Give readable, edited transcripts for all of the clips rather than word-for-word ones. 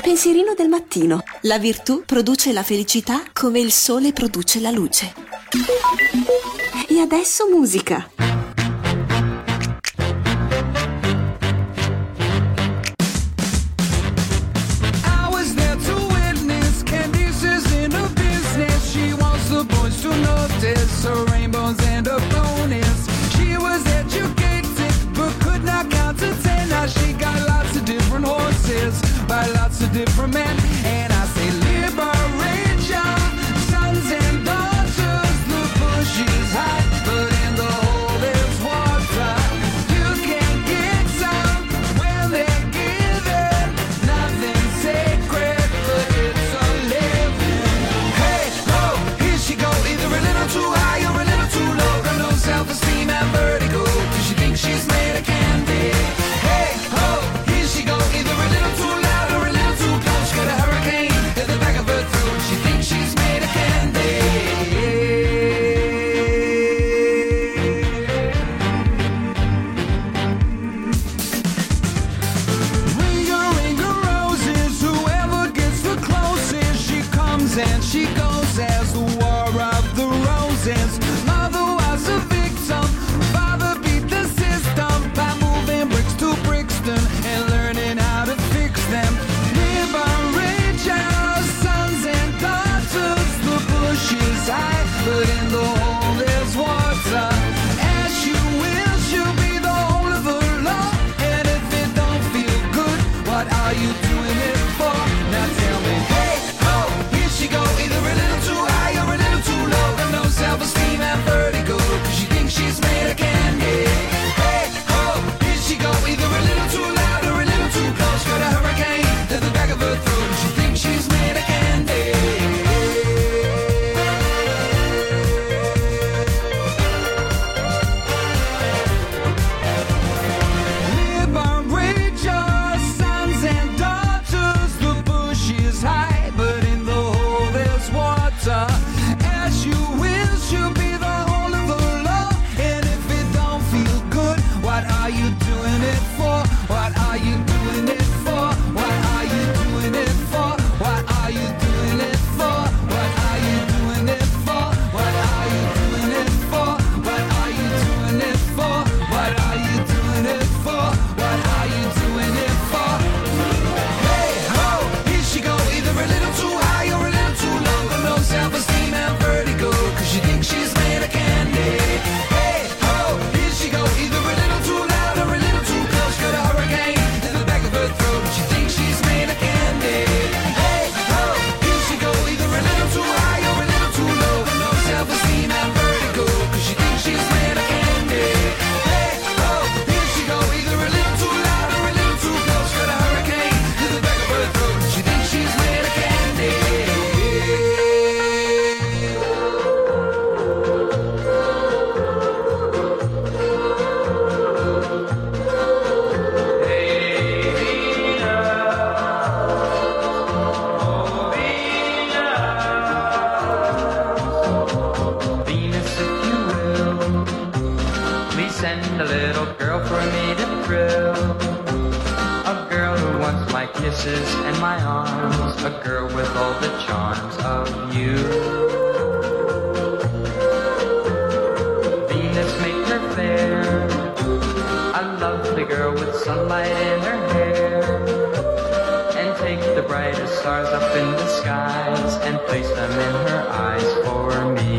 Pensierino del mattino. La virtù produce la felicità come il sole produce la luce. E adesso musica. To notice her rainbows and her bonus. She was educated but could not count to 10. Now she got lots of different horses by lots of different men. And I say liberate your sons and daughters. The bush is high, but in the hole there's water. You can get some when they're given. Nothing sacred, but it's a living. Hey, ho, here she go. Either a little too high or a little too low. Got no self-esteem and vertigo, 'cause she thinks she's made of candy. Hey, ho, here she go. Either a little too loud or a little too close. Got a hurricane in the back of her throat. She thinks she's made of candy. Ring her roses. Whoever gets the closest, she comes and she goes as the war of the roses. Mother was a victim, father beat the system by moving bricks to Brixton and learning how to fix them. Liberate your sons and daughters. The bush is high, but in the hole there's water. As you will, she'll be the whole of the law. And if it don't feel good, what are you doing it for? Now tell me, hey, ho, here she go. Either a little too high or a little too low. Got no self-esteem and vertigo, 'cause she thinks she's made of candy. Hey, ho, here she go. Either a little too loud or a little too close. Got a hurricane to the back of her throat. She thinks she's made of candy. Liberate your sons and daughters. The bush is high, but in the hole there's water. As you will, she'll be the whole of the law. And if it don't feel good, what are you doing it for? What are you doing it for? What are you doing it for? What are you doing it for? What are you doing it for? What are you doing it for? What are you doing it for? What are you doing it for? What are you doing it for? Hey, ho, here she go. Either a little too high or a little too low. Got no self-esteem and vertigo, 'cause she thinks she's made of candy. Hey, ho, here she go. Either a little too loud or a little too close. Got a hurricane in the back of her throat. She thinks she's made of candy. Hey, ho, here she go. Either a little too high or a little too low. Got no self-esteem and vertigo, 'cause she thinks she's made of candy. Hey, ho, here she go. Either a little too loud or a little too close. Got a hurricane in the back of her throat. She thinks she's made of candy. Venus, if you will, please send a little girl for me to thrill. A girl who wants my kisses and my arms. A girl with all the charms of you. Venus, make her fair. A lovely girl with sunlight in her hair. And take the brightest stars up in the skies and place them in her eyes for me.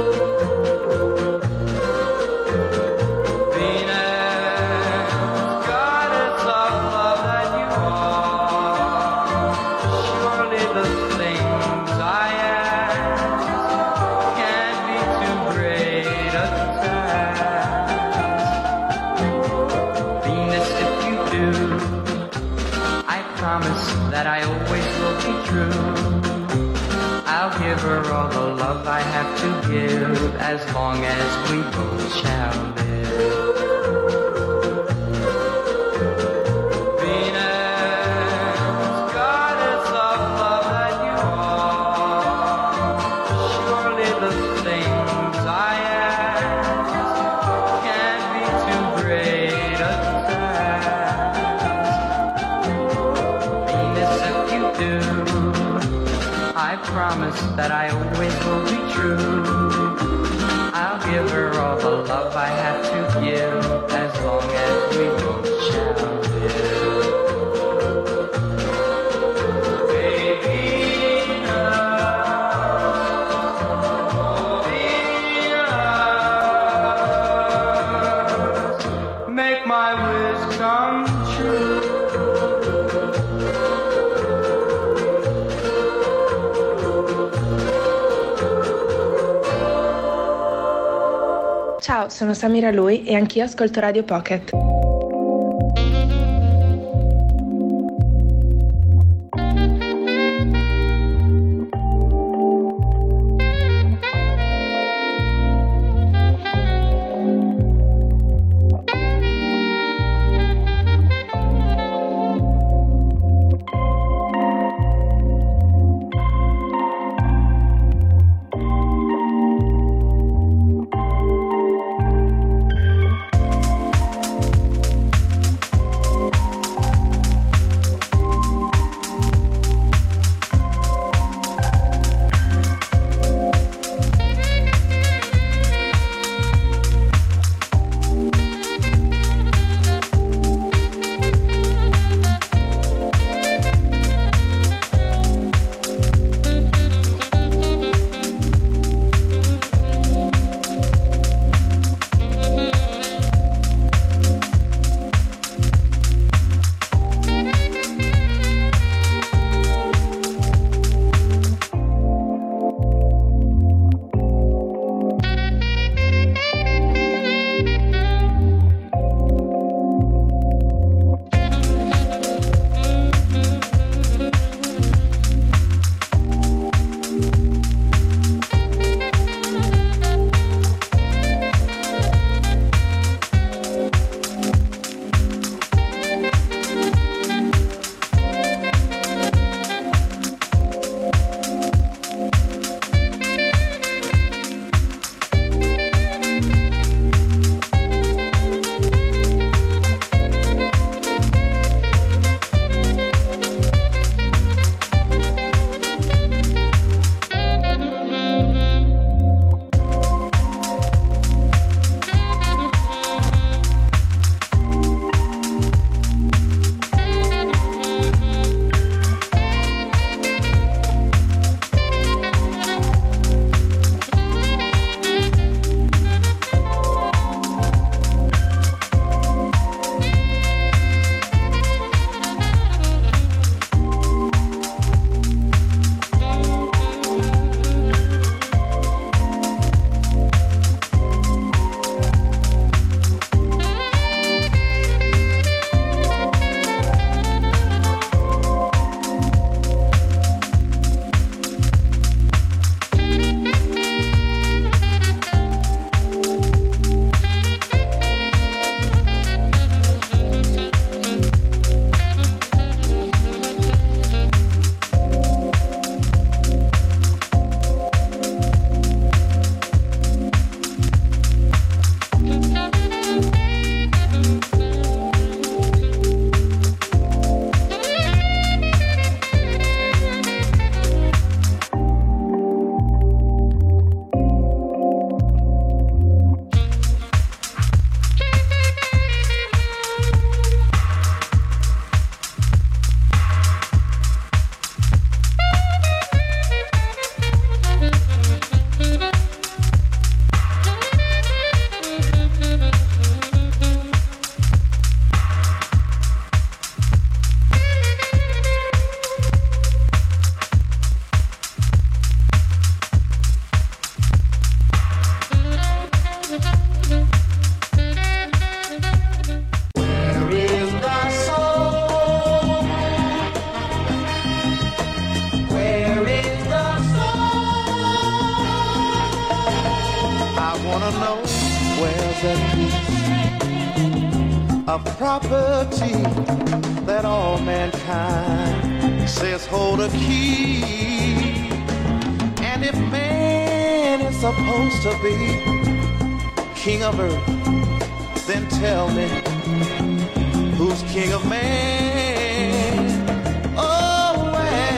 Venus, goddess of love that you are, surely the things I ask can't be too great a task. Venus, if you do, I promise that I always will be true. I'll give her all the love I have to give, as long as we both shall live. Venus, goddess of love that you are, surely the things I ask can't be too great a task. Venus, if you do. I promise that I always will be true. I'll give her all the love I have to give, as long as we both shall live. Ciao, sono Samira Lui e anch'io ascolto Radio Pocket. of property that all mankind says hold a key. And if man is supposed to be king of earth, then tell me, who's king of man? Oh, where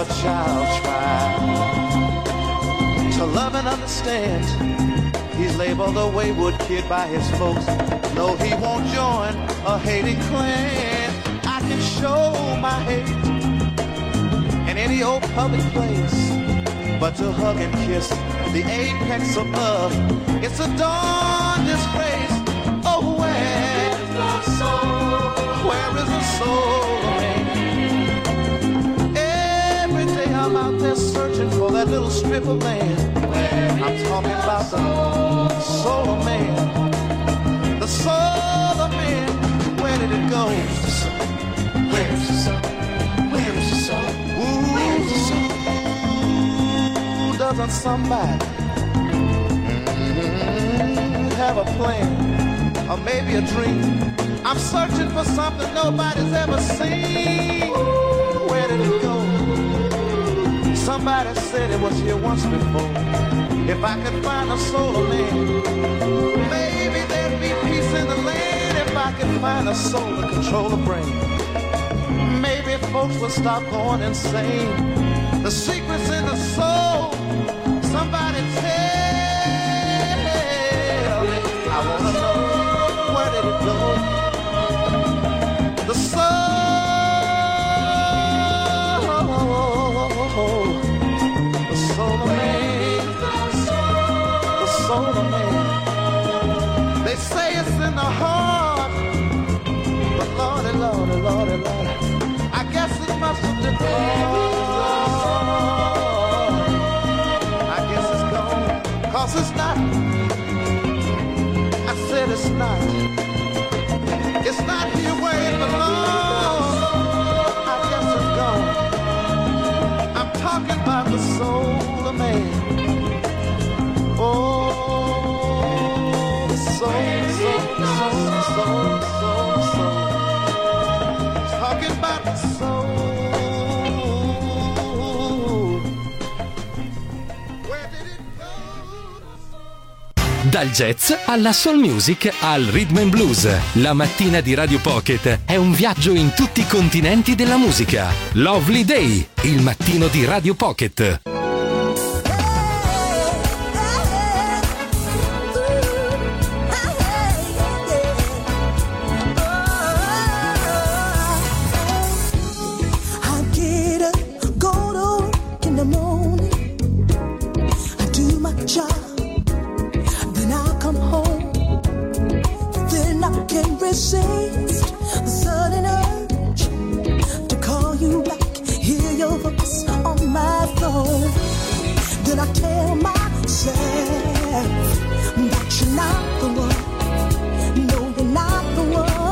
a child try to love and understand. He's labeled a wayward kid by his folks. No, he won't join a hating clan. I can show my hate in any old public place, but to hug and kiss the apex of love, it's a darn disgrace. Oh, where is the soul? Where is the soul of man? Every day I'm out there searching for that little strip of land. I'm talking about the soul of man. The soul of man. Where did it go? Where is the soul? Where is the soul? Where is the soul? Ooh, doesn't somebody have a plan, or maybe a dream? I'm searching for something nobody's ever seen. Where did it go? Somebody said it was here once before. If I could find a soul of man, maybe there'd be peace in the land. If I could find a soul to control the brain, maybe folks would stop going insane. The secret's in the soul. Somebody tell me. I wanna know, where did it go? The soul, the soul of man, the soul of man. They say it's in the heart, but Lordy, Lordy, Lordy, Lordy, I guess it must have been gone. I guess it's gone, 'cause it's not. I said it's not. It's not here where it belongs. I guess it's gone. I'm talking about the soul of man. Oh, the soul, soul. Talking about the soul. Where did it go? Dal jazz alla soul music al rhythm and blues, la mattina di Radio Pocket è un viaggio in tutti i continenti della musica. Lovely Day, il mattino di Radio Pocket. Resist the sudden urge to call you back, hear your voice on my phone. Then I tell myself that you're not the one. No, you're not the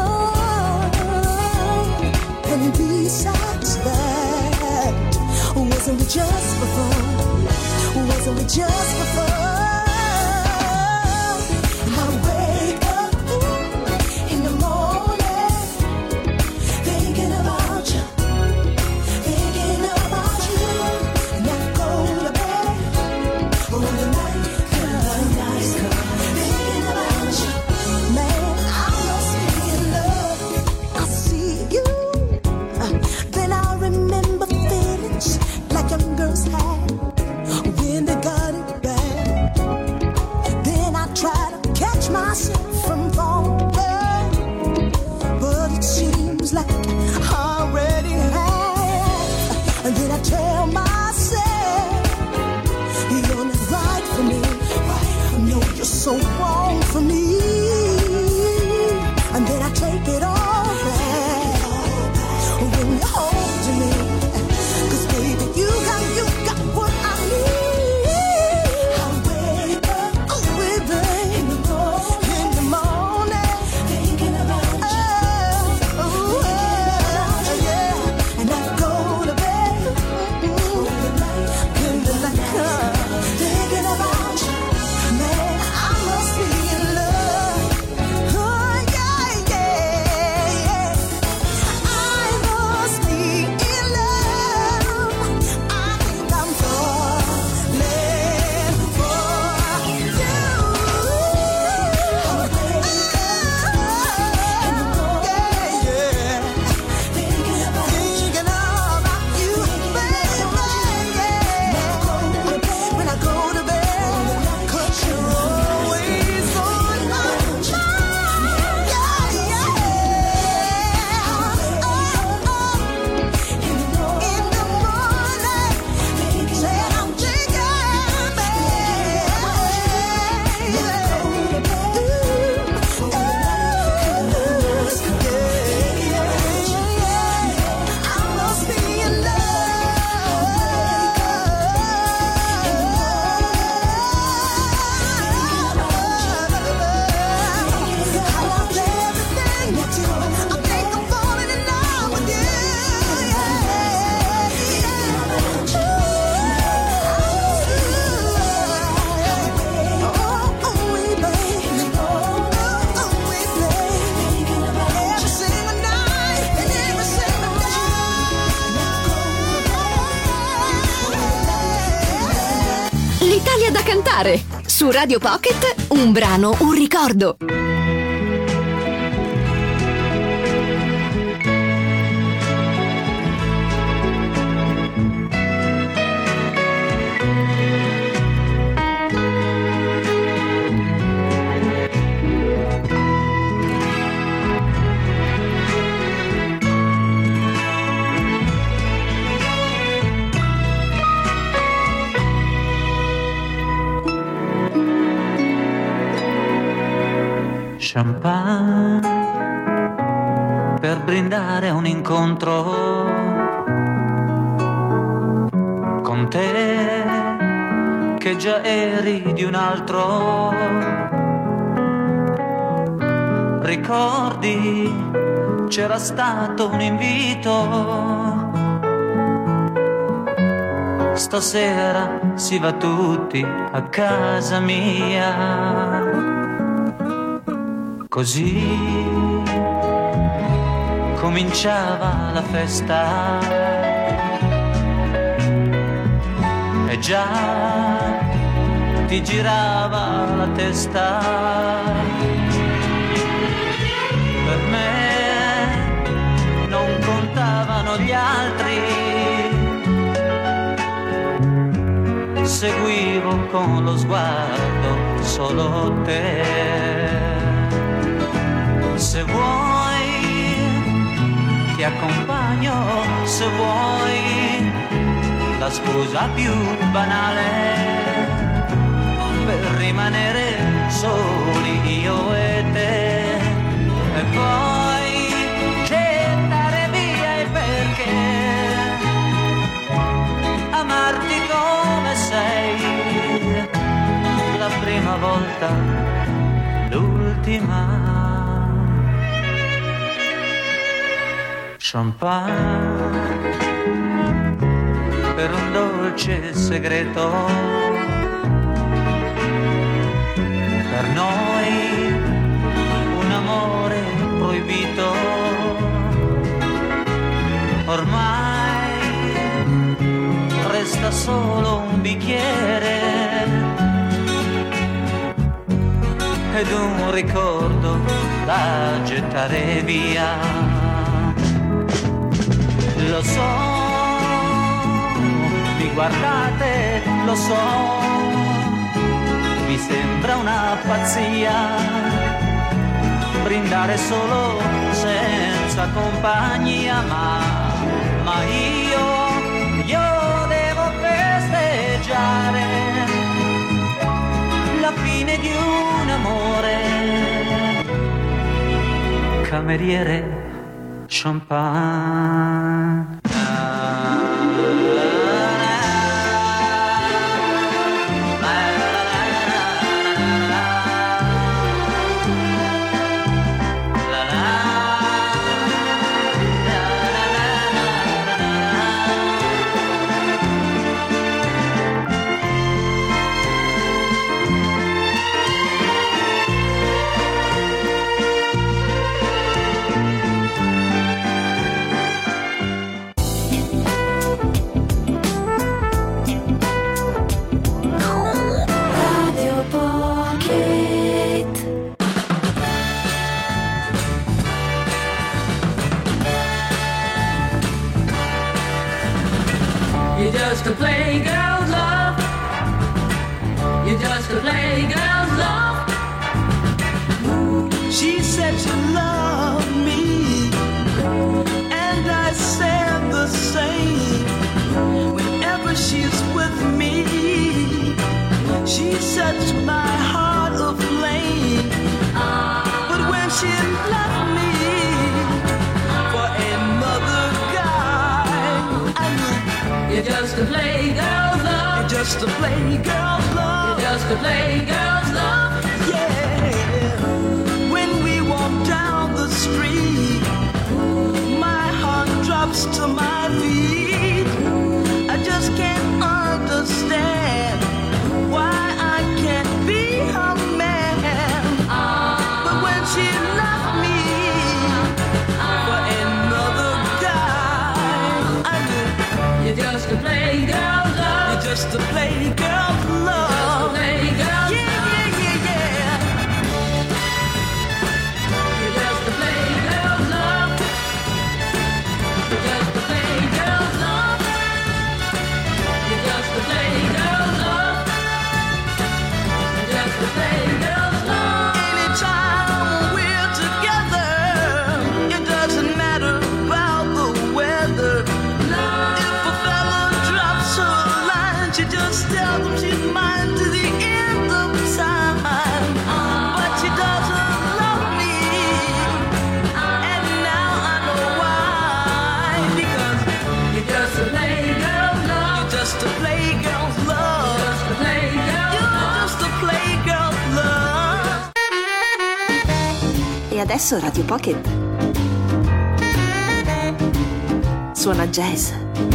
one. And besides that, wasn't it just for fun? Wasn't it just for fun? Tell myself you're not right ascoltare. Su Radio Pocket, un brano, un ricordo. Champagne per brindare un incontro con te che già eri di un altro. Ricordi, c'era stato un invito, stasera si va tutti a casa mia. Così cominciava la festa e già ti girava la testa. Per me non contavano gli altri, seguivo con lo sguardo solo te. Se vuoi ti accompagno, se vuoi la scusa più banale per rimanere soli io e te, e poi gettare via il perché, amarti come sei, la prima volta, l'ultima. Champagne per un dolce segreto, per noi un amore proibito. Ormai resta solo un bicchiere ed un ricordo da gettare via. Lo so, mi guardate, lo so, mi sembra una pazzia brindare solo senza compagnia, ma io devo festeggiare la fine di un amore. Cameriere, champagne. just a playgirl's love. You're just a playgirl's love. She said she loved me, and I said the same. Whenever she's with me, she sets my heart aflame. But when she left me for another guy, I knew You're just a playgirl's love. you're just a playgirl's love. You're just a playgirl's love. Yeah. When we walk down the street, my heart drops to my feet. I just can't understand why I can't be her man. But when she left me for another guy, I knew You're just a playgirl's love. you're just a playgirl's love. Playgirl's adesso Radio Pocket suona jazz.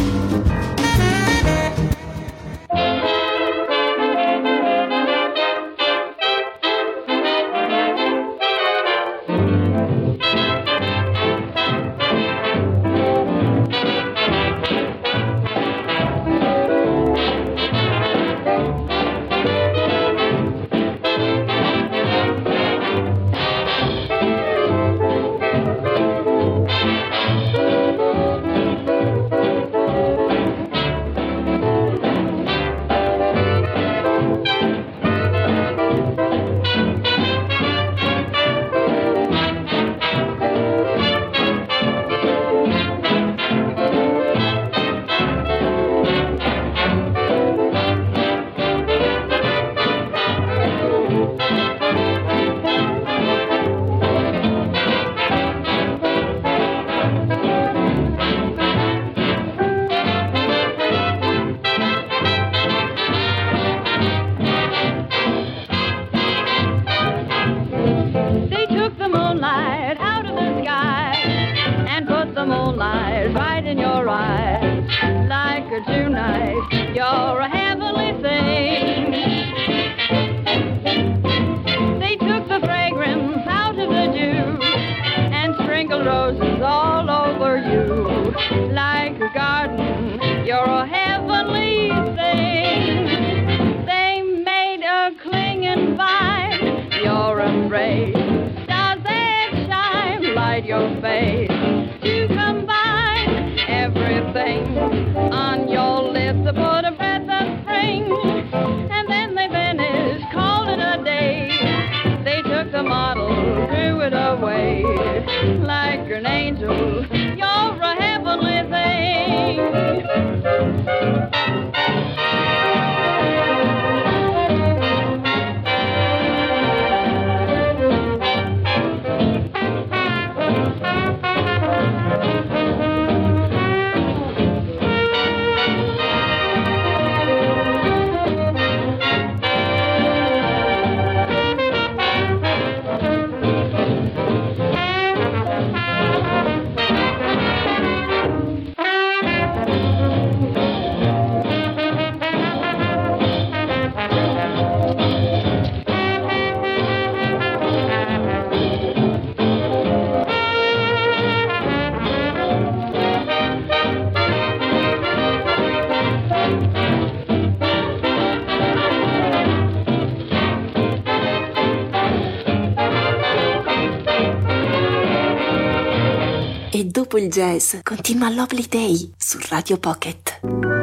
E dopo il jazz continua Lovely Day su Radio Pocket.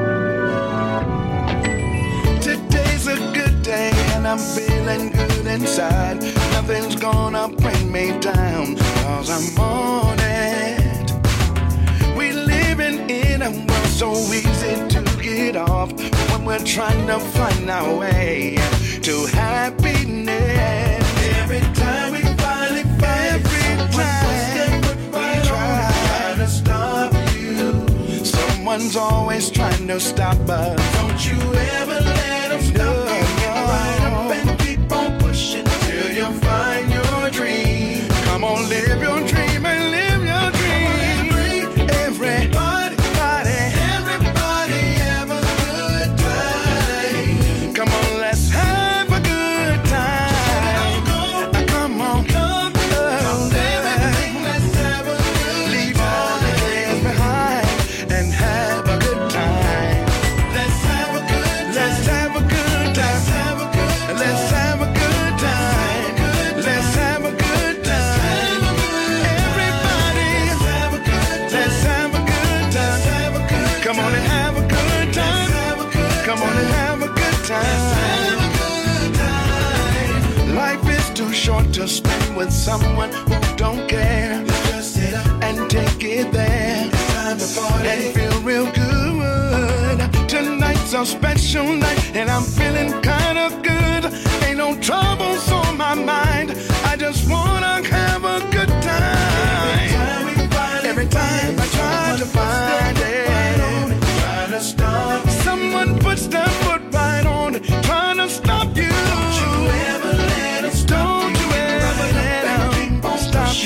Today's a good day and I'm feeling good inside. Nothing's gonna bring me down, 'cause I'm on it. We living in a world so easy to get off when we're trying to find our way to happiness. Every time we finally find stop you. Someone's always trying to stop us. Don't you ever let them stop you. Get right up and keep on pushing till you find your dream. Come on, live your dream and live your dream. Everybody have a good time. Come on, let's have a good time. Come on. Short to spend with someone who don't care. Just sit up and take it there. It's time to party and feel real good. Tonight's a special night and I'm feeling kind of good. Ain't no troubles on my mind. I just wanna have a good time. Every time I try to find it, try to stop. Someone puts their foot right on it, trying to stop you. Don't you ever let them stop.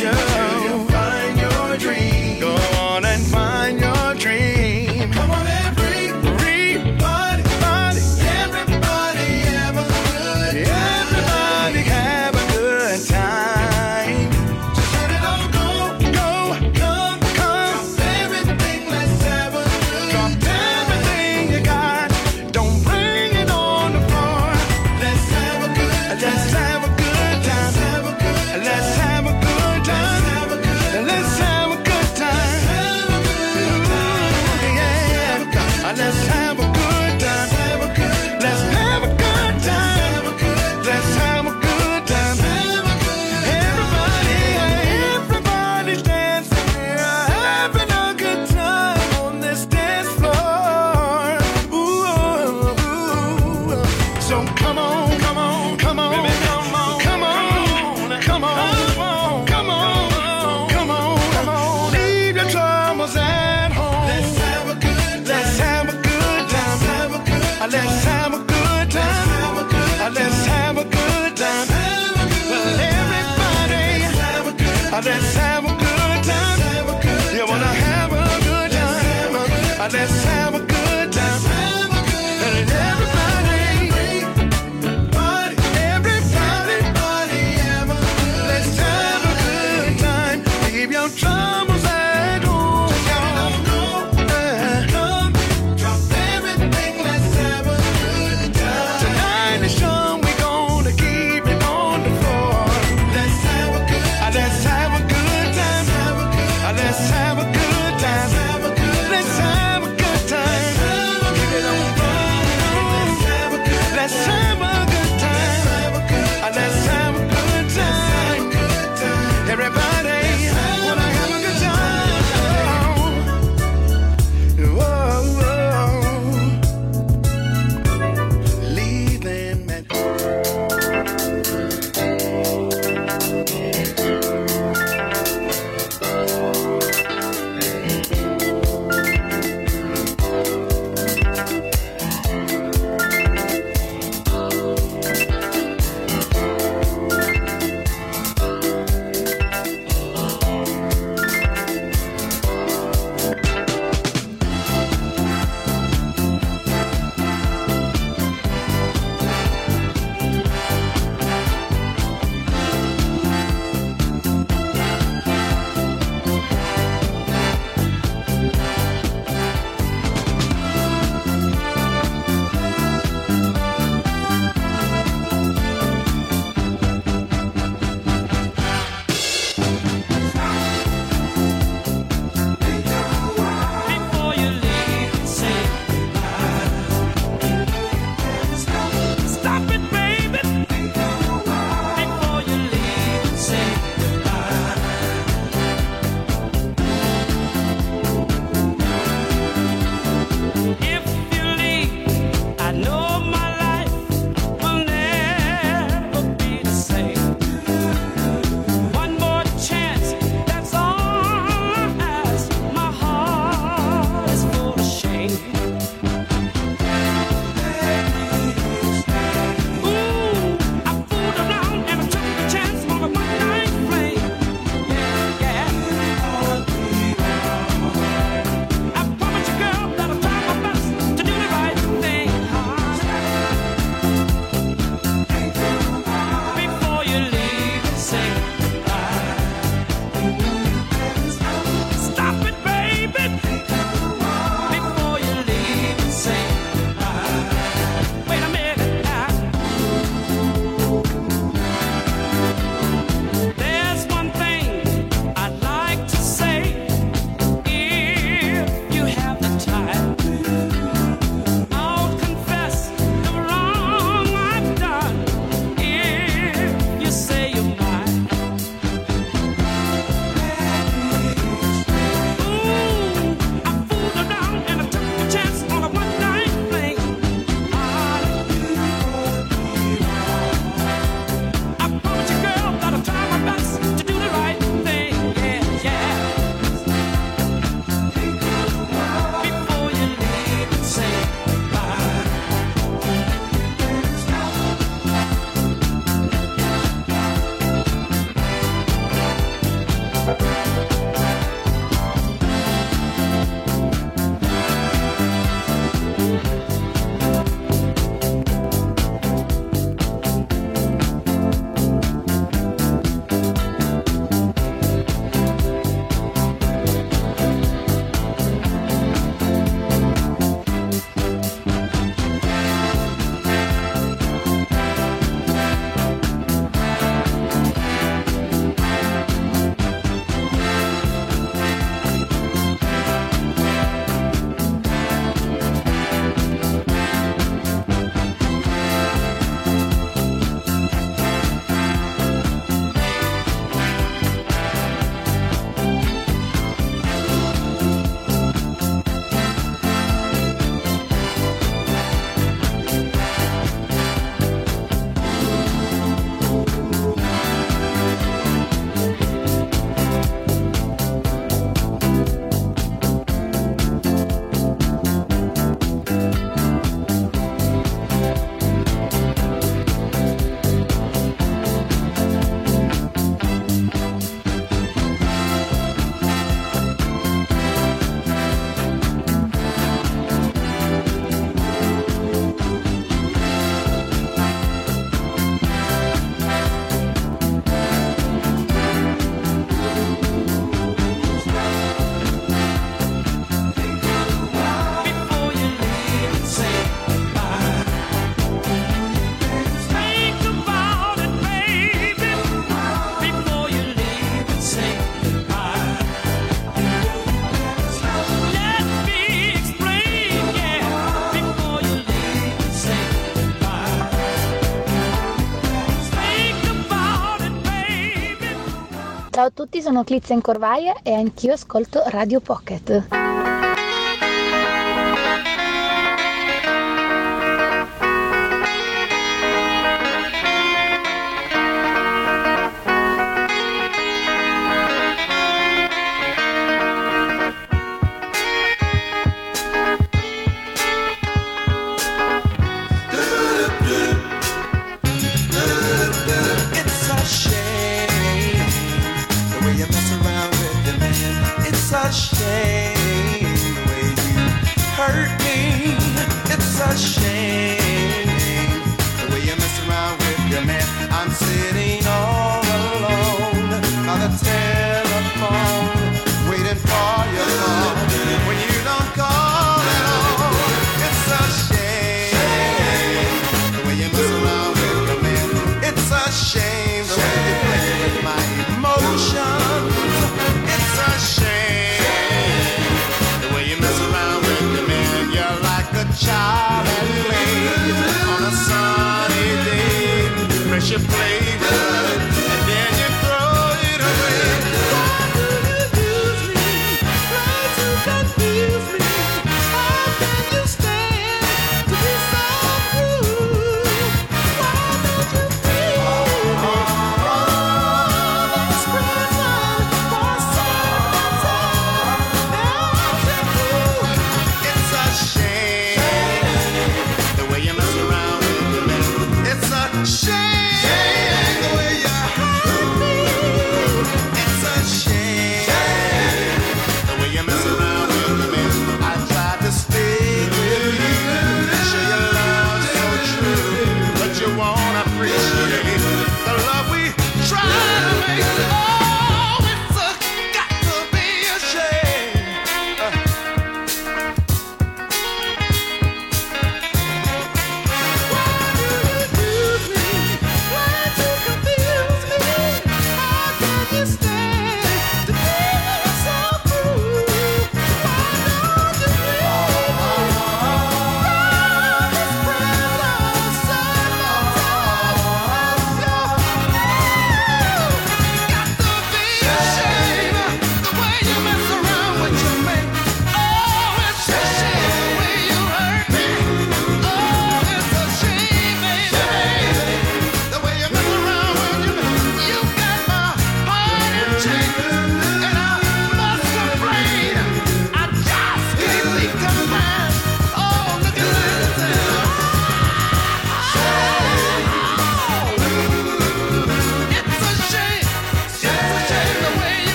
Ciao a tutti, sono Clizia Corvaia e anch'io ascolto Radio Pocket.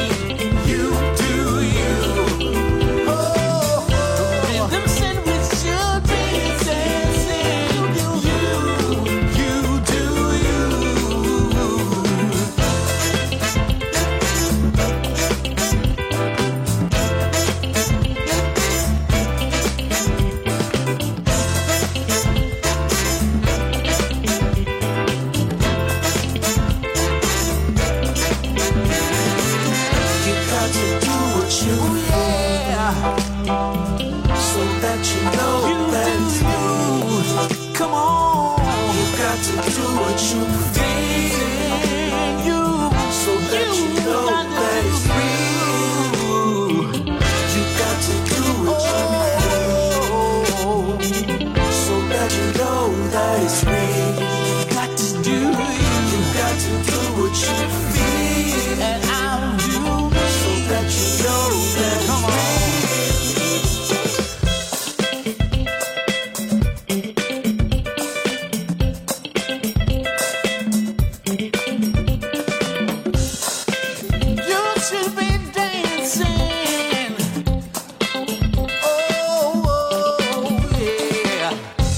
Sandwich so that you know that it's me. Come on, you got to do what you feel, so that you know that it's real. You got to do what you feel, so that you know that it's real. Got to do You got to do what you feel, and I'll do so that you know that it's real. You should be dancing. Oh, yeah.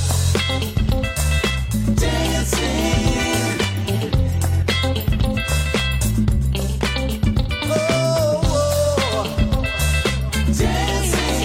Dancing. Oh, dancing.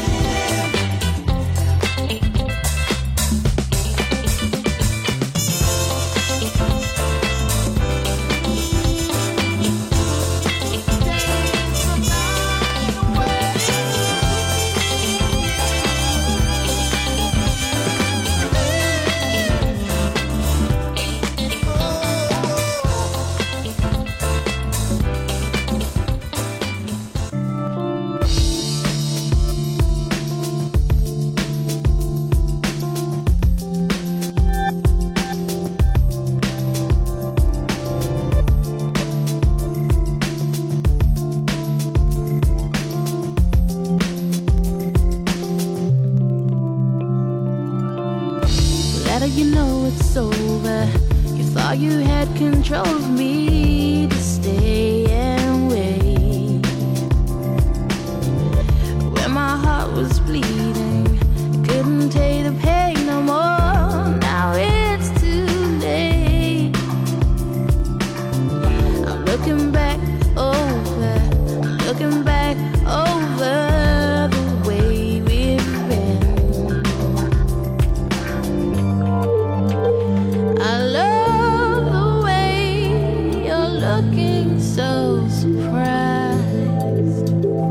Let you know it's over. You thought you had control of me to stay and wait. When my heart was bleeding, I couldn't take the pain no more. Now it's too late. I'm looking back over, looking back over the way we've been. I love the way you're looking so surprised.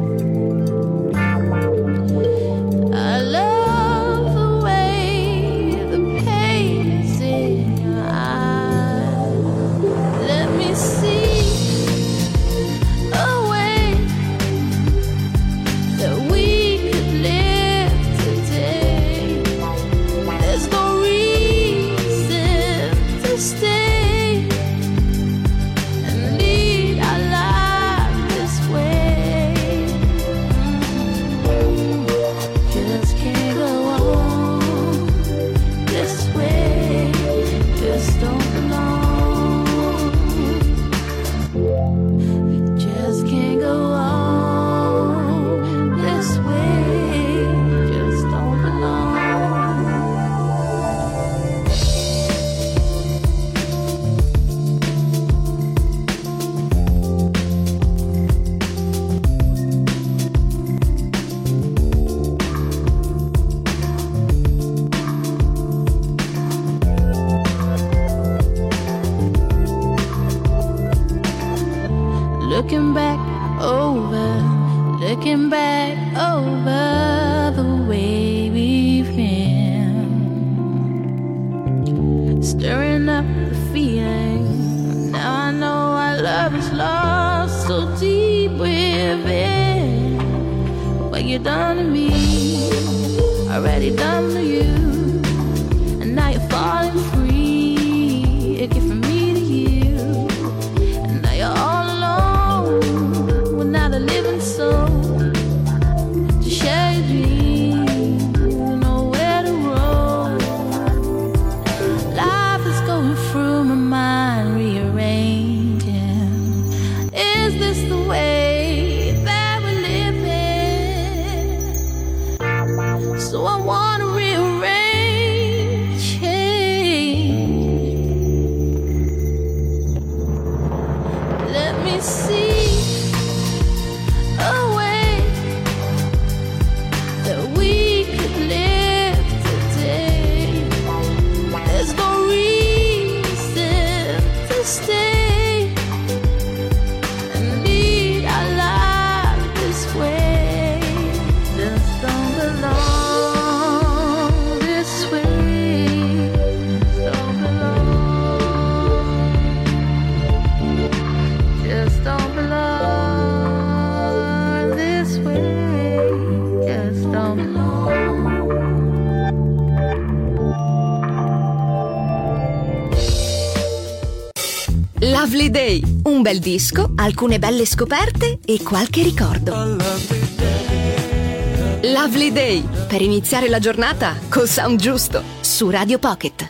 I love the way the pain is in your eyes. Let me see a way that we could live today. There's no reason to stay and lead our life this way. Just can't go on this way. Just don't belong. Just can't go on this way. Just don't belong. Looking back over the way we've been, stirring up the feeling. Now I know our love is lost so deep within. What you done to me, already done to you, and now you're falling free. A gift from me to you, and now you're all alone with not a living soul to share your dreams, nowhere to roam. Life is going through my mind, rearranging. Is this the way that we're living? So I wanna rearrange. Day, un bel disco, alcune belle scoperte e qualche ricordo. Lovely Day, per iniziare la giornata col sound giusto, su Radio Pocket.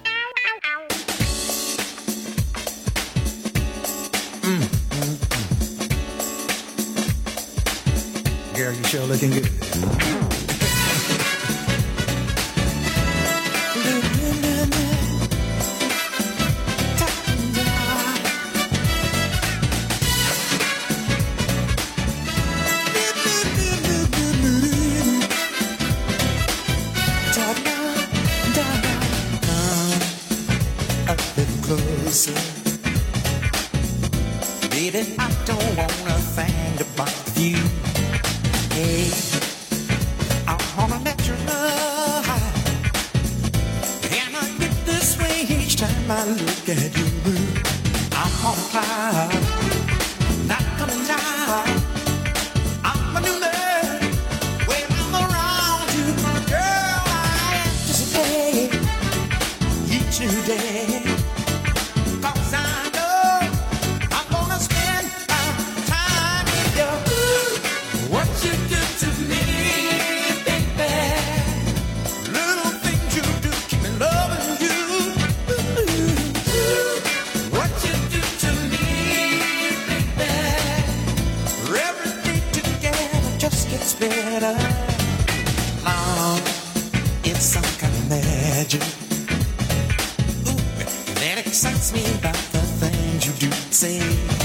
Girl, you sure looking good. Baby, I don't wanna think about you. Hey, I wanna let you know, and I get this way each time I look at you. I'm on fire, not coming down. I'm a new man when I'm around you. Girl, I anticipate each new day. Better. Now it's some kind of magic. Ooh, that excites me about the things you do say.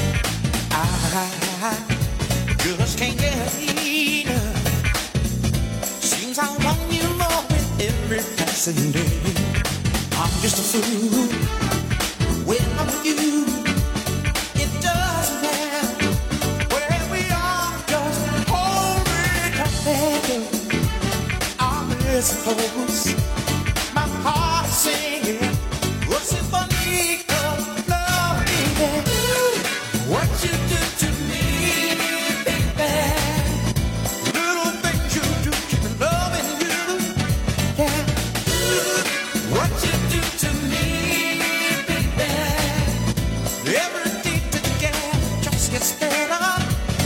I just can't get enough. Seems I want you more with every passing day. I'm just a fool when I'm with you. It doesn't matter where we are, just I suppose my heart is singing a symphony of love, baby. What you do to me, baby. Little things you do, keep loving you. Yeah. What you do to me, baby. Every day together just gets better.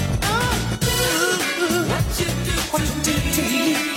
What you do to me.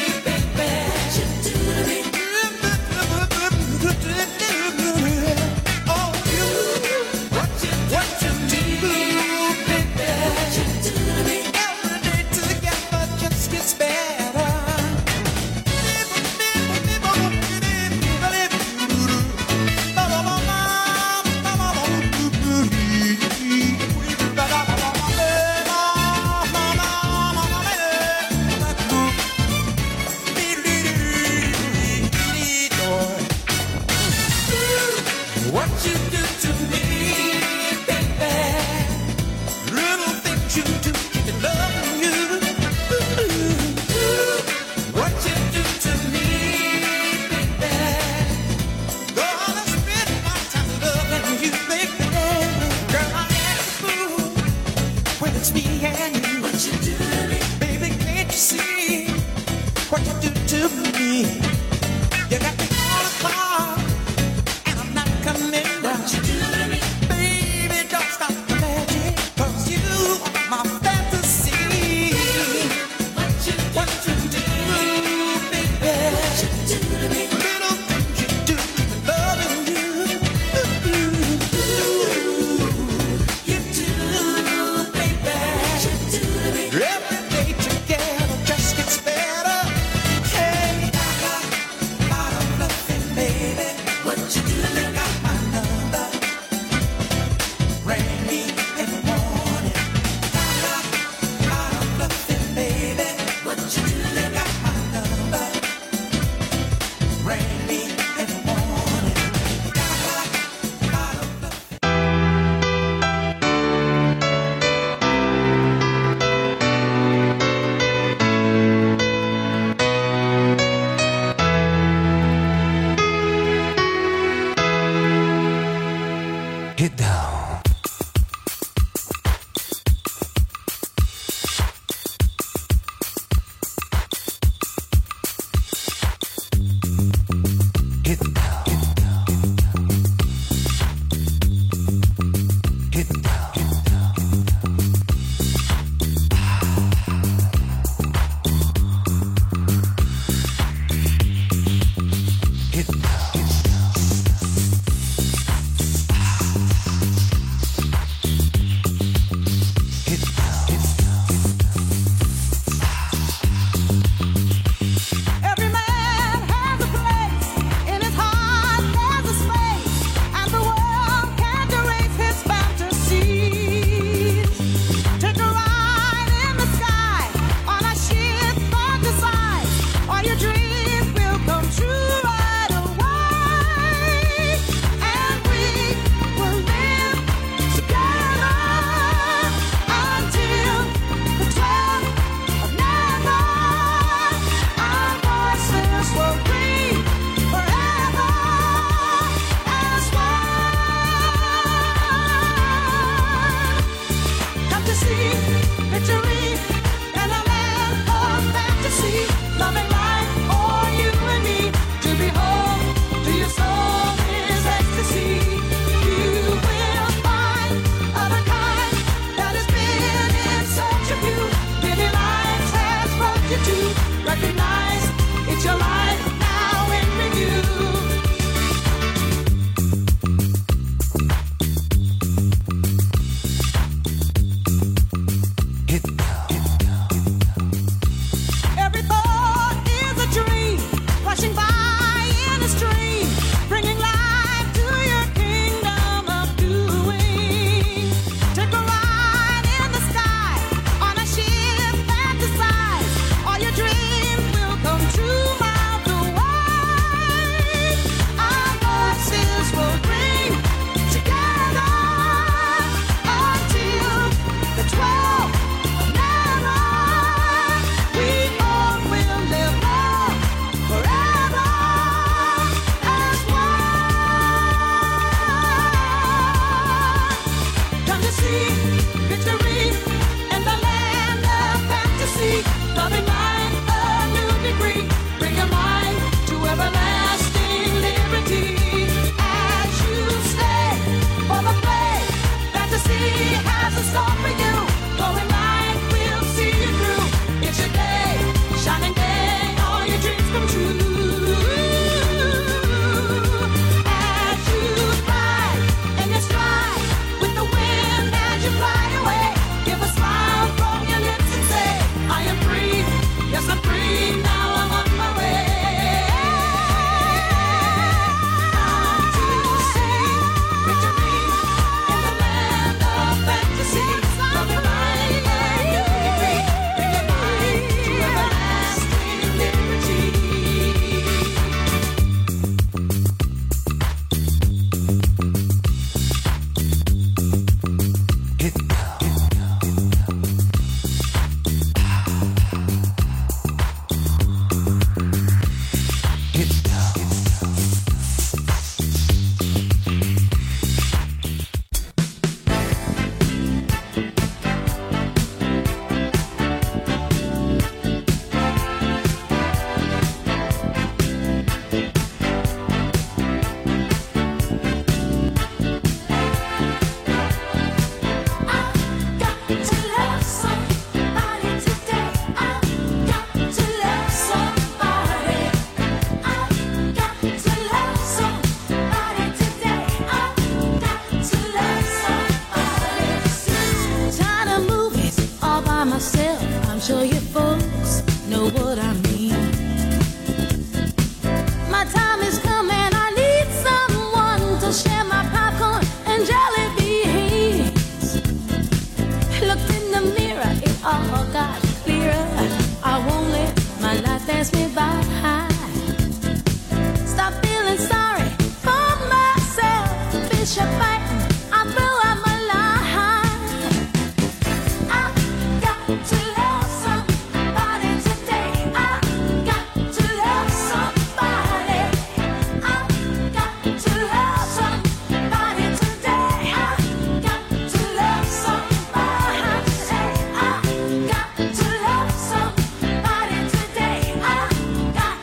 got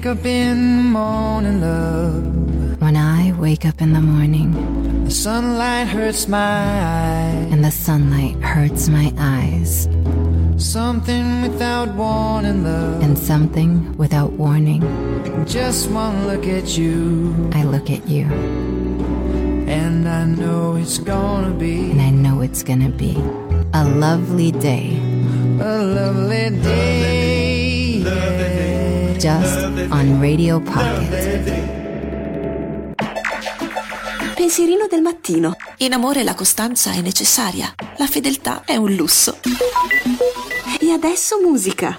wake up in the morning, love. When I wake up in the morning, the sunlight hurts my eyes. And the sunlight hurts my eyes. Something without warning, love. And something without warning. Just one look at you. I look at you. And I know it's gonna be. And I know it's gonna be a lovely day. A lovely day. Yeah. Just on Radio Pocket. Pensierino del mattino. In amore la costanza è necessaria, la fedeltà è un lusso. E adesso musica.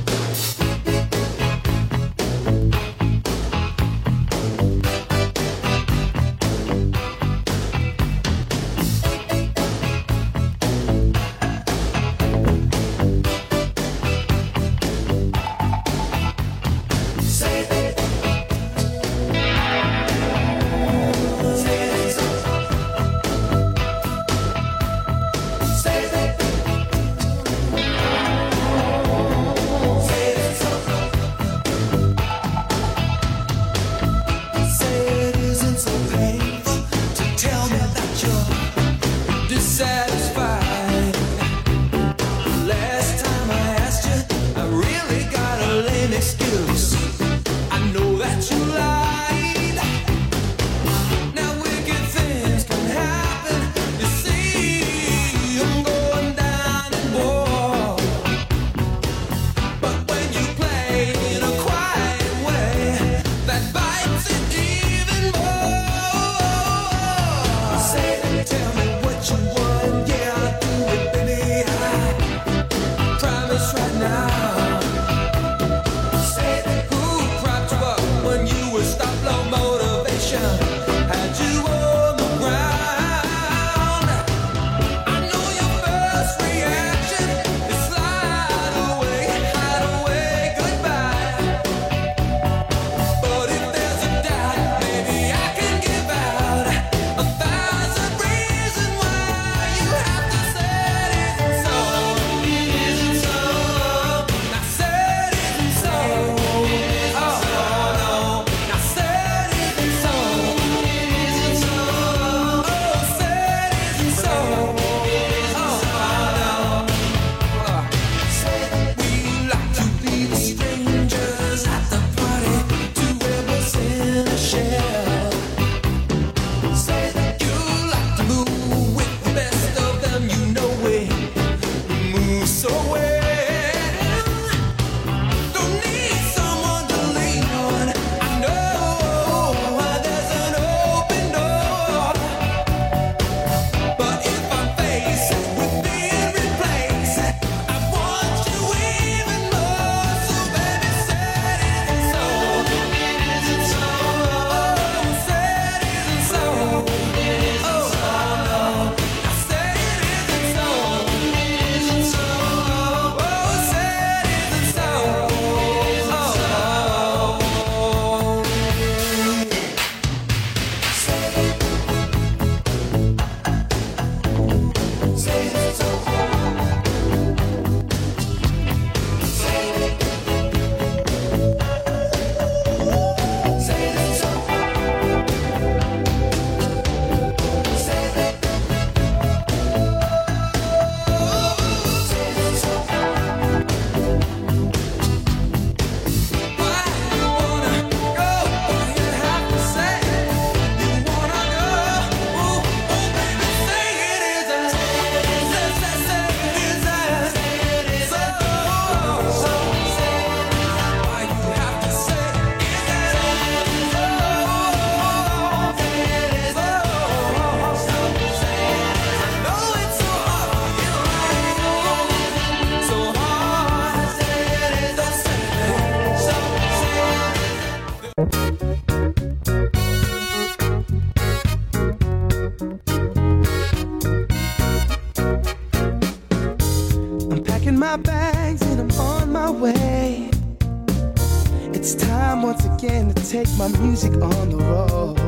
Take my music on the road.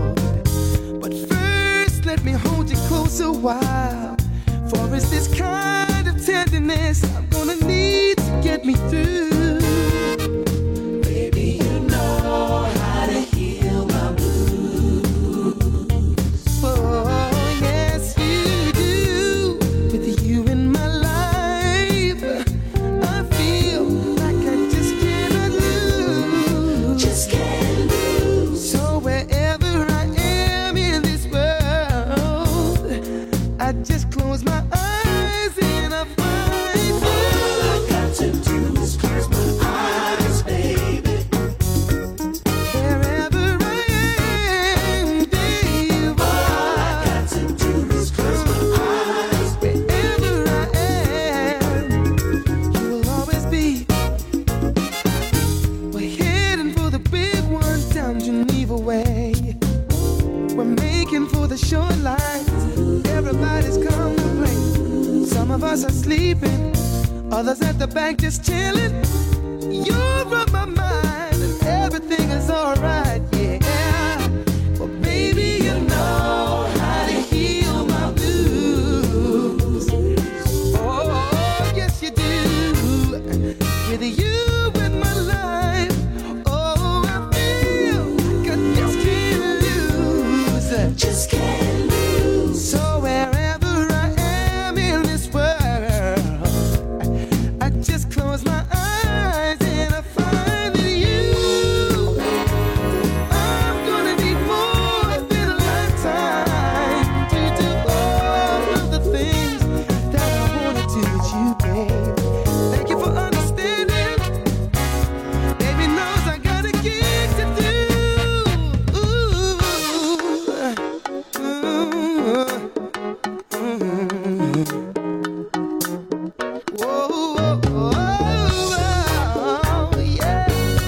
But first let me hold you close a while. For it's this kind of tenderness I'm gonna need to get me through. Baby, you know Others at the bank just chilling. You're on my mind and everything is alright, yeah. Well, baby, you know how to heal my blues. Oh, yes you do. With you in my life, oh, I feel I just can't lose. Just can't lose. So wherever I am in this world, I just close my eyes and I find that you, I'm gonna need more than a lifetime to do all of the things that I wanna do with you, babe. Thank you for understanding. Baby knows I got a gig to do. Yeah.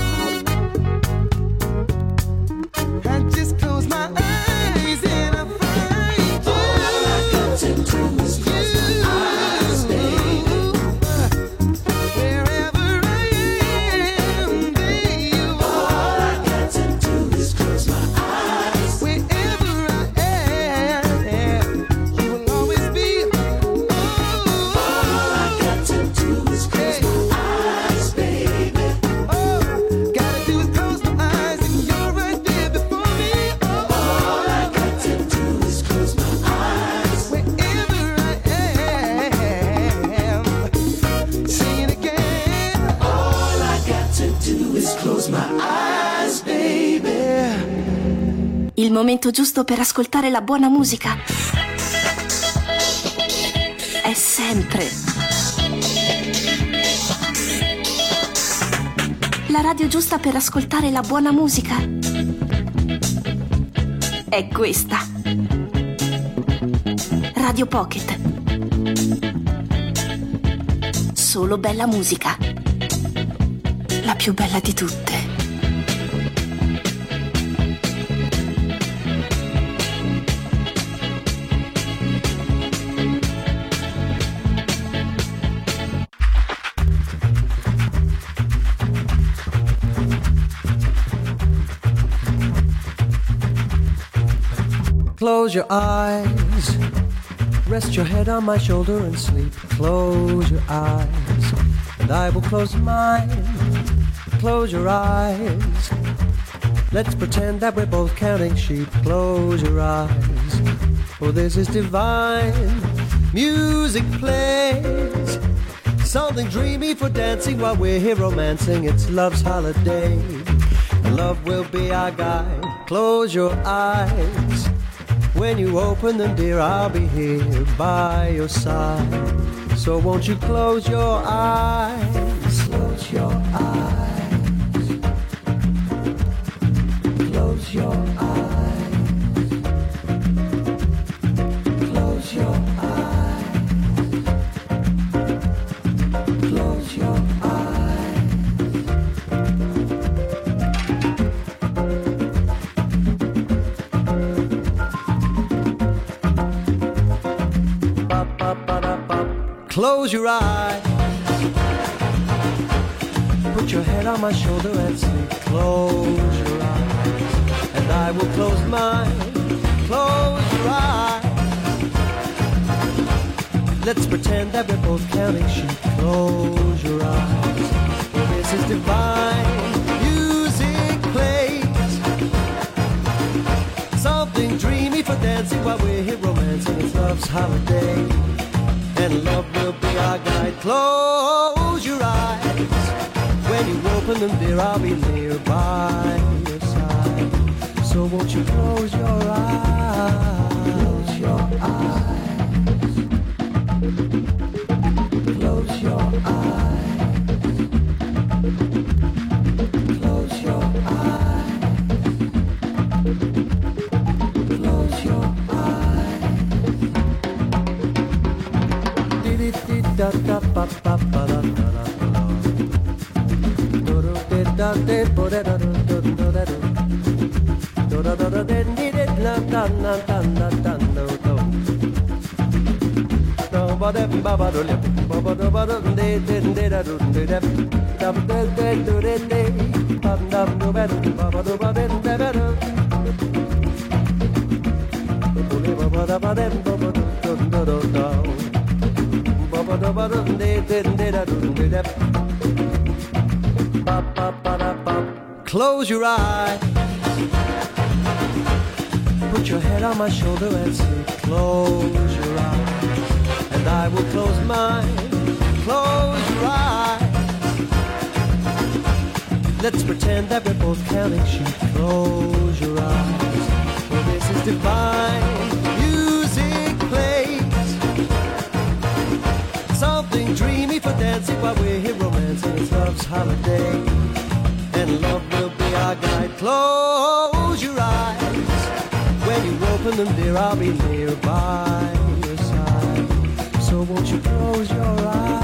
I just close my eyes and I find you. All I got to do is close my eyes, baby. Wherever I am, baby. All I got to do is close my eyes. Wherever I am, you will always be. All I got to do is close my eyes, baby. Oh, gotta do is close my eyes and you're right there before me. All I got to do is close my eyes. Wherever I am, sing it again. All I got to do is close my eyes, baby. Il momento giusto per ascoltare la buona musica è sempre la radio giusta per ascoltare la buona musica è questa. Radio Pocket. Solo bella musica. La più bella di tutte. Close your eyes, rest your head on my shoulder and sleep. Close your eyes, and I will close mine. Close your eyes, let's pretend that we're both counting sheep. Close your eyes, oh this is divine. Music plays, something dreamy for dancing while we're here romancing. It's love's holiday, and love will be our guide. Close your eyes, when you open them, dear, I'll be here by your side. So won't you close your eyes? Close your eyes. Close your eyes. Close your eyes. Close your eyes. Close your eyes. Put your head on my shoulder and sleep. Close your eyes, and I will close mine. Close your eyes. Let's pretend that we're both counting sheep. Close your eyes, for this is divine. Music plays, something dreamy for dancing while we're here romancing. It's love's holiday, and love will be our guide. Close your eyes, when you open them, dear, I'll be near by your side. So won't you close your eyes? Close your eyes. Close your eyes. Close your eyes. Close your eyes. Close your eye. Put your head on my shoulder and say, close your eyes. And I will close mine. Close your eyes. Let's pretend that we're both counting sheep. Close your eyes. For this is divine. Music plays. Something dreamy for dancing while we're here romancing. It's love's holiday. And love will be our guide. Close your eyes. When you open them, dear, I'll be nearby your side. So won't you close your eyes?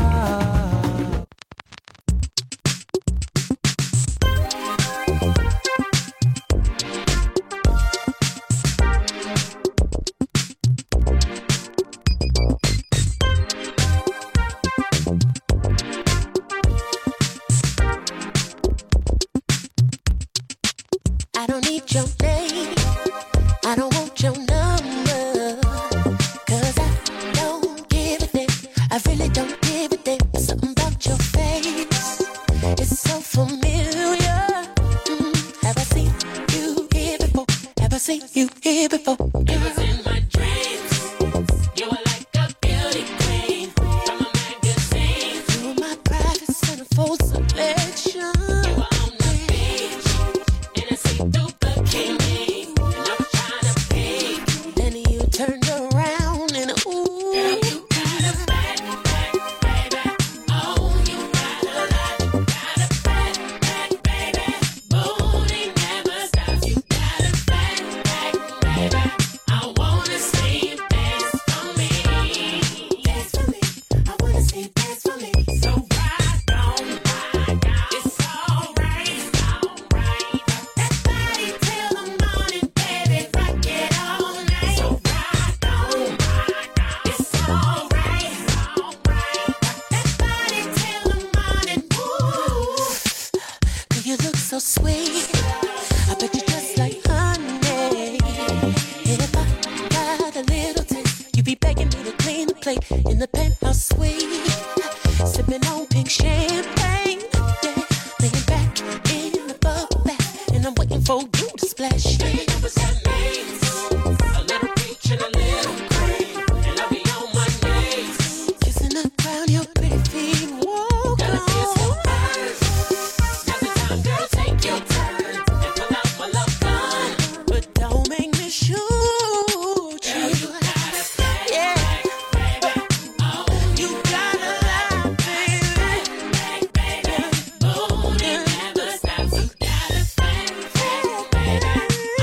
I don't need your name. I don't want your number. 'Cause I don't give a damn. I really don't give a damn. Something about your face, it's so familiar. Have I seen you here before? Have I seen you here before? It was in my dreams. You were like a beauty queen from a magazine. You were my private centerfold selection. You were on the beach in a see-through bikini, and I was trying to peek. Then you turned around and ooh, girl, you got a fat back, baby. Oh, you got a lot. Got a fat back, baby. Booty never stops. You got a fat back, baby. I wanna see you dance for me. Dance for me. I wanna see you dance for me. So ride on, it's alright, alright. That body till the morning, baby, rock it all night. So ride on, it's alright, alright. That body till the morning, ooh. Girl, you look so sweet. I bet you just like honey. If I got a little taste, you'd be begging me to clean the plate in the penthouse suite, sipping on pink champagne. Yeah, laying back in the bubble bath, and I'm waiting for you to splash. Baby, that was that means a little peach and a little cream, and I'll be on my knees, kissing the ground your pretty feet walk on. Now's the time, girl, take your turn and pull out my love gun, but don't make me shoot you. You got a fat back, baby. Oh, you got a lot, baby. Back, baby. Booty never stops. You got a fat back, baby.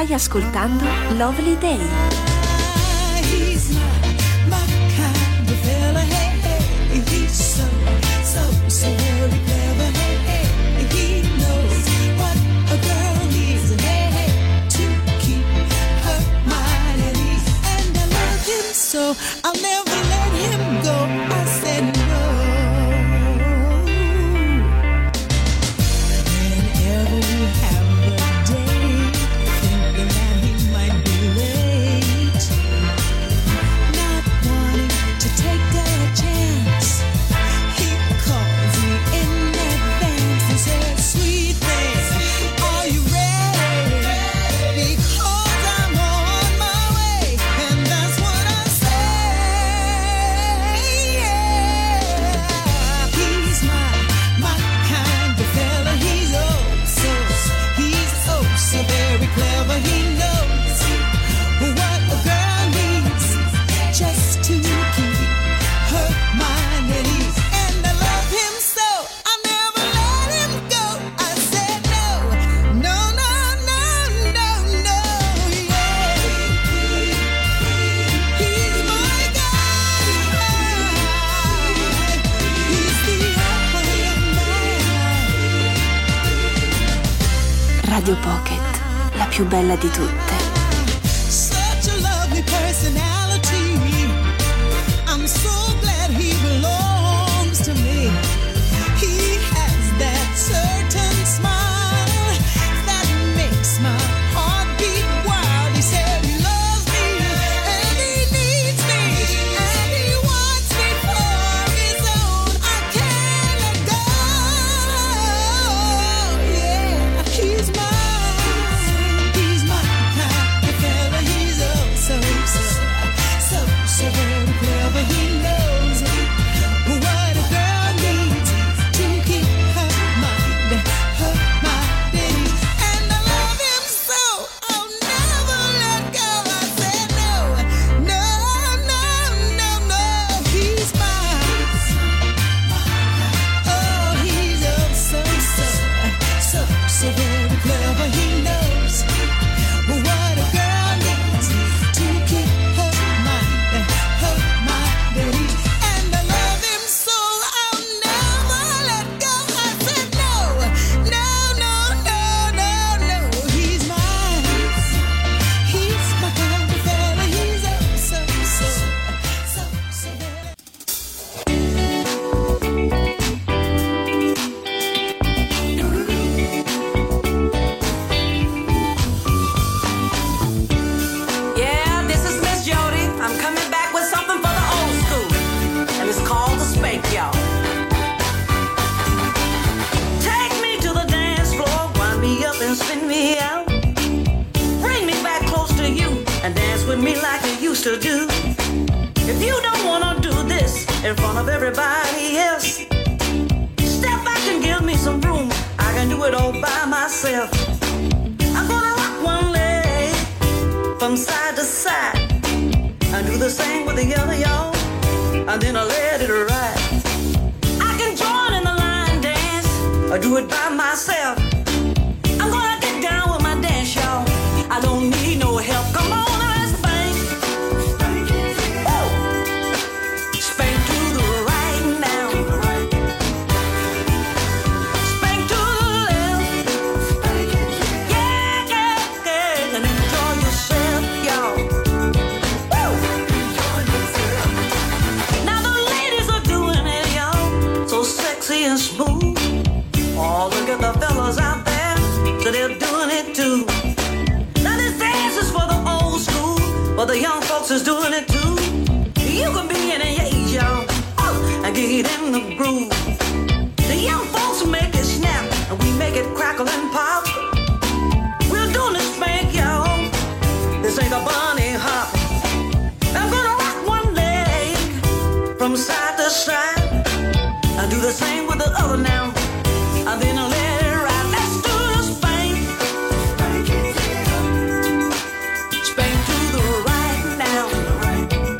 Stai ascoltando Lovely Day. He's my kind of fella, hey, hey. He's so very clever, hey, hey. He knows what a girl needs, hey, hey, to keep her mind at ease. And I love him so, I'll never let him go. I said no. Whenever we have a day, thinking that he might be late, not wanting to take a chance, he calls me in advance and says, sweet thing, are you ready? Because I'm on my way. And that's what I say, yeah. He's my kind of fella. He's so very clever. He knows what a girl needs just to keep her mind at ease. And I love him so, I'll never let him go. I said no, no, no, no, no, no, yeah. He's my guy. He's the apple of my eye. Radio Pocket, la più bella di tutte. Such a lovely personality. I'm so glad he belongs to me. He has that certain smile that makes my heart beat wild. He said he loves me and he needs me and he wants me for his own. I can't let go. Yeah, he's mine. He's my kind of fella. He's so very clever. He knows what a girl needs to keep her mind at ease. And I love him so, I'll never let go. I said no, no, no, no, no. He's mine. Oh, he's so very clever. He knows what a girl needs to keep her mind at ease. And I love him so, I'll never let go. I said no, no, no, no, no, no. He's mine. He's my kind of fella. He's so Yeah, this is Miss Jody. I'm coming back with something for the old school, and it's called the spank, y'all. Take me to the dance floor, wind me up and spin me out. Bring me back close to you and dance with me like you used to do. If you don't wanna do this in front of everybody else, step back and give me some room. I can do it all by myself. I'm gonna rock one leg from side to side. I do the same with the other, y'all, and then I let it ride. I can join in the line dance, or do it by myself. I'm gonna get down with my dance, y'all. I don't need no help. Come on, let's spank. Woo! Spank to the right now. Spank to the left. Yeah, yeah, yeah. And enjoy yourself, y'all. Woo! Now the ladies are doing it, y'all, so sexy and smooth. Oh, look at the fellas out there, so they're doing it too. Now this dance is for the old school, but the young folks is doing it too. You can be any age, y'all, and get in the groove. The young folks make it snap, and we make it crackle and pop. We're doing the spank, y'all. This ain't a bunny hop. I'm gonna rock one leg from side to side. I do the same with the other now, and then I let it ride. Let's do the spank. Spank to the right now.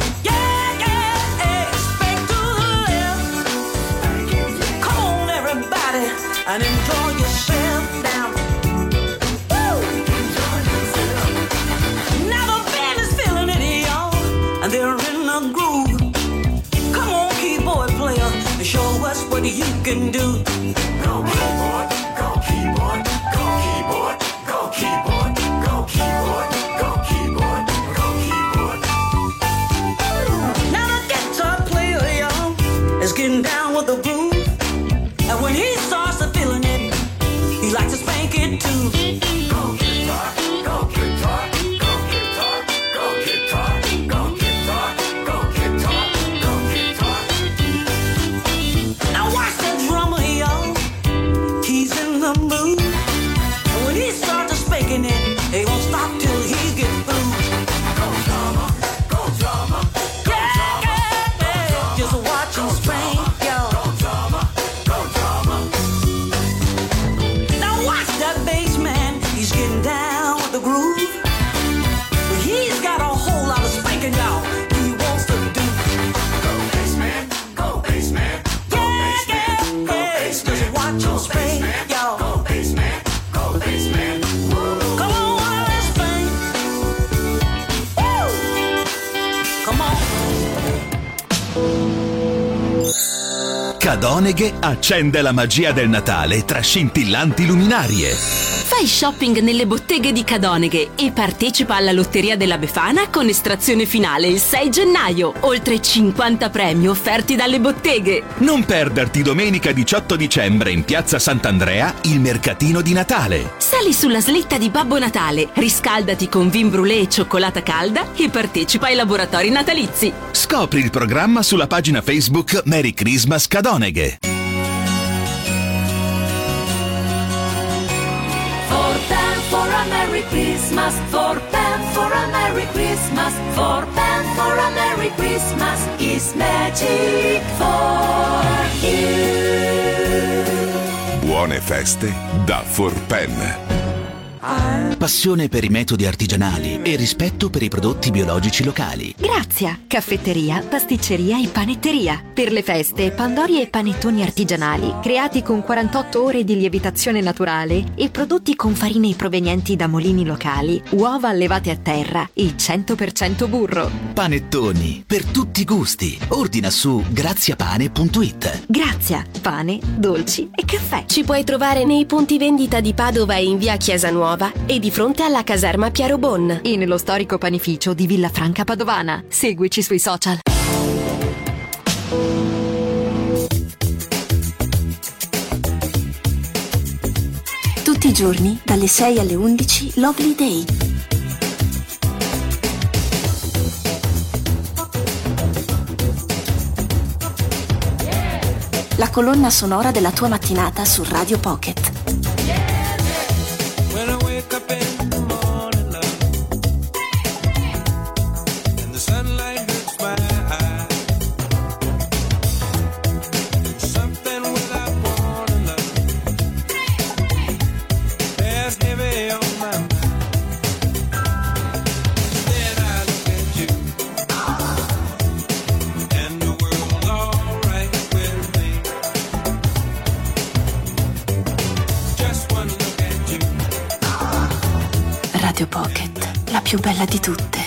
kicking it. Ain't gonna stop till he get through. Go drama, go drama, go drama, yeah. Just watch him swing, yo. Go drama, go drama. Now watch that bass man. He's getting down with the groove. But he's got a whole lot of spanking, y'all. He wants to do. Go bass man, go bass man. Go bass man, go bass man. Just watch him swing, y'all. Go bass man, go bass man. Come on, let's swing. Woo! Come on. Cadoneghe accende la magia del Natale tra scintillanti luminarie. Fai shopping nelle botteghe di Cadoneghe e partecipa alla Lotteria della Befana con estrazione finale il 6 gennaio. Oltre 50 premi offerti dalle botteghe. Non perderti domenica 18 dicembre in Piazza Sant'Andrea il mercatino di Natale. Sali sulla slitta di Babbo Natale, riscaldati con vin brûlé e cioccolata calda e partecipa ai laboratori natalizi. Scopri il programma sulla pagina Facebook Merry Christmas Cadoneghe. For a Merry Christmas, for Pam for a Merry Christmas, for Pam for a Merry Christmas is magic for you. Buone feste da Forpen. Passione per i metodi artigianali e rispetto per i prodotti biologici locali. Grazia, caffetteria, pasticceria e panetteria. Per le feste, pandori e panettoni artigianali, creati con 48 ore di lievitazione naturale e prodotti con farine provenienti da mulini locali, uova allevate a terra e 100% burro. Panettoni, per tutti i gusti. Ordina su graziapane.it. Grazia, pane, dolci e caffè. Ci puoi trovare nei punti vendita di Padova e in via Chiesa Nuova e di fronte alla caserma Piero Bon. E nello storico panificio di Villa Franca Padovana. Seguici sui social. Tutti i giorni, dalle 6 alle 11, Lovely Day. La colonna sonora della tua mattinata su Radio Pocket. Radio Pocket, la più bella di tutte.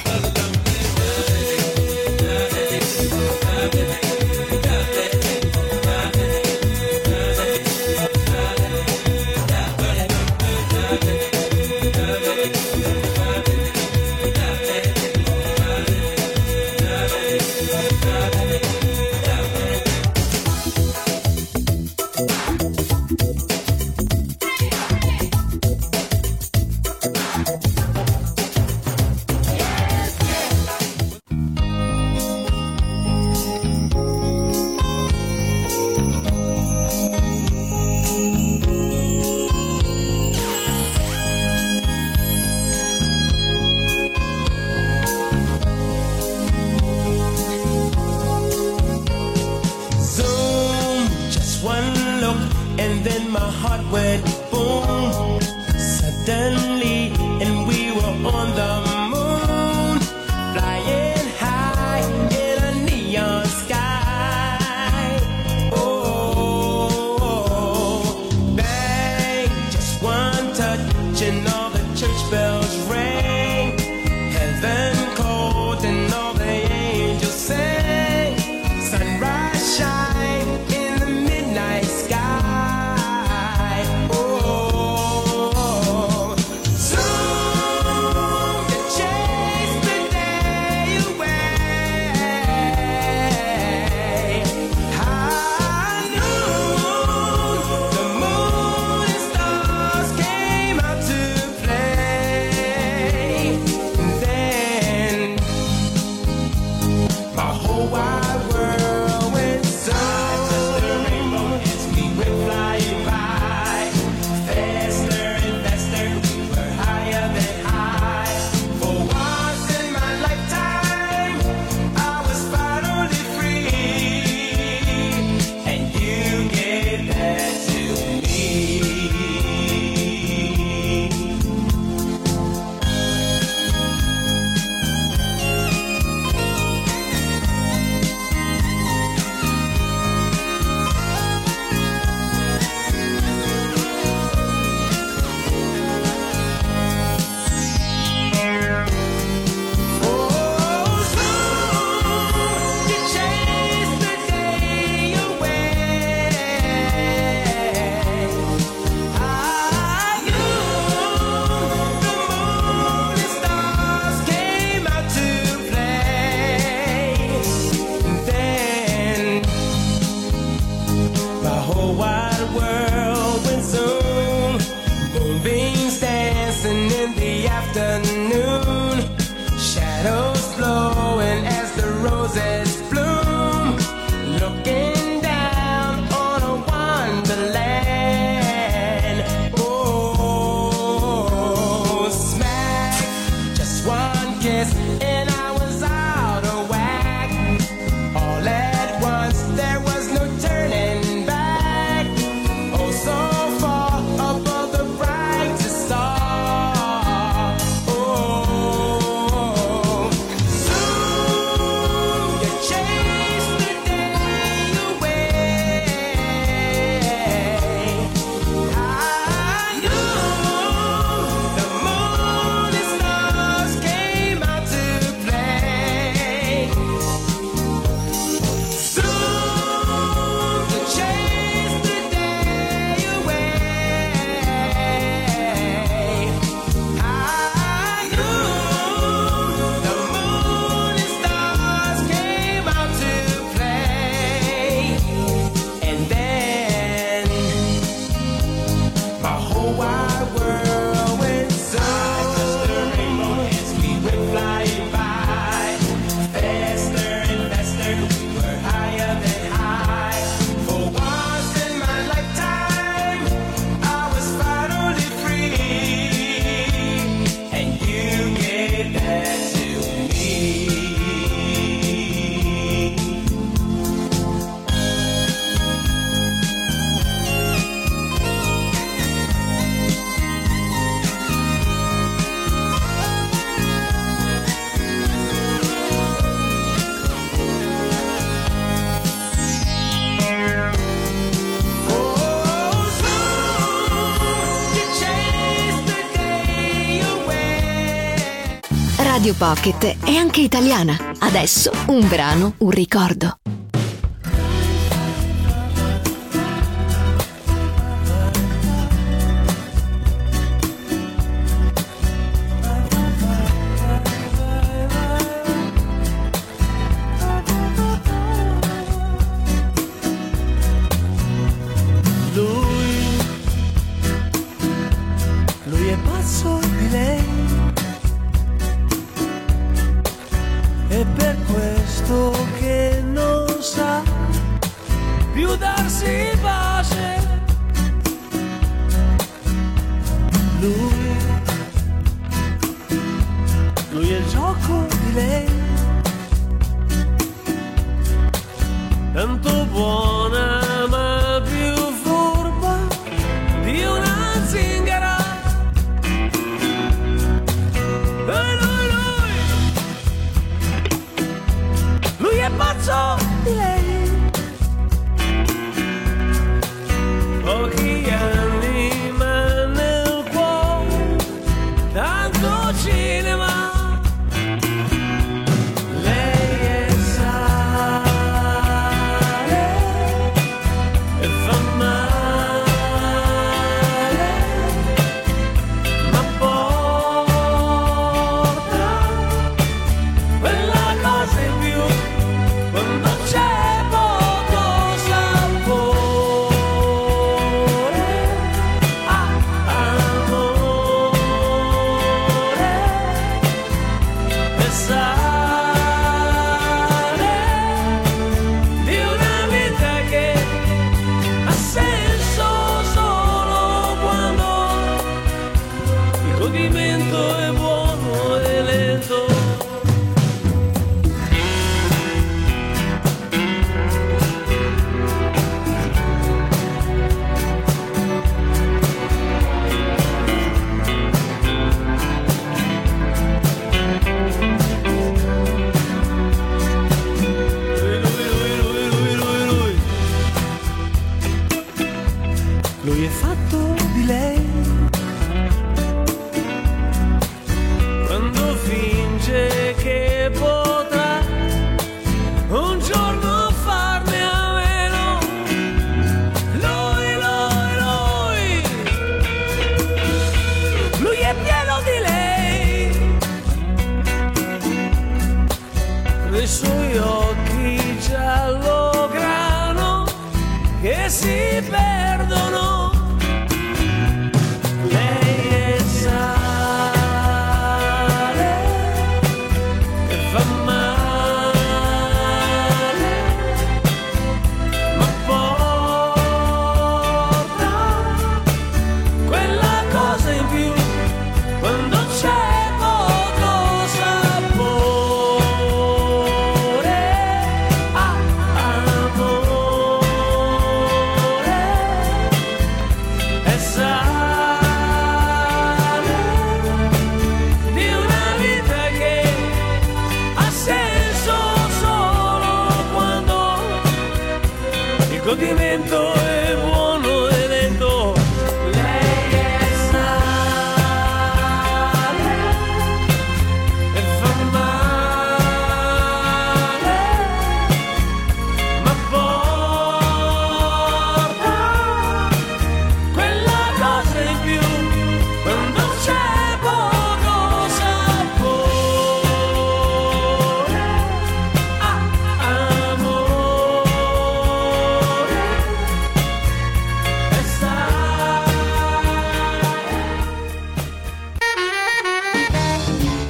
in the afternoon, shadows flowing as the roses bloom, looking down on a wonderland. Oh, smack, just one kiss and I was out of whack. All at once there was no turning back. Oh, so far above the brightest star. Oh, soon you chase the day away. I knew the moon and stars came out to play. Soon you chase the day away. I knew the moon and stars came out to play. And then my whole wide world went so. I touched the rainbow as we went flying by, faster and faster, we were higher than high. For once in my lifetime, I was finally free, and you gave that to me. Oh, soon you chase the day away. Radio Pocket è anche italiana. Adesso un brano, un ricordo. Lui è pazzo di lei, è per questo che non sa più darsi pace. Lui è il gioco di lei, tanto buona ma più furba di una zingara. Lui è pazzo di lei. Pochi anni ma nel cuore tanto cinema. Lei è sale e fa male, ma porta quella cosa in più quando c'è poco sapore. Amore e sale di una vita che ha senso solo quando il godimento è buono e lento. Lui è fatto di lei,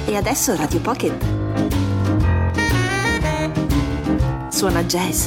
E adesso Radio Pocket suona jazz.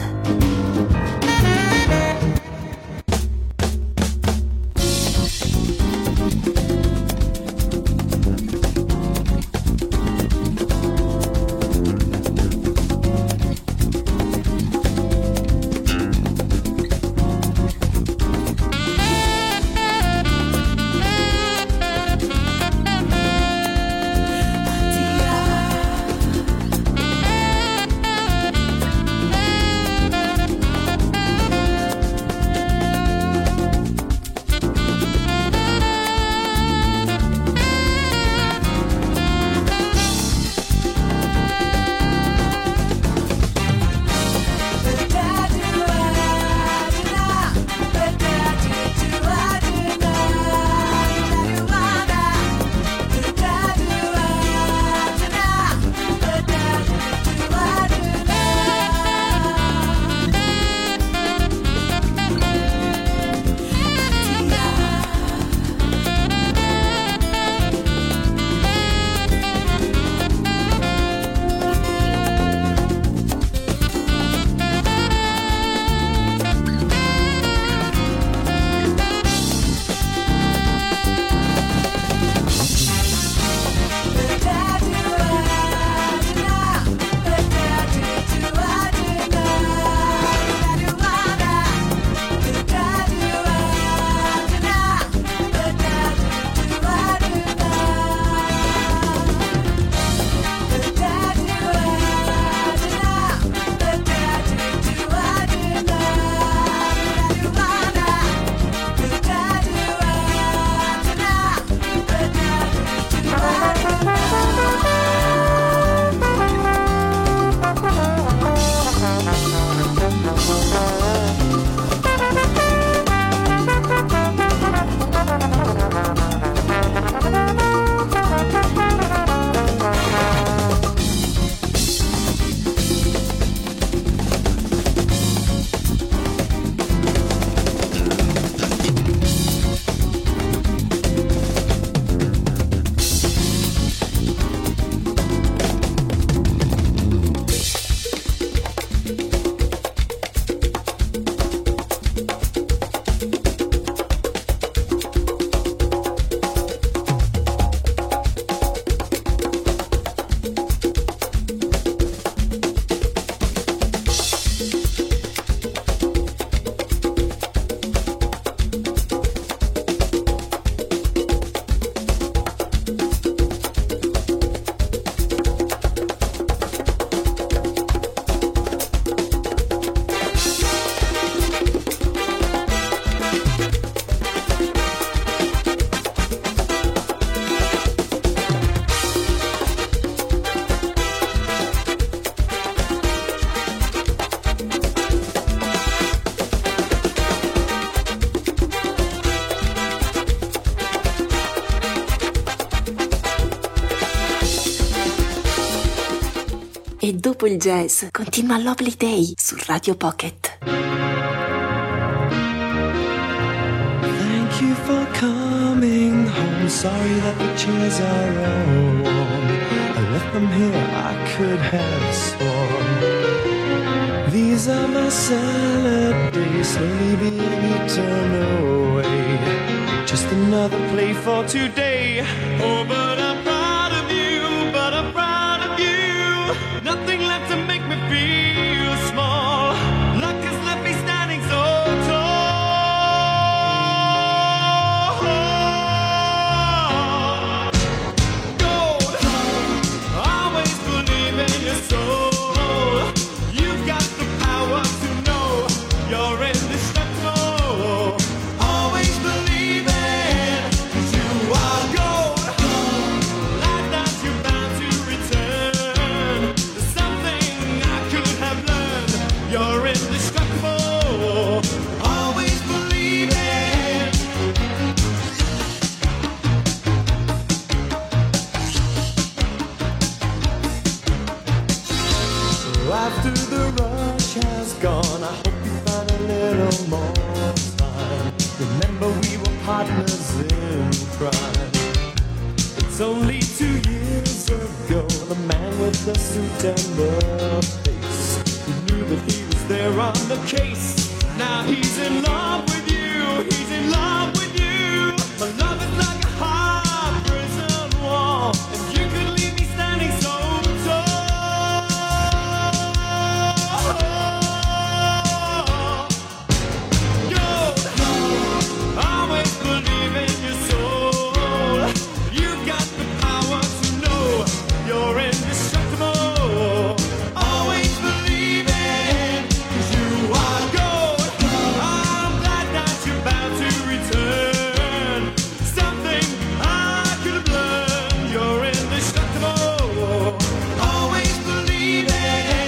E dopo il jazz continua Lovely Day su Radio Pocket. Thank you for coming home. Sorry that the chairs are all warm. I left them here, I could have sworn. These are my salad days, slowly being eaten away. Just another play for today. Oh, but I'm proud of you, but I'm proud of you. Nothing left to make me feel small. Luck has left me standing so tall. Gold, always believe in your soul. You've got the power to know you're indestructible. Always believe it, 'cause you are gold. Like that you're bound to return. There's something I could have learned. You're indestructible. Always believe it. So after the rush has gone, I hope you find a little more time. Remember we were partners in crime. It's only 2 years ago. ago, the man with the suit and the face, he knew that he was there on the case. Now he's in love with you, he's in love with you. My love is like a hard prison wall, and you could leave me standing so tall. You always believe in your soul. You got the power to know you're indestructible. Always believe it, 'cause you are gold. I'm glad that you're about to return. Something I could have learned. You're indestructible. Always believe it.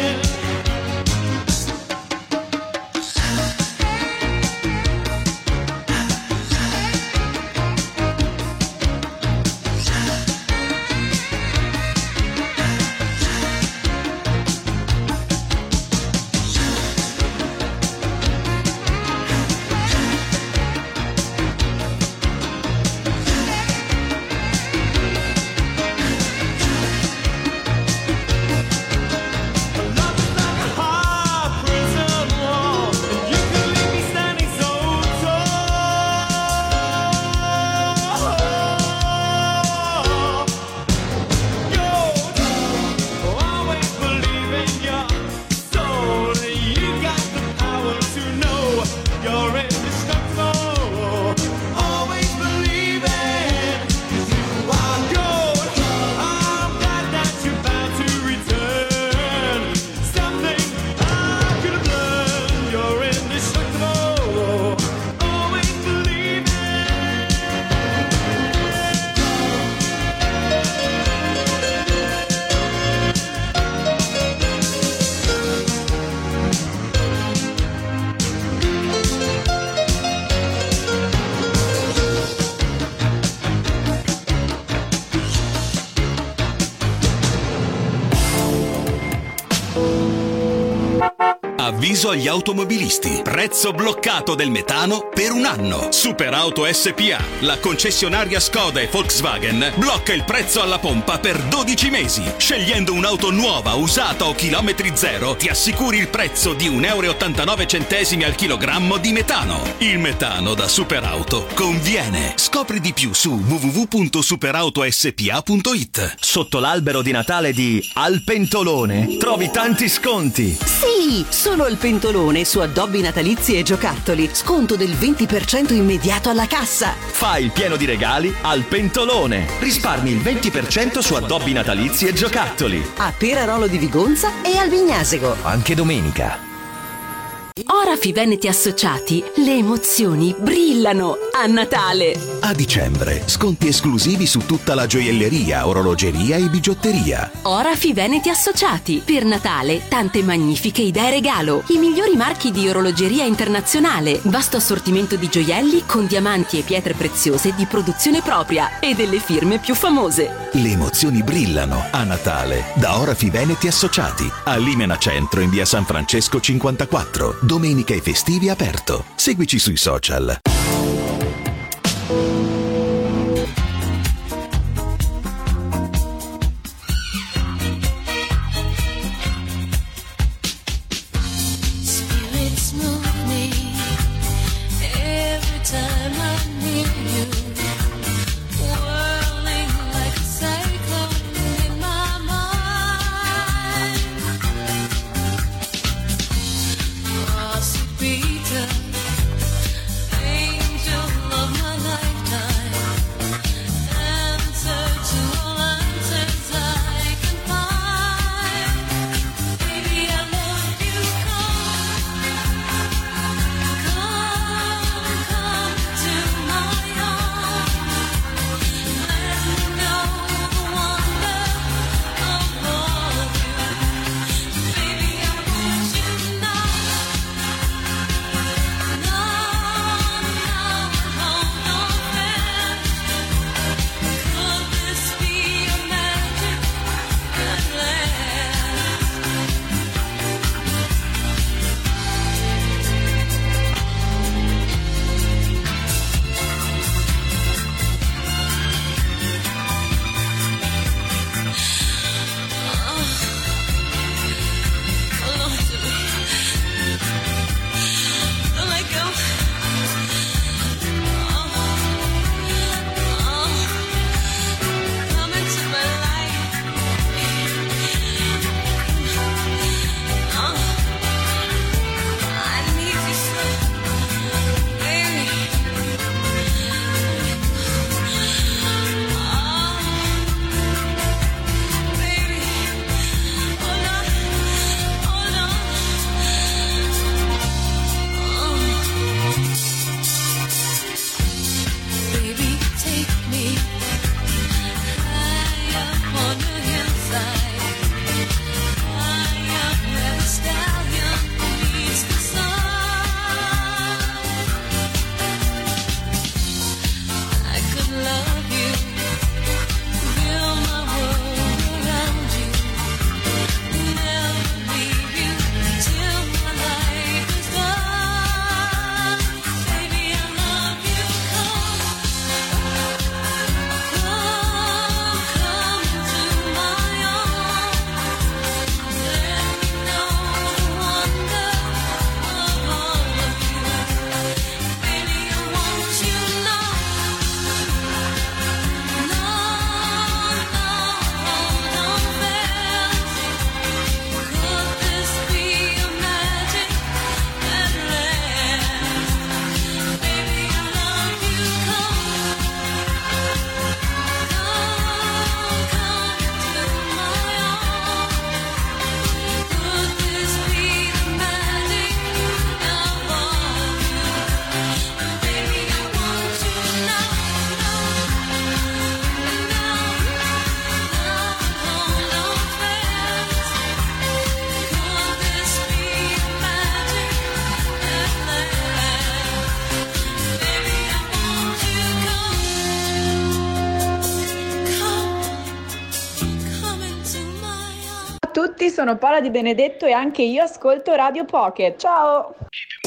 Love is like a hard prison wall, and you can leave me standing so tall. You always believe in your soul. You got the power to know you're indestructible. Always believe it, 'cause you are gold. I'm glad that you're about to return. Something I could have learned. You're indestructible. Always believe it. Avviso agli automobilisti. Prezzo bloccato del metano per un anno. Superauto SPA, la concessionaria Skoda e Volkswagen, blocca il prezzo alla pompa per 12 mesi. Scegliendo un'auto nuova, usata o chilometri zero, ti assicuri il prezzo di 1,89 € al chilogrammo di metano. Il metano da Superauto conviene. Scopri di più su www.superautospa.it. Sotto l'albero di Natale di Al Pentolone trovi tanti sconti. Sì, solo il Pentolone su addobbi natalizi e giocattoli. Sconto del 20% immediato alla cassa. Fai il pieno di regali al Pentolone. Risparmi il 20% su addobbi natalizi e giocattoli. A Perarolo di Vigonza e al Vignasego. Anche domenica. Orafi Veneti Associati, le emozioni brillano a Natale. A dicembre, sconti esclusivi su tutta la gioielleria, orologeria e bigiotteria. Orafi Veneti Associati, per Natale tante magnifiche idee regalo. I migliori marchi di orologeria internazionale, vasto assortimento di gioielli con diamanti e pietre preziose di produzione propria e delle firme più famose. Le emozioni brillano a Natale da Orafi Veneti Associati. A Limena Centro in via San Francesco 54. Domenica e festivi aperto. Seguici sui social. Spirits move me every time I'm near you, whirling like a cyclone in my mind. Oh, sweet Peter, tutti, sono Paola Di Benedetto e anche io ascolto Radio Pocket. Ciao!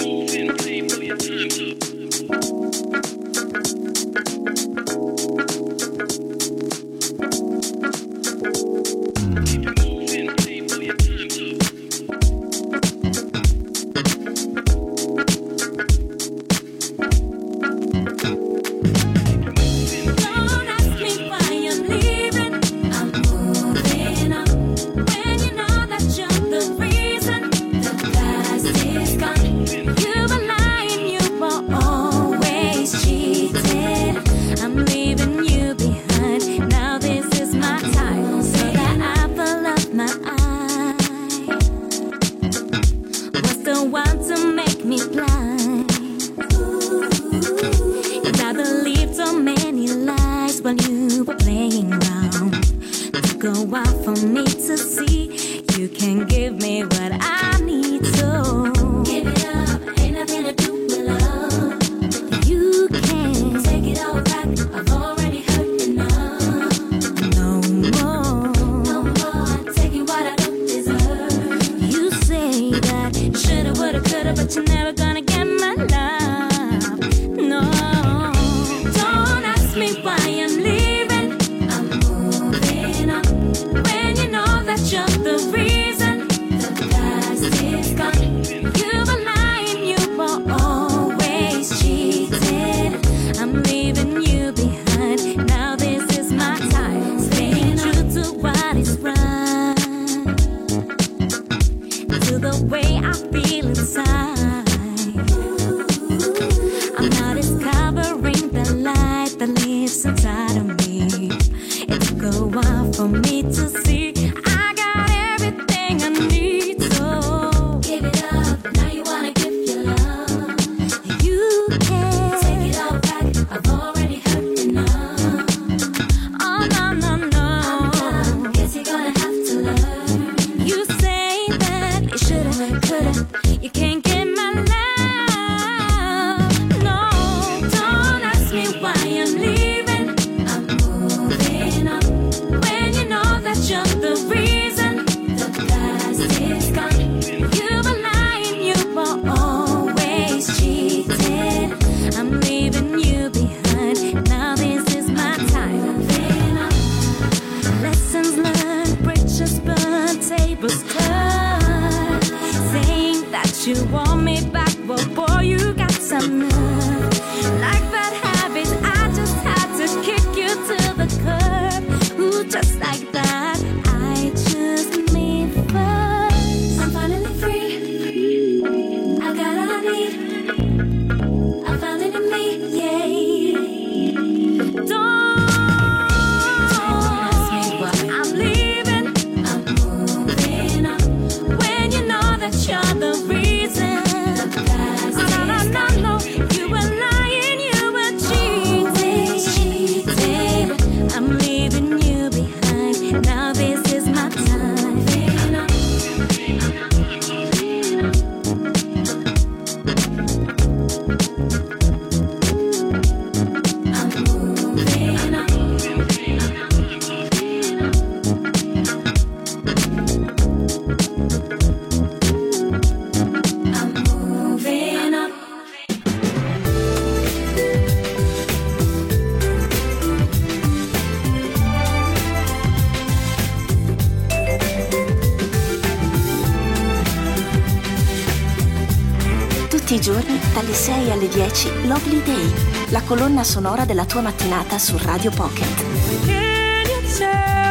Tutti i giorni, dalle 6 alle 10, Lovely Day, la colonna sonora della tua mattinata su Radio Pocket. Can you tell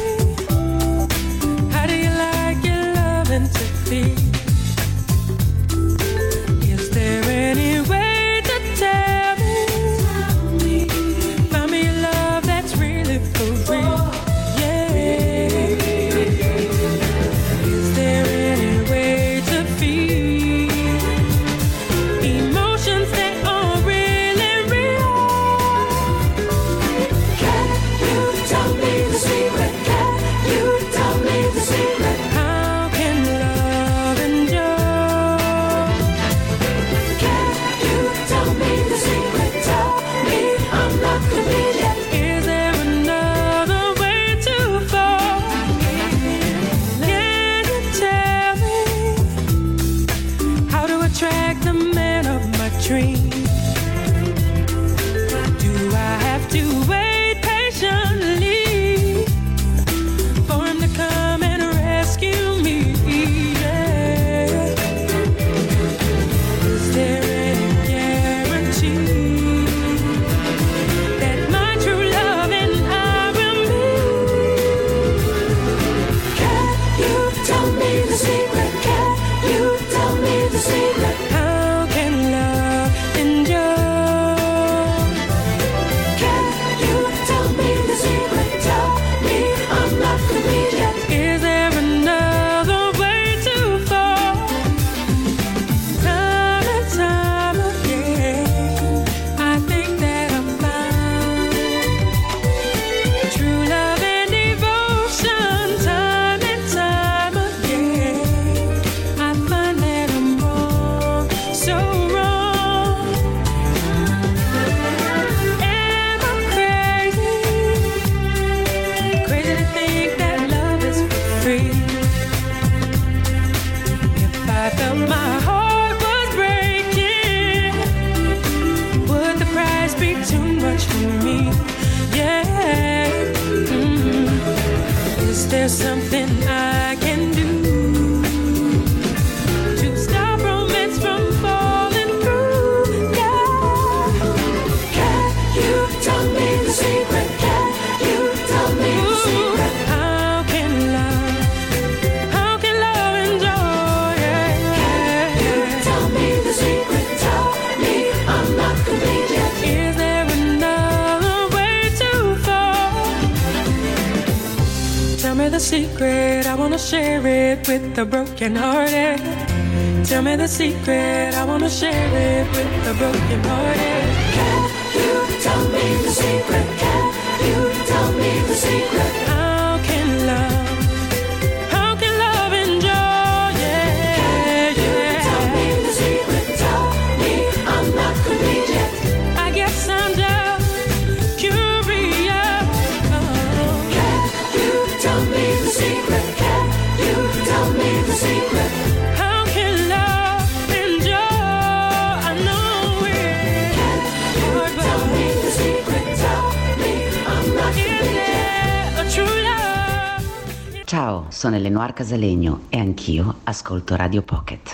me, how do you like your loving to be? Is there any way to tell me, find me a love that's really for real? Yeah. Is there any way to feel emotions that are really real? Can you tell me the free. If I felt my heart was breaking, would the price be too much for me? Yeah. Is there something I can do to stop romance from falling through? Yeah. Can you tell me the secret? Can you tell me the secret? How can love enjoy? Yeah. Can you tell me the secret? Tell me I'm not complete yet. Is there another way to fall? Tell me the secret, I wanna share it with the broken hearted. Tell me the secret, I wanna share it with the broken hearted. Can you tell me the secret? Can you tell me the secret? How can love enjoy? Yeah. Can you tell me the secret? Tell me I'm not complete yet. I guess I'm just curious. Can you tell me the secret? Can you tell me the secret? How can love enjoy? I know it. Can you tell me the secret? Tell me I'm not complete yet. A true love. Ciao, sono Eleonora Casalegno e anch'io ascolto Radio Pocket.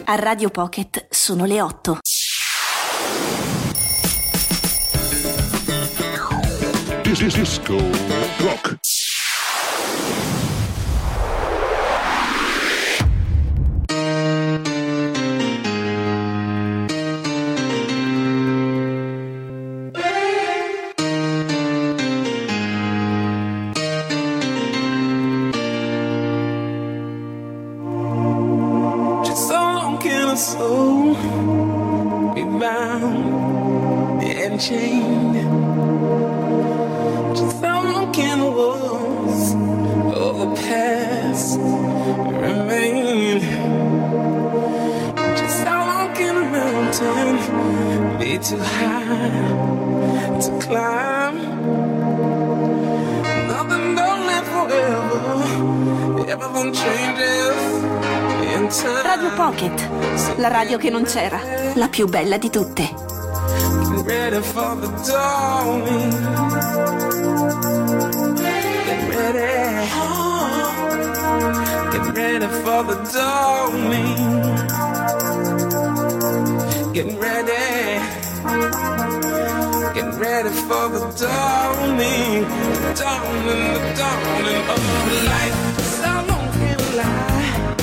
A Radio Pocket sono le 8. Disco Rock. soul be bound and chained. Just how long can the walls of the past remain? Just how long can a mountain be too high to climb? Nothing don't live forever, everything changes. Radio Pocket, la radio che non c'era, la più bella di tutte. Get ready for the dawning. Get ready. Get ready for the dawning. Get ready. Get ready for the dawning. Dawning, the dawning of life. So long can lie.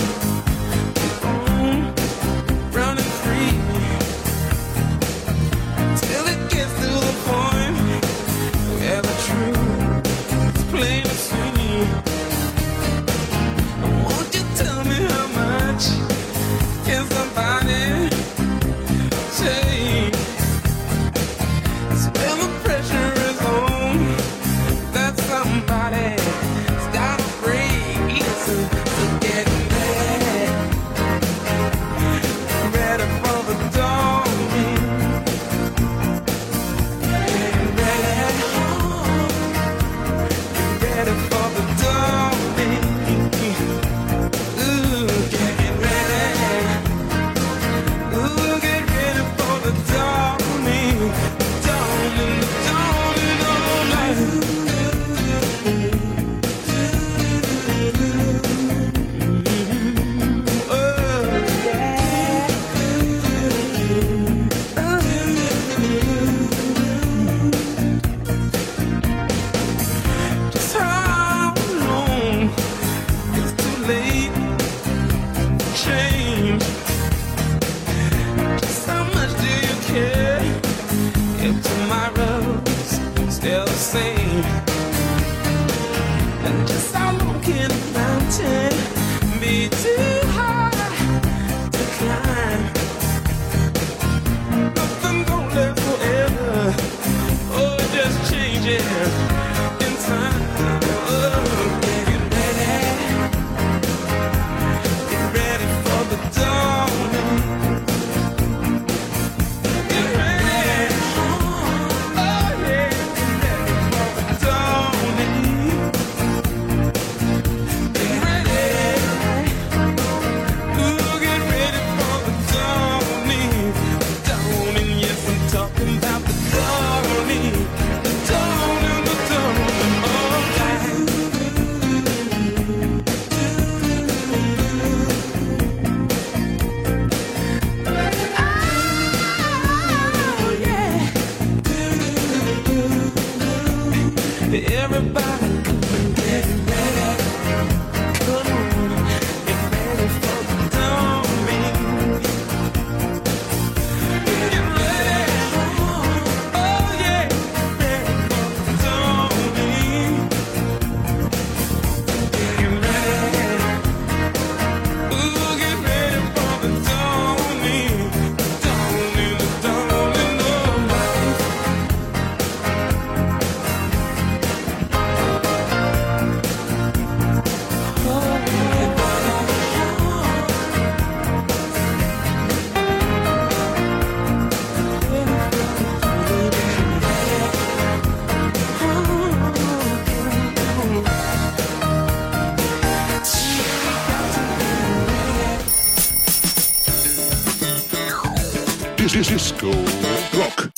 Disco Rock.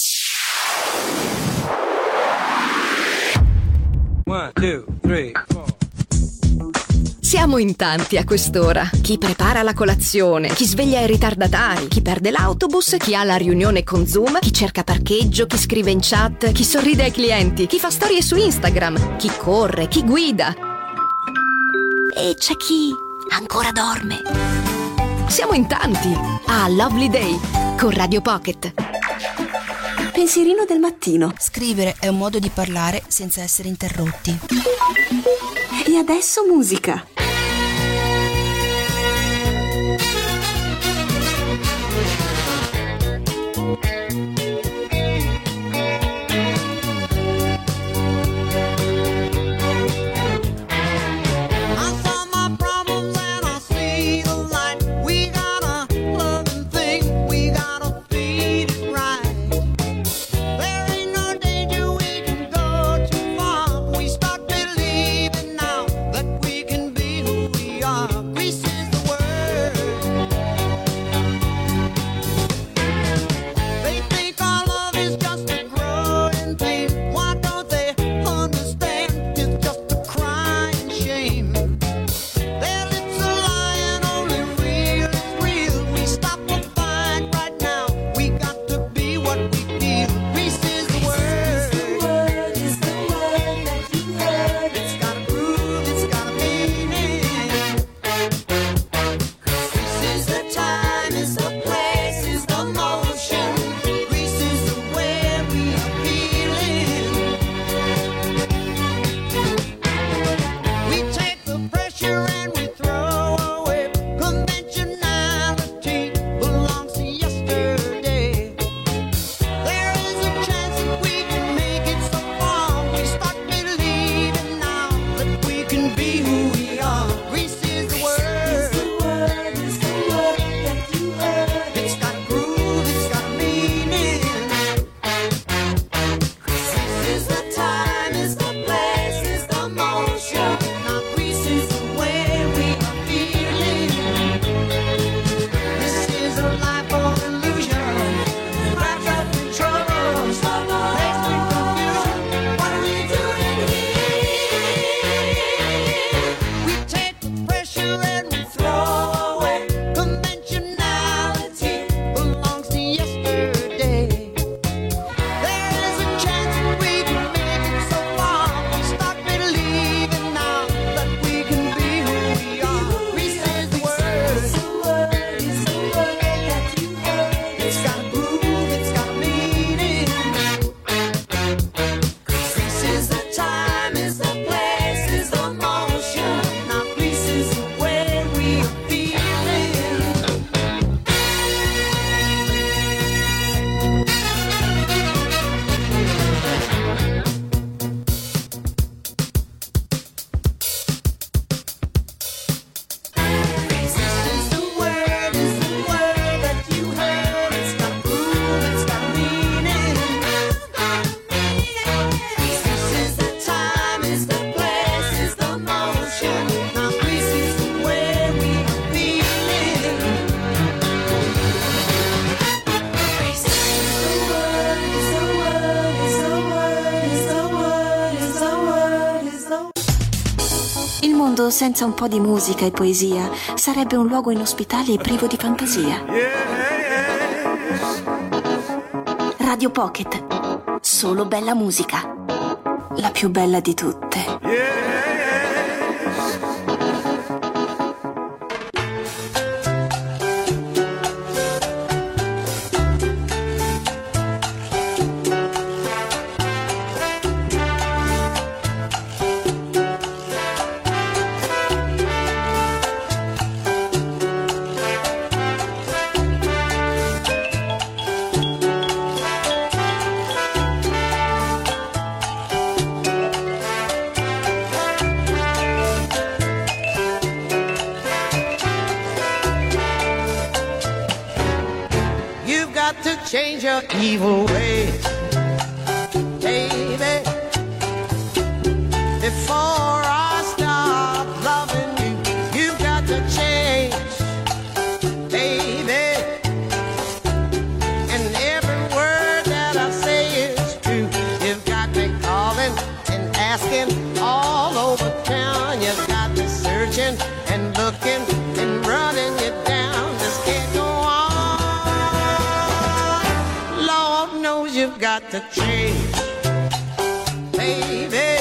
1, 2, 3, 4. Siamo Siamo in tanti a quest'ora. Chi prepara la colazione, chi sveglia i ritardatari, chi perde l'autobus, chi ha la riunione con Zoom, chi cerca parcheggio, chi scrive in chat, chi sorride ai clienti, chi fa storie su Instagram, chi corre, chi guida. E c'è chi ancora dorme. Siamo in tanti a Lovely Day con Radio Pocket. Pensierino del mattino. Scrivere è un modo di parlare senza essere interrotti. E adesso musica. Senza un po' di musica e poesia sarebbe un luogo inospitale e privo di fantasia. Radio Pocket, solo bella musica, la più bella di tutte. Change your evil ways, baby, before I stop loving you. You've got to change, baby, and every word that I say is true. You've got me calling and asking all over town. You've got me searching got to change, baby.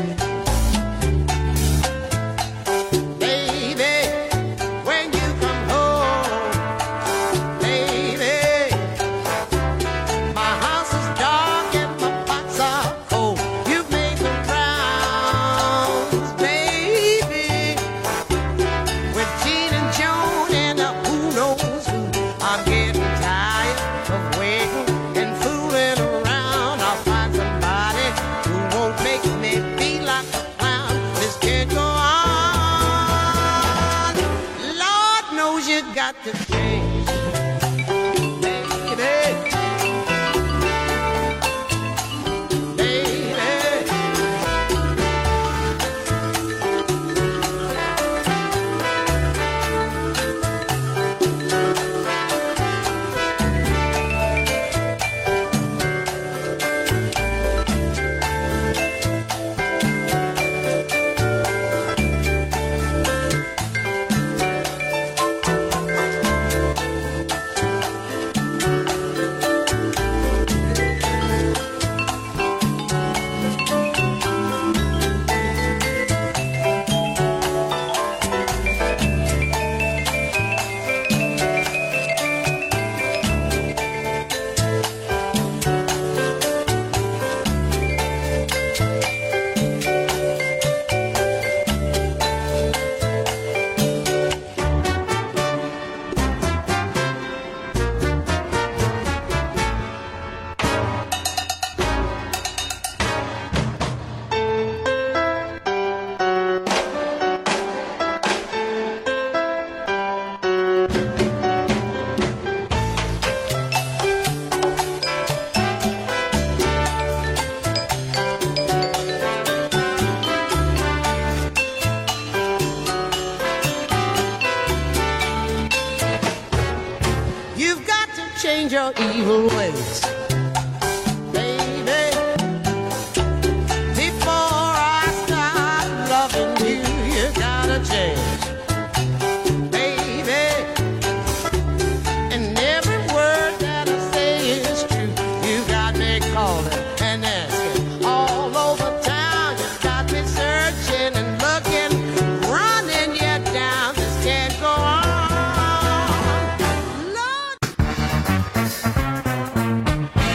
Change your evil ways, baby. Before I start loving you, you gotta change, baby. And every word that I say is true. You got me calling and asking all over town. You got me searching and looking, running you down. This can't go on.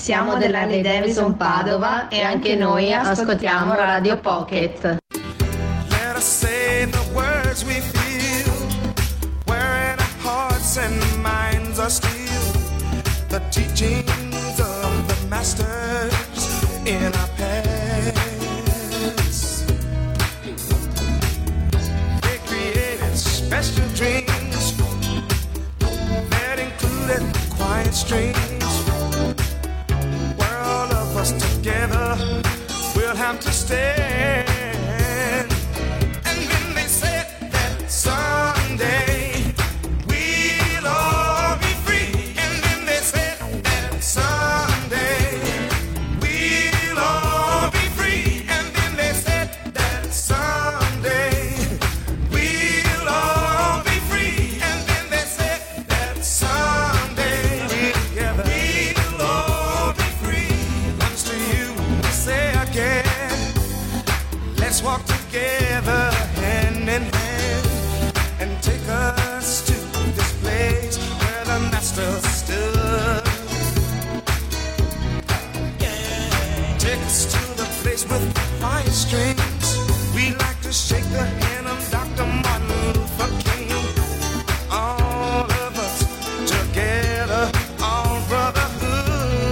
Siamo dell'Harley Davidson Padova e anche noi ascoltiamo Radio Pocket. Let us say the words we feel, where our hearts and minds are still, the teachings of the masters in our past. They created special dreams that included quiet streams. Together we'll have to stand. And then they said that someday we'll all be free. And then they said that someday we'll all be free. And then they said that someday we'll all be free. And then they said that someday together we'll all be free. Say again, let's walk together hand in hand and take us to this place where the master stood. Take us to the place with fire strings. We like to shake the hand of Dr. Martin Luther King. All of us together, all brotherhood.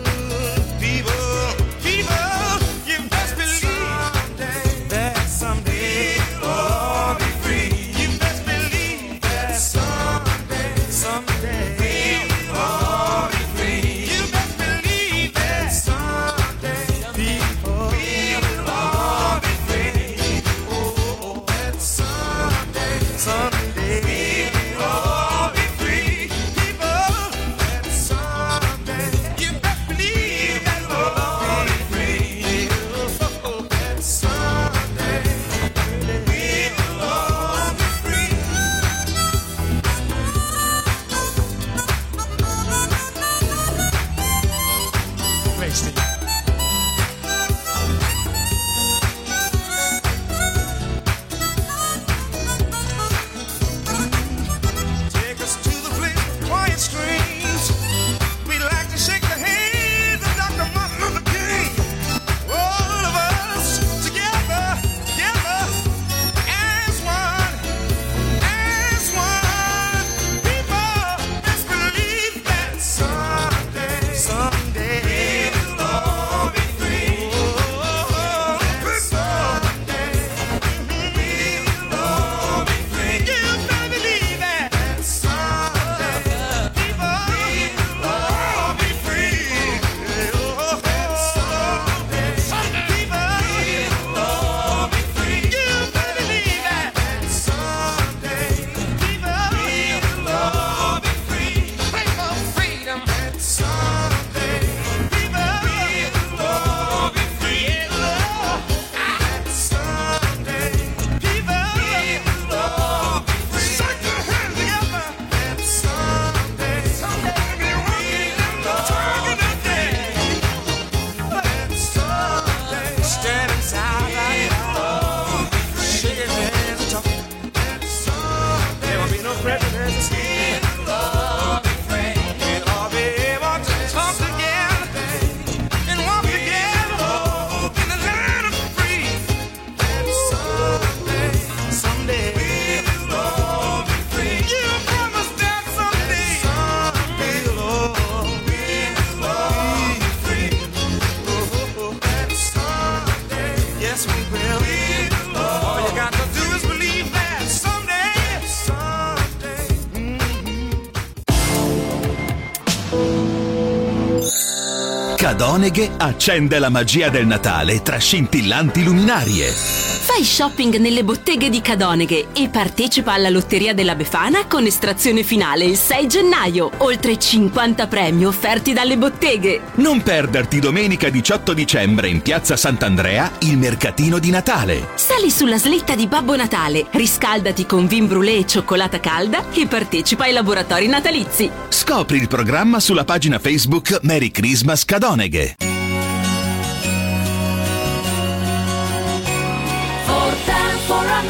Cadoneghe accende la magia del Natale tra scintillanti luminarie. Fai shopping nelle botteghe di Cadoneghe e partecipa alla Lotteria della Befana con estrazione finale il 6 gennaio. Oltre 50 premi offerti dalle botteghe. Non perderti domenica 18 dicembre in Piazza Sant'Andrea il mercatino di Natale. Sali sulla slitta di Babbo Natale, riscaldati con vin brûlé e cioccolata calda e partecipa ai laboratori natalizi. Scopri il programma sulla pagina Facebook Merry Christmas Cadoneghe. For a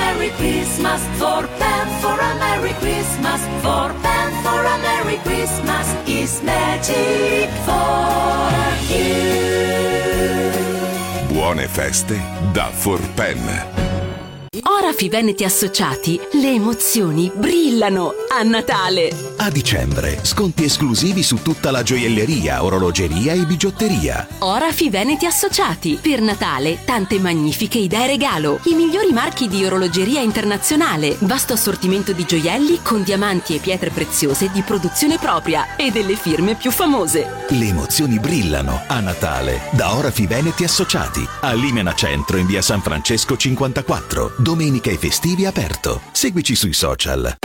Merry Christmas, for a Merry Christmas, for a Merry Christmas is magic for you. Buone feste da Forpen. Orafi Veneti Associati, le emozioni brillano a Natale. A dicembre, sconti esclusivi su tutta la gioielleria, orologeria e bigiotteria. Orafi Veneti Associati, per Natale tante magnifiche idee regalo. I migliori marchi di orologeria internazionale, vasto assortimento di gioielli con diamanti e pietre preziose di produzione propria e delle firme più famose. Le emozioni brillano a Natale da Orafi Veneti Associati. A Limena Centro in via San Francesco 54. Domenica e festivi aperto. Seguici sui social.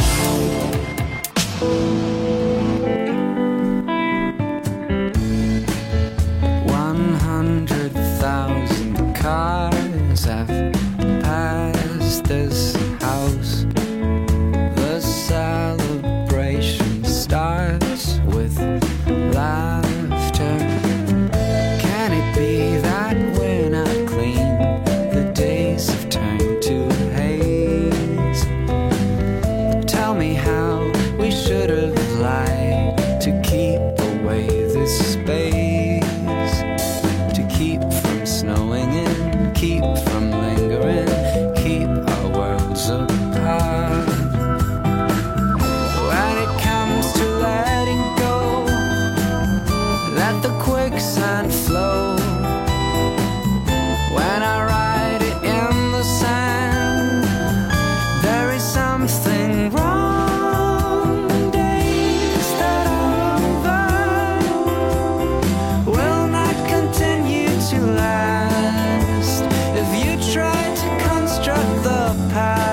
Cars have passed this house. The celebration starts with laughter. Can it be that we're not clean? The days have turned to haze. Tell me how we should have lied to keep away this space, to keep from snowing in, keep from lingering, keep our worlds apart. When it comes to letting go, let the quicksand flow. When I write it in the sand, there is something wrong. Days that are over will not continue to last if you try to construct the past.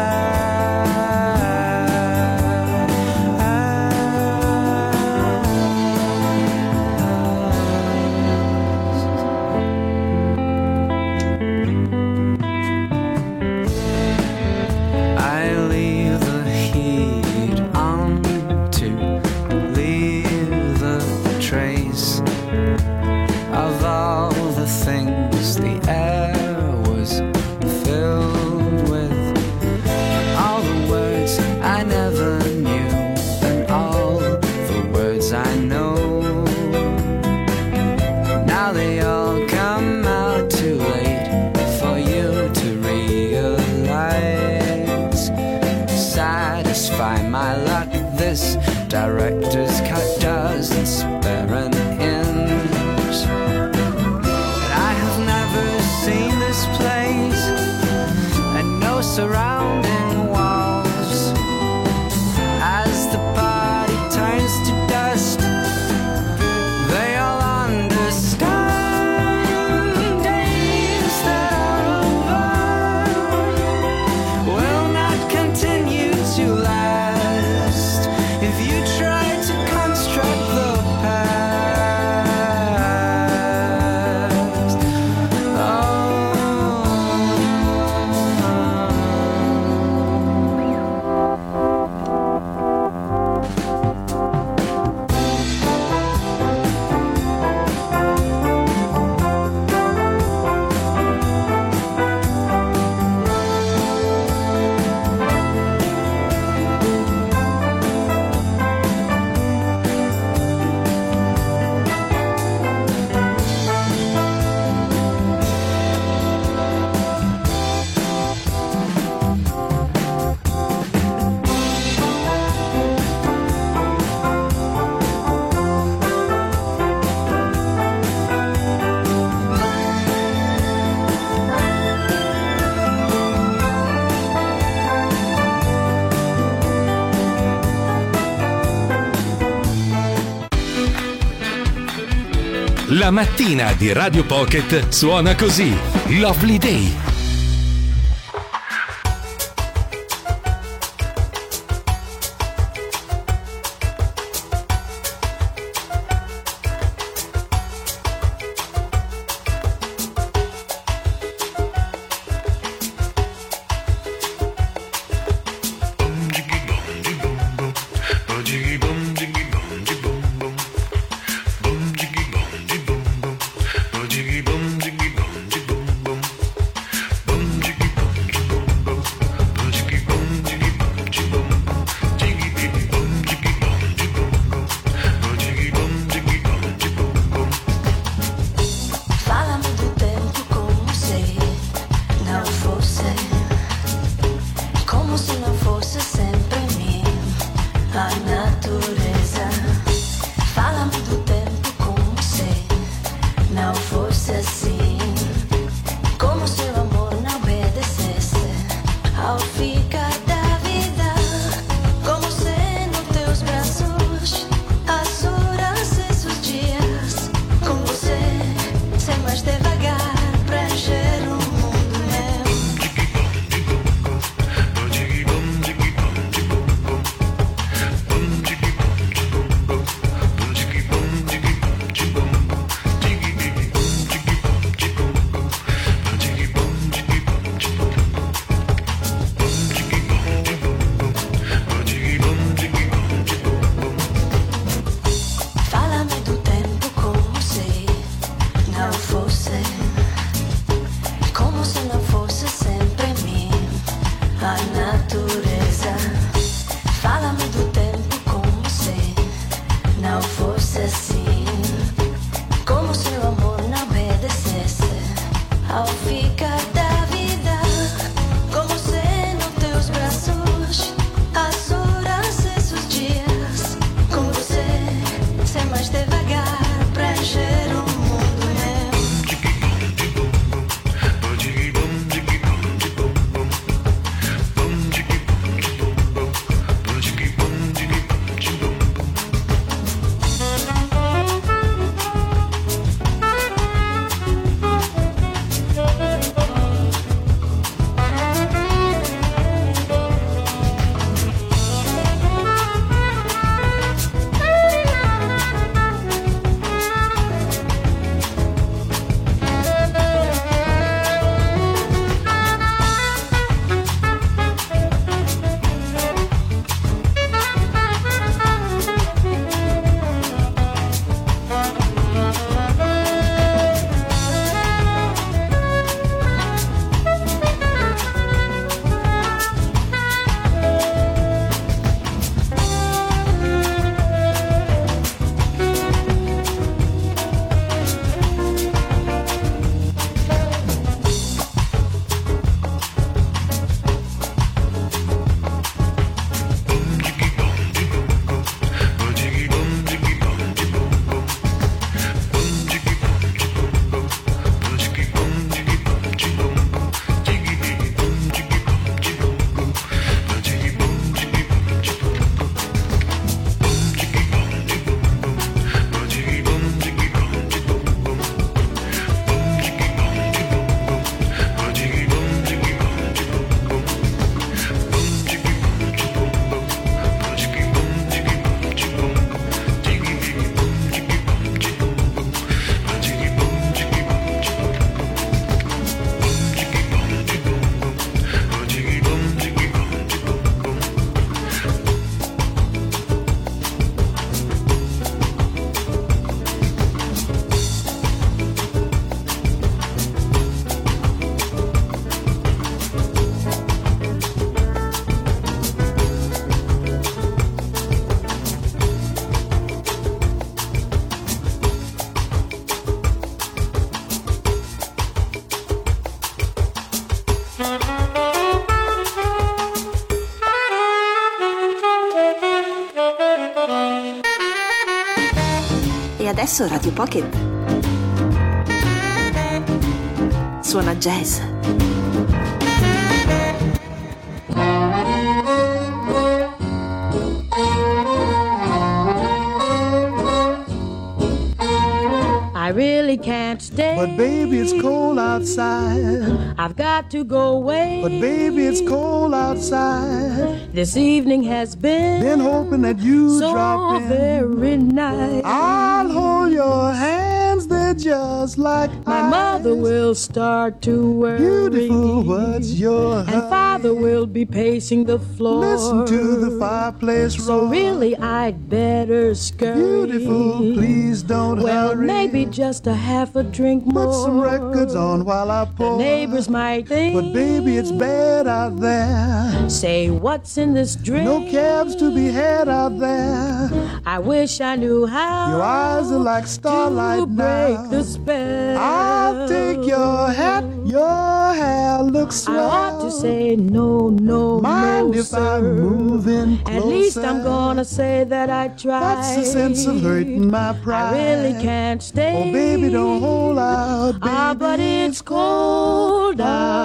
I leave the heat on to leave the trace of all the things the air was filled with, all the words I never knew and all the words I know. Now they all come out too late for you to realize. Satisfy my luck, this director's cut doesn't spare an inch. And I have never seen this place, and no surrounding walls. As the party turns to dust, they all understand. Days that are over will not continue to last if you try to construct the past. La mattina di Radio Pocket suona così. Lovely Day. Adesso Radio Pocket suona jazz. I really can't stay, but baby it's cold outside. I've got to go away, but baby it's cold outside. This evening has been hoping that you so drop in. Very nice. I'll hold your hands, they're just like my ice. mother will start to worry. Beautiful, what's your and father will be pacing the floor. Listen to the fireplace roar. So really I'd better scurry. Beautiful, please don't well, hurry. Maybe just a half a drink more. Put some records on while I pour. The neighbors might think, but baby it's bad out there. Say what's in this drink? No cabs to be had out there. I wish I knew how. Your eyes are like starlight to break now. The spell. I'll take your hat. Your hair looks swell. I ought to say no, no, mind no, if sir. I'm moving closer? At least I'm gonna say that I tried. That's the sense of hurting my pride. I really can't stay. Oh, baby, don't hold out, baby. But it's cold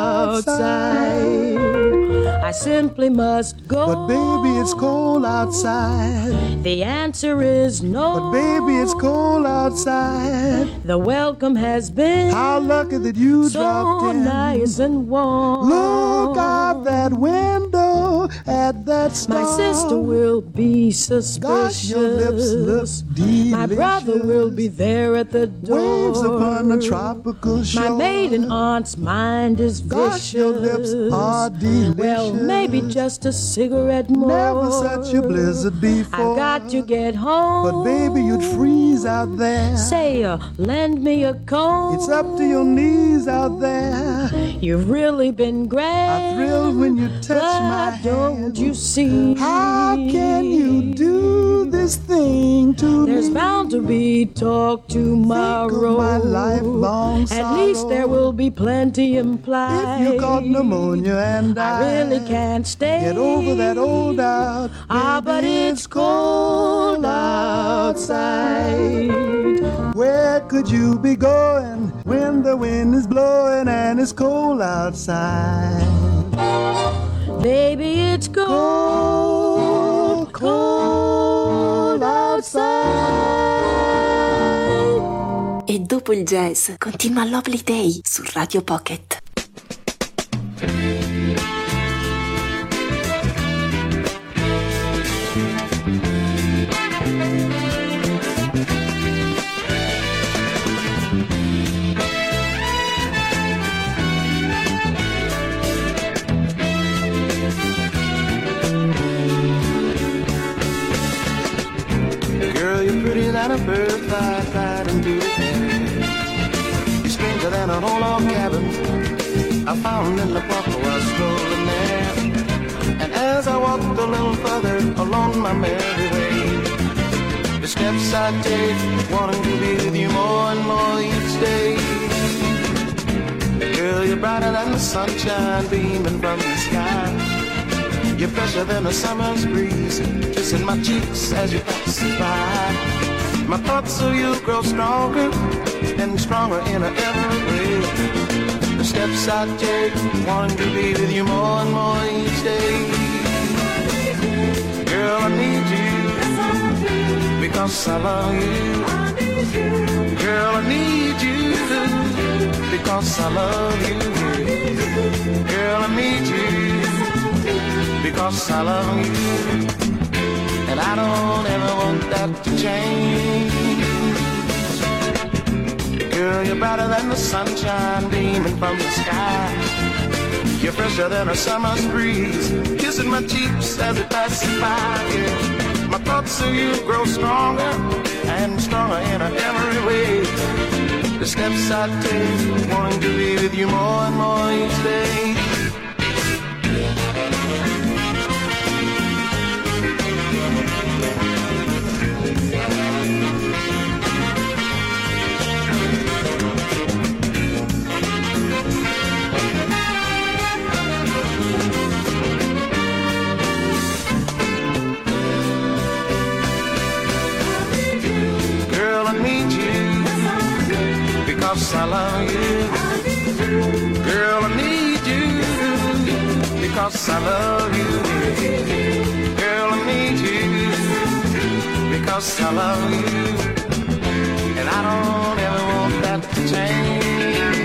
outside. I simply must go. But baby, it's cold outside. The answer is no. But baby, it's cold outside. The welcome has been how lucky that you so dropped in. Nice and warm. Look out that window at that star. My sister will be suspicious. Gosh, your lips look delicious. My brother will be there at the door. Waves upon a tropical shore. My maiden aunt's mind is vicious. Gosh, your lips are delicious. Well, maybe just a cigarette more. Never such a blizzard before. I've got to get home. But baby, you'd freeze out there. Say, lend me a comb. It's up to your knees out there. You've really been great. I thrill when you touch my hand. Don't you see? How can you do this thing to There's me? bound to be talk tomorrow. Think of my lifelong sorrow. At least there will be plenty implied. If you caught pneumonia and I really can't stay. Get over that old doubt. But it's cold outside. Where could you be going when the wind is blowing and it's cold outside? Baby, it's cold, cold outside. E dopo il jazz continua Lovely Day su Radio Pocket. Than a bird flight into the air. You're stranger than an old log cabin I found in the park while strolling there. And as I walked a little further along my merry way, the steps I take, wanting to be with you more and more each day. Girl, you're brighter than the sunshine beaming from the sky. You're fresher than a summer's breeze, kissing my cheeks as you pass by. My thoughts of you grow stronger and stronger in every way. The steps I take, wanting to be with you more and more each day. Girl, I need you because I love you. Girl, I need you because I love you. Girl, I need you because I love you. And I don't ever want that to change. Girl, you're brighter than the sunshine beaming from the sky. You're fresher than a summer's breeze, kissing my cheeks as it passes by. Yeah. My thoughts of you grow stronger and stronger in every way. The steps I take, wanting to be with you more and more each day. Girl, I need because I love you. Girl, I need you because I love you. Girl, I need you because I love you. And I don't ever want that to change.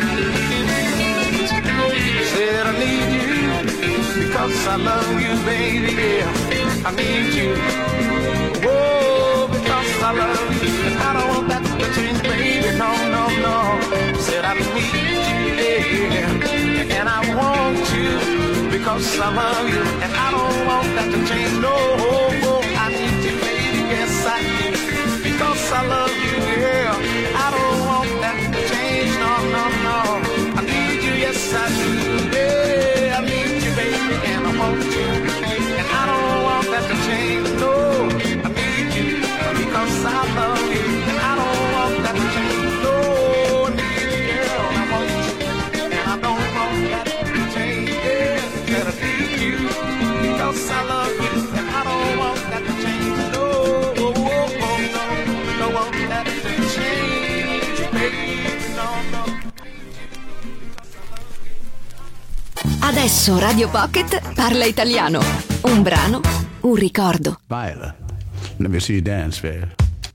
Said I need you because I love you, baby. Yeah, I need you. Whoa, because I love you. And I don't want that to change, baby. No, no, no. Said I need you, yeah. And I want you because I love you. And I don't want that to change. No, I need you, baby. Yes, I do. Because I love you, yeah. I don't want that to change. No, no, no. I need you, yes, I do. Yeah, I need you, baby. And I want you. And I don't want that to change. No, I need you because I love you. And I don't want that to change. No, I need you, girl. I want you. And I don't want that to change. Yeah, that I need you because I love you. And I don't want that to change. No, no, no want that to change, baby. No, no. Adesso Radio Pocket parla italiano. Un brano, un ricordo. Viola, let me see you dance, baby.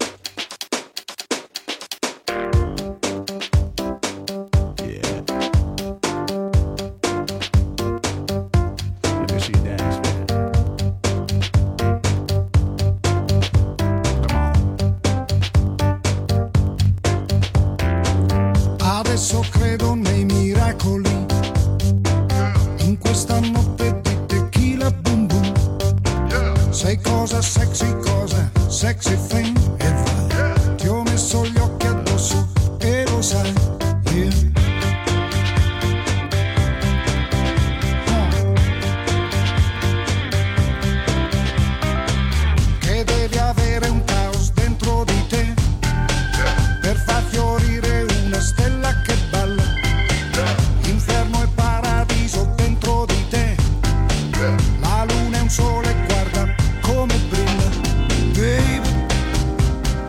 Adesso credo nei miracoli, in questa notte di tequila boom boom. Sei cosa sexy thing, e vai. Ti ho messo gli occhi addosso e lo sai, yeah. Che devi avere un caos dentro di te per far fiorire una stella che balla. Inferno e paradiso dentro di te. La luna è un sole, guarda come brilla, baby.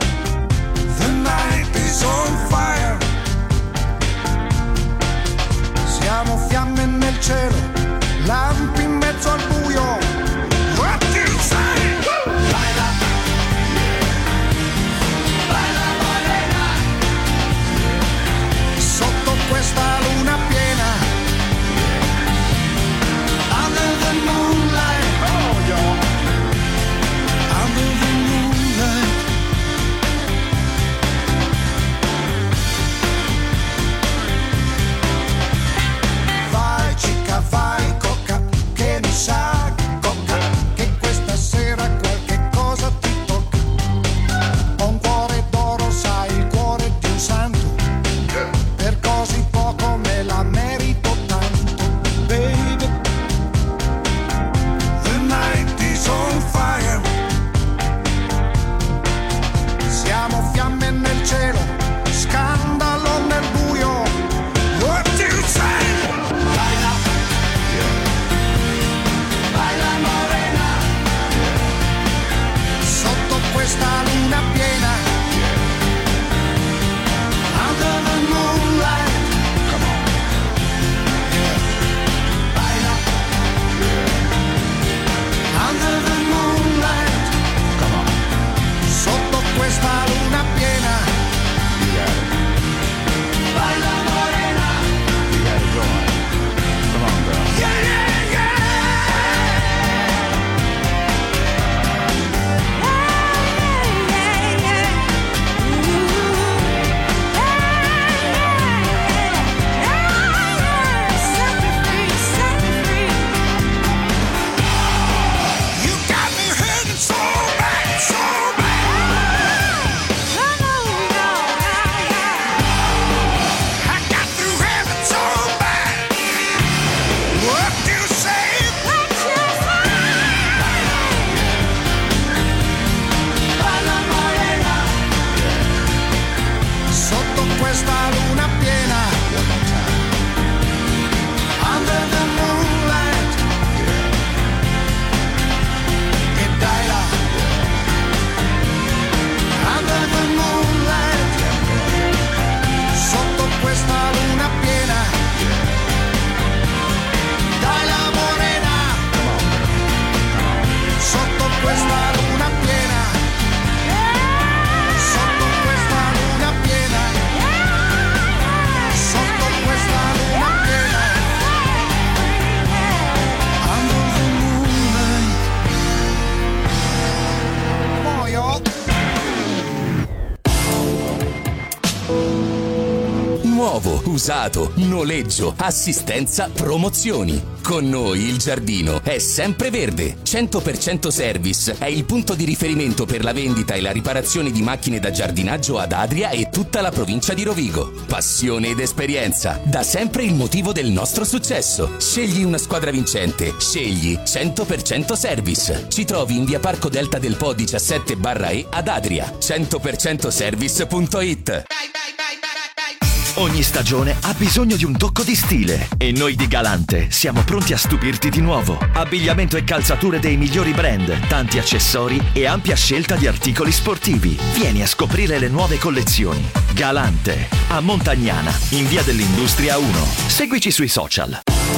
usato, noleggio, assistenza, promozioni. Con noi il giardino è sempre verde. 100% Service è il punto di riferimento per la vendita e la riparazione di macchine da giardinaggio ad Adria e tutta la provincia di Rovigo. Passione ed esperienza, da sempre il motivo del nostro successo. Scegli una squadra vincente, scegli 100% Service. Ci trovi in via Parco Delta del Po 17/E ad Adria. 100%service.it. Ogni stagione ha bisogno di un tocco di stile e noi di Galante siamo pronti a stupirti di nuovo. Abbigliamento e calzature dei migliori brand, tanti accessori e ampia scelta di articoli sportivi. Vieni a scoprire le nuove collezioni. Galante, a Montagnana, in via dell'Industria 1. Seguici sui social.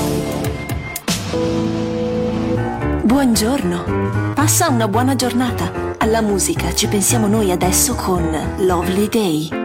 Buongiorno, passa una buona giornata. Alla musica ci pensiamo noi adesso con Lovely Day.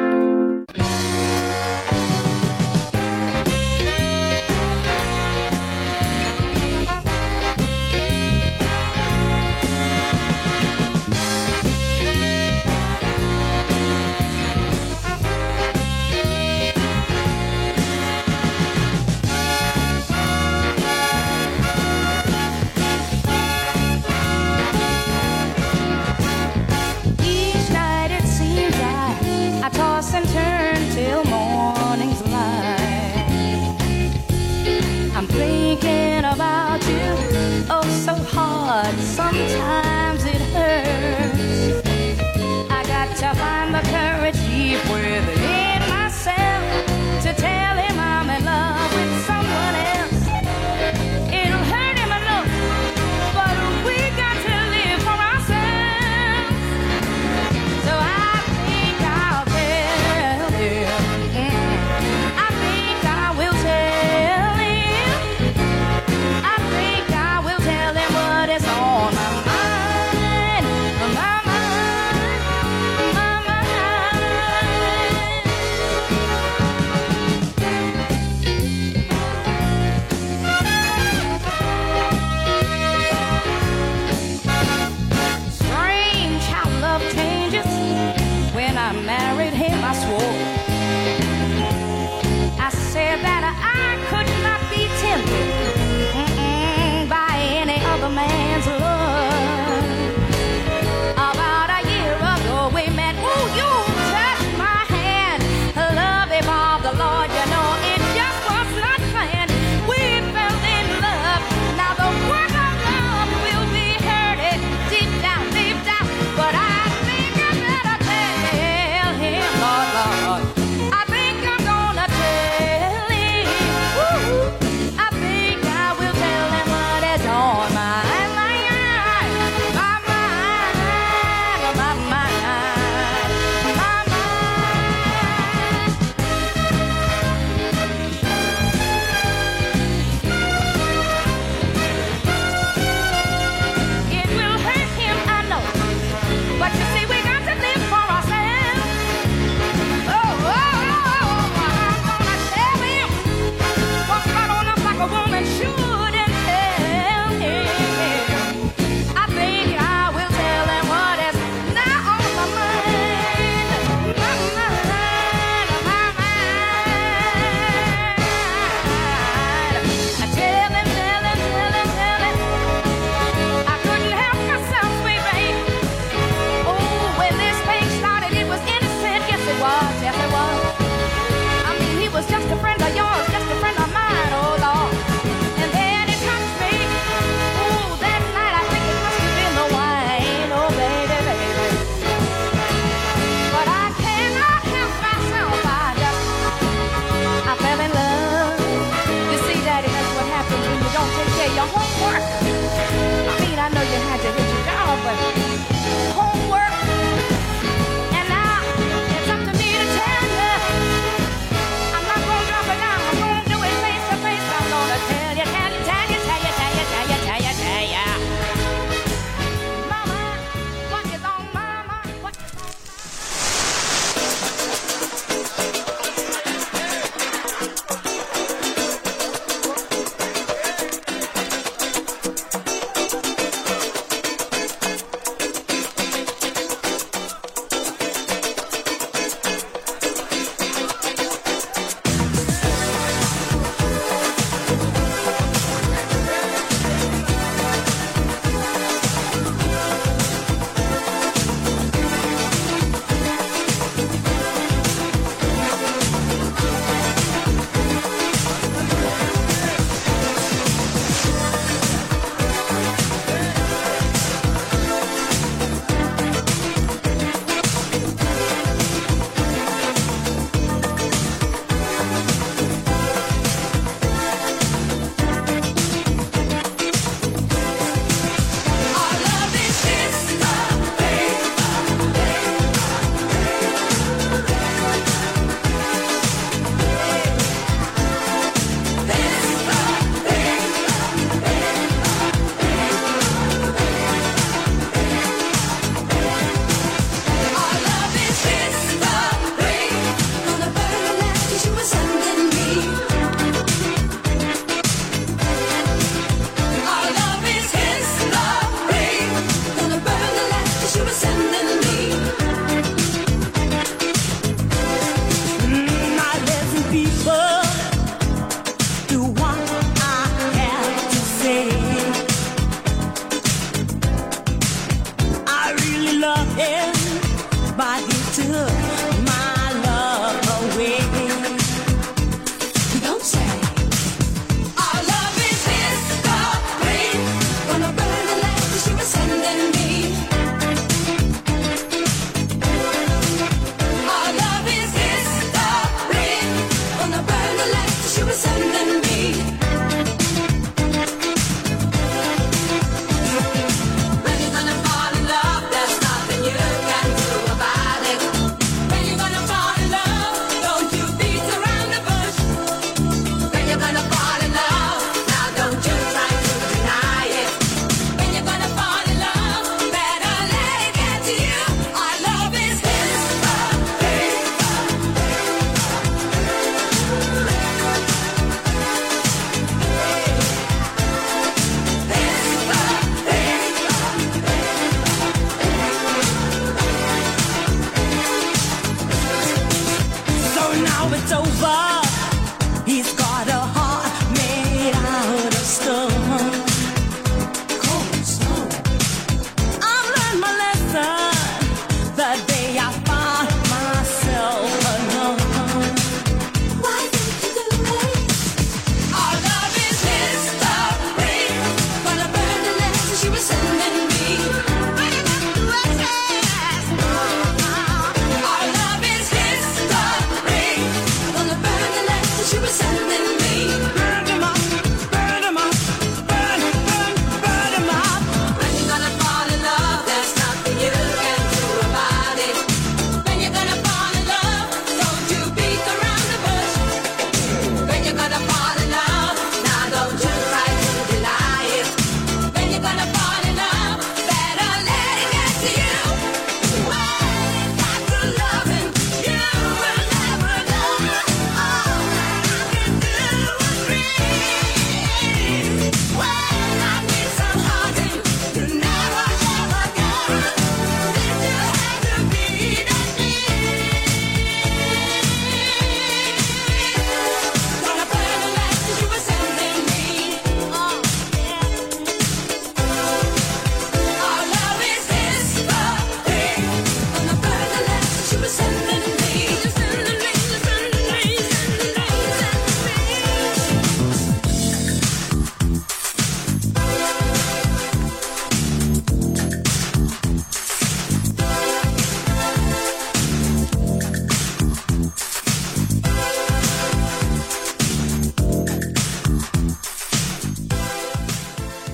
Sometimes it hurts. I got to find the courage deep within myself to tell him I'm in love with someone else. It'll hurt him enough, but we got to live for ourselves. So I think I'll tell him. I think I will tell him. I think I will tell him what is on my mind. Strange how love changes. When I married him, I swore. I said that I could not be tempted by any other man's love. About a year ago we met. Ooh, you touched my hand. Love evolved, the Lord, you know it just was not planned. We fell in love. Now the work of love will be hurted deep down, but I think I better tell him, Lord, Lord. I think I'm gonna tell him. Ooh, I think I will tell him what is on my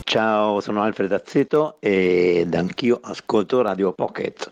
Ciao, sono Alfred Azzeto ed anch'io ascolto Radio Pocket.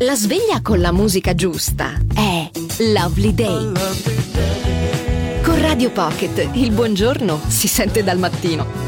La sveglia con la musica giusta è Lovely Day. Con Radio Pocket il buongiorno si sente dal mattino.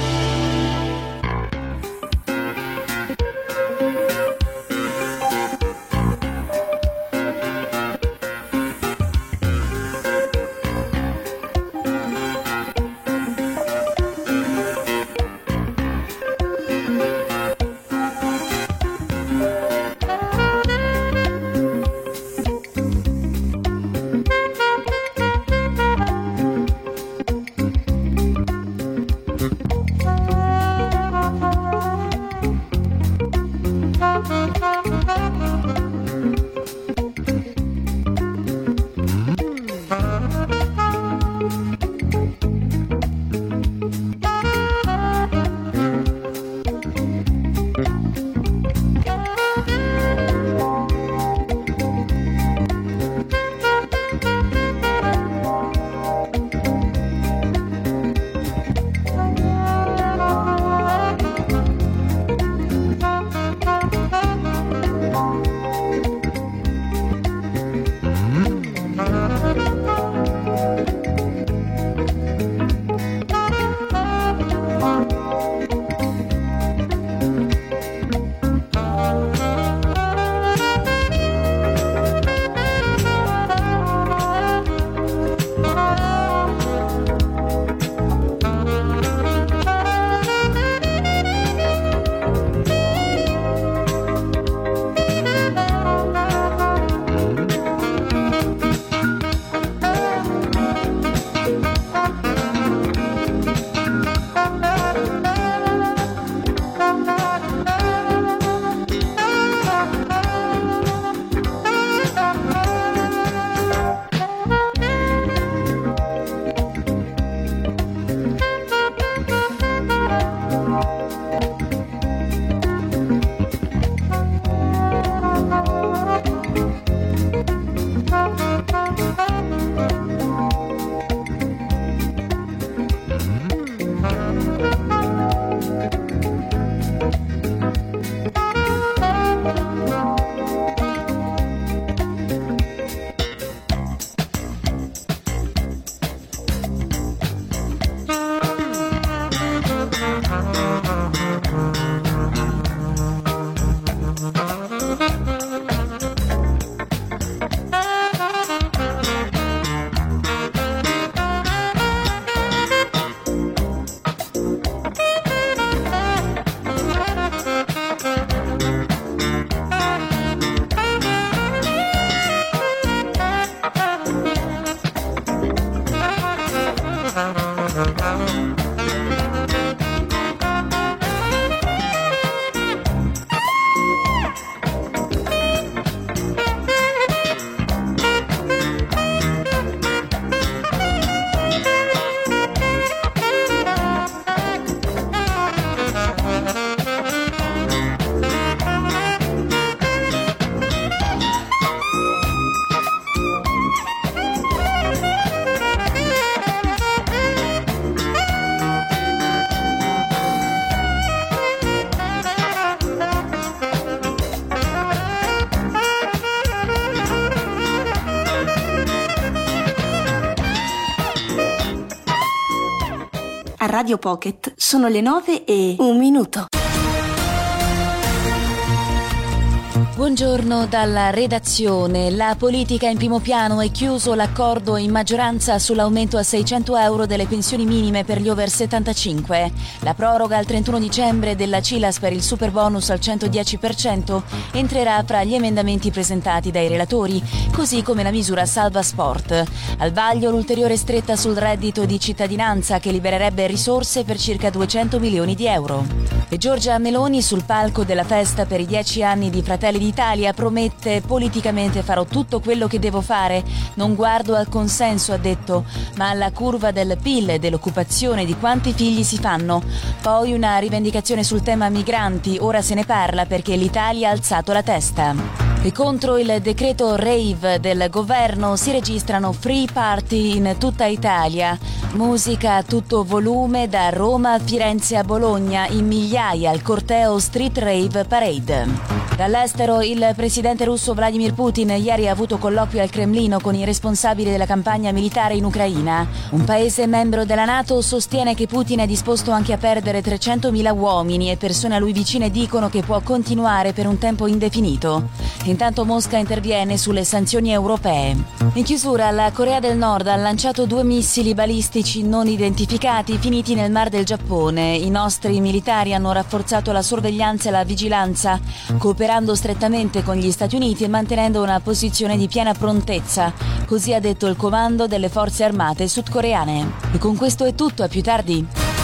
A Radio Pocket sono le 9:01. Buongiorno dalla redazione. La politica in primo piano e chiuso l'accordo in maggioranza sull'aumento a 600 euro delle pensioni minime per gli over 75. La proroga al 31 dicembre della CILAS per il superbonus al 110% entrerà fra gli emendamenti presentati dai relatori, così come la misura Salva Sport. Al vaglio l'ulteriore stretta sul reddito di cittadinanza che libererebbe risorse per circa 200 milioni di euro. E Giorgia Meloni sul palco della festa per i 10 anni di Fratelli d'Italia promette: politicamente farò tutto quello che devo fare, non guardo al consenso, ha detto, ma alla curva del PIL e dell'occupazione, di quanti figli si fanno. Poi una rivendicazione sul tema migranti, ora se ne parla perché l'Italia ha alzato la testa. E contro il decreto rave del governo si registrano free party in tutta Italia. Musica a tutto volume da Roma a Firenze a Bologna, in migliaia al corteo Street Rave Parade. Dall'estero il presidente russo Vladimir Putin ieri ha avuto colloquio al Cremlino con i responsabili della campagna militare in Ucraina. Un paese membro della NATO sostiene che Putin è disposto anche a perdere 300.000 uomini e persone a lui vicine dicono che può continuare per un tempo indefinito. Intanto Mosca interviene sulle sanzioni europee. In chiusura, la Corea del Nord ha lanciato 2 missili balistici non identificati finiti nel Mar del Giappone. I nostri militari hanno rafforzato la sorveglianza e la vigilanza, cooperando strettamente con gli Stati Uniti e mantenendo una posizione di piena prontezza. Così ha detto il comando delle forze armate sudcoreane. E con questo è tutto, a più tardi.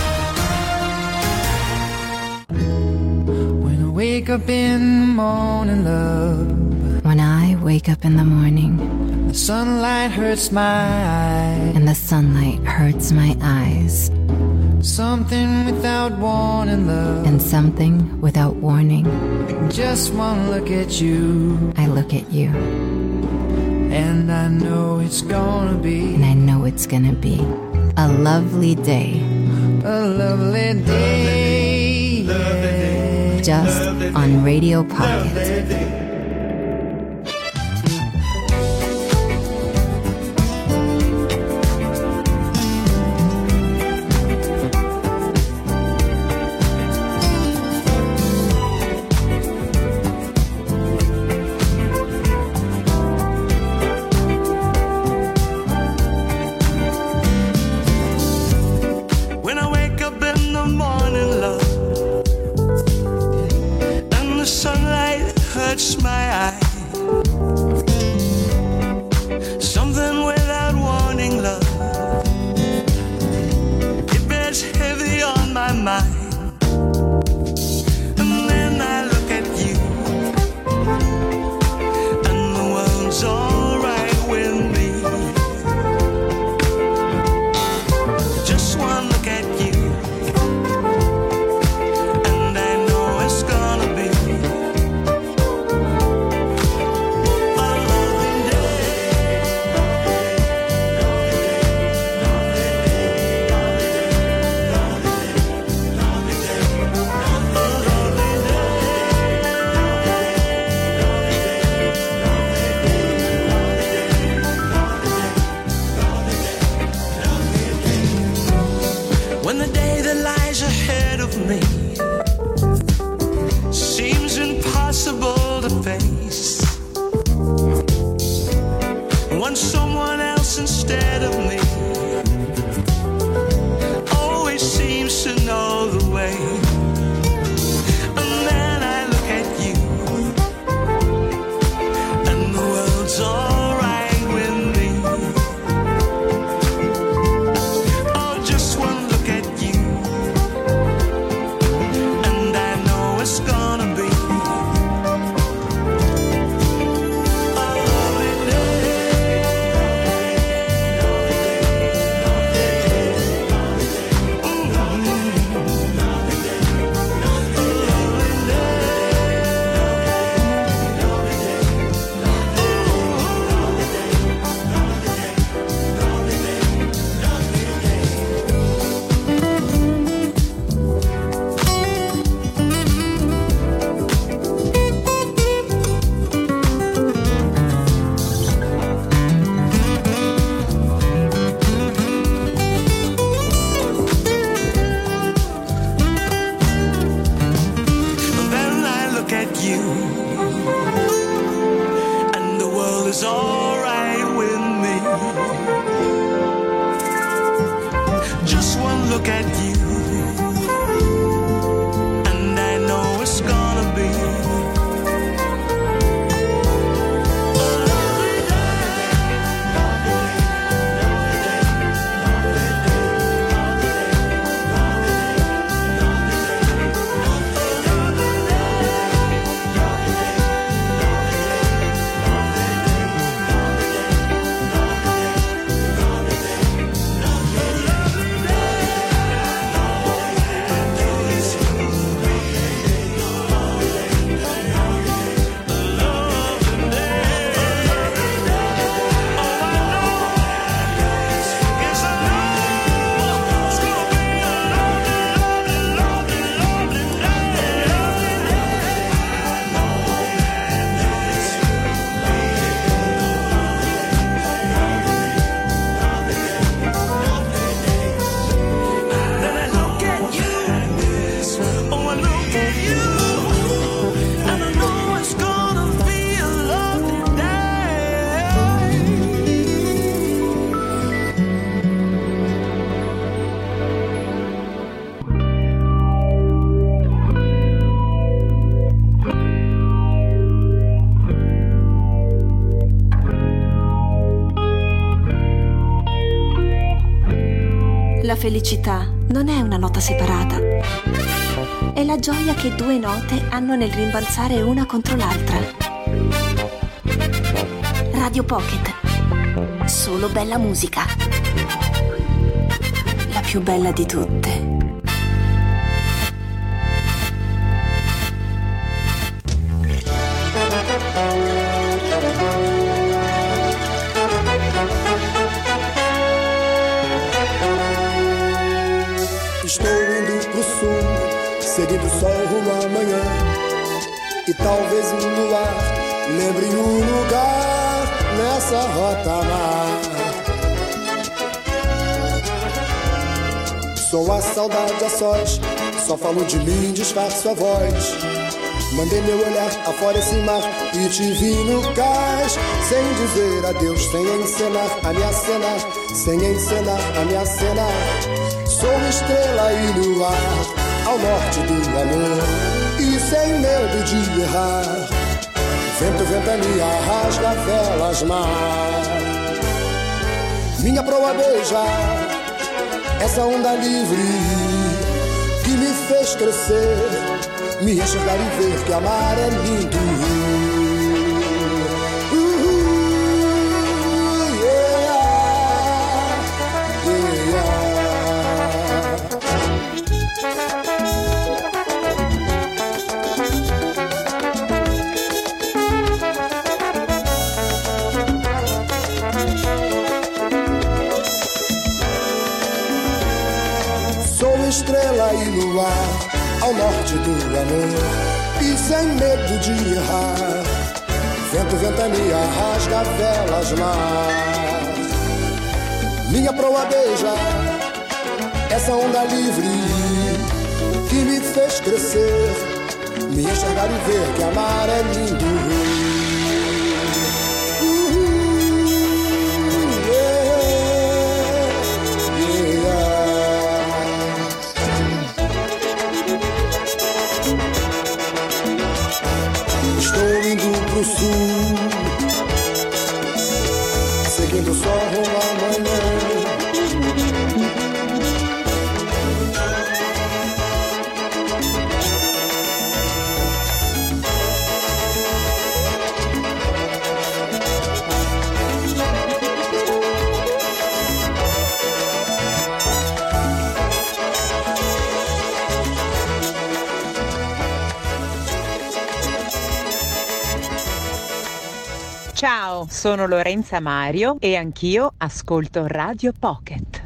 Wake up in the morning, love. When I wake up in the morning, The sunlight hurts my eyes. and the sunlight hurts my eyes, Something without warning, love. and something without warning, Just one look at you, I look at you, and I know it's gonna be and I know it's gonna be a lovely day, a lovely day. just on Radio Pocket. When I wake up in the morning, love, and the sunlight hurts my eye, something without warning, love, it bears heavy on my mind. And then I look at you, and the world's alright with me. Just one look at you, and I know it's gonna be a lovely when the day that lies ahead of me seems impossible to face. Want someone else instead of me always seems to know the way. And then I look at you, and the world's alright with me. Oh, just one look at you, and I know it's gonna be a lovely Then I look at you, and the world is alright with me. Just one look at you, and I know it's gonna be a lovely felicità non è una nota separata. È la gioia che due note hanno nel rimbalzare una contro l'altra. Radio Pocket. Solo bella musica. La più bella di tutte. Estou indo pro sul, seguindo o sol rumo amanhã. E talvez um luar lembre um lugar nessa rota mar. Sou a saudade a sós, só falo de mim, disfarço a voz. Mandei meu olhar afora esse mar e te vi no cais. Sem dizer adeus, sem encenar a me acenar, sem encenar a me acenar. Sou estrela e luar ao norte do amor e sem medo de errar. Vento, ventania, rasga velas, mar. Minha proa beija essa onda livre que me fez crescer, me enxergar e ver que amar é lindo. Estrela e luar ao norte do amor e sem medo de errar. Vento, ventania, rasga velas, mar. Minha proa beija essa onda livre que me fez crescer, me enxergar e ver que amar é lindo. Pro sul, seguindo o sol rumo amanhã. Ciao, sono Lorenza Mario e anch'io ascolto Radio Pocket.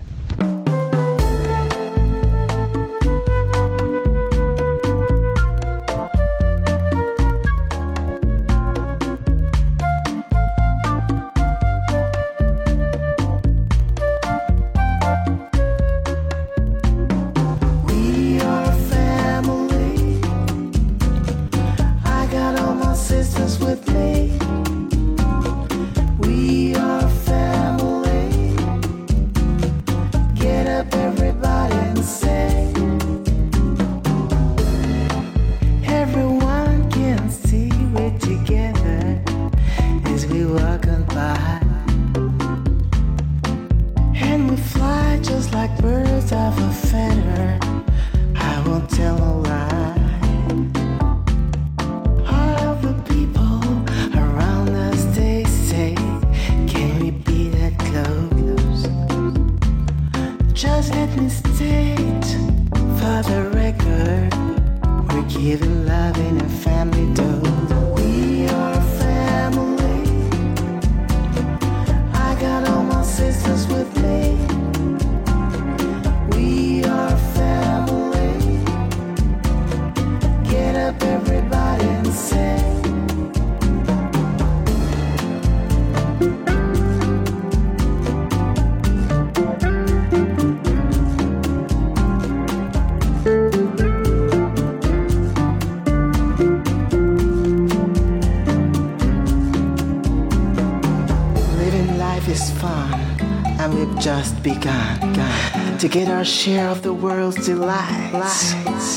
Just begun to get our share of the world's delights.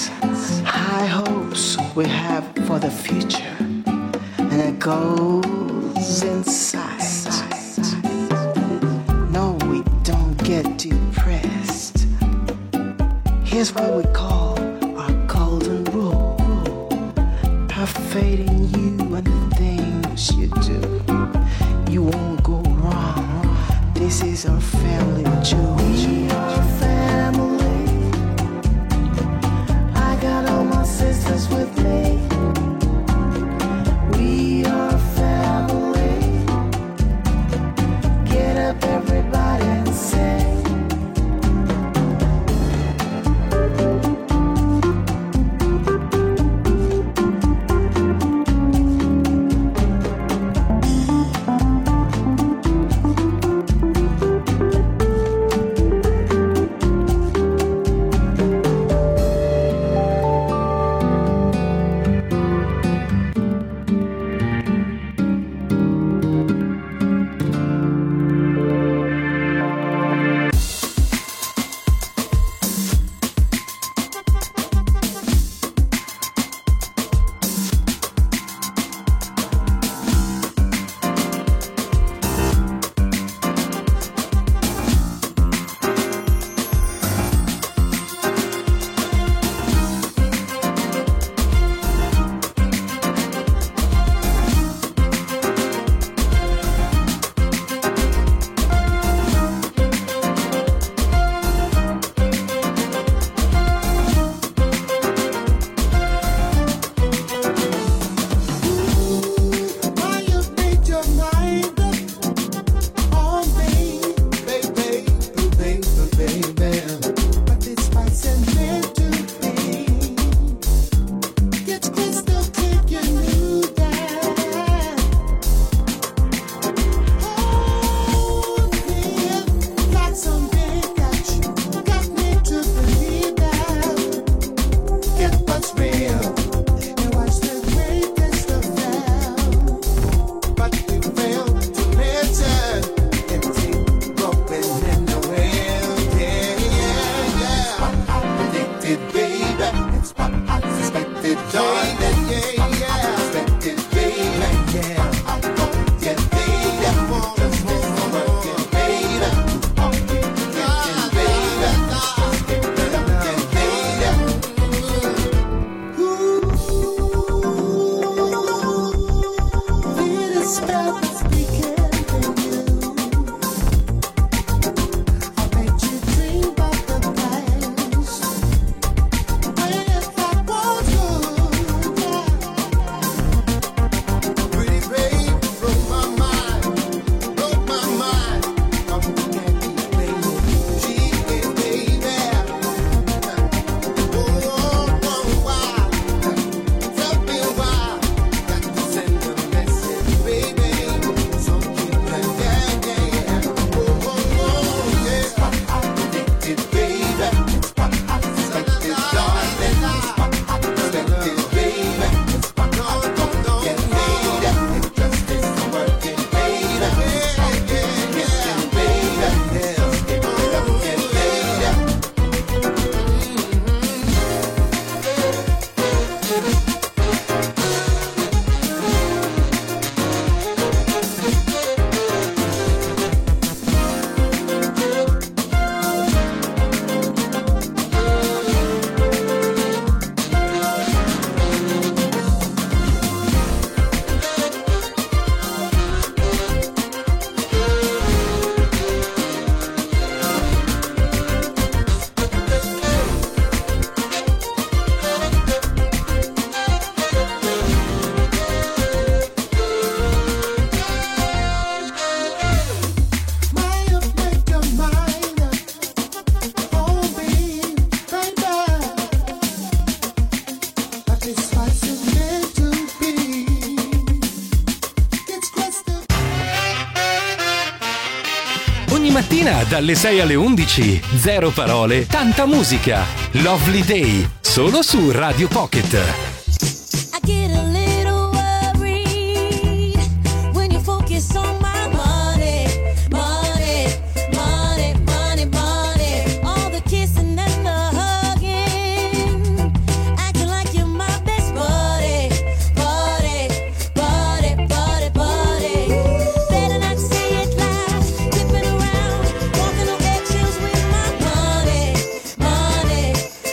High hopes we have for the future, and it goes inside. No, we don't get depressed Here's what we call our golden rule. Perfecting you and the things you do. You won't go wrong. This is our family jewel. We are family. I got all my sisters with me. We are family. Get up everybody and sing. Mattina dalle 6 alle 11, zero parole, tanta musica. Lovely Day, solo su Radio Pocket. I get a little worried when you focus on my money, money, money, money, money. All the kissing and the hugging, acting like you're my best buddy, buddy, buddy, buddy, buddy. Better not say it loud, tipping around, walking on eggshells with my money, money,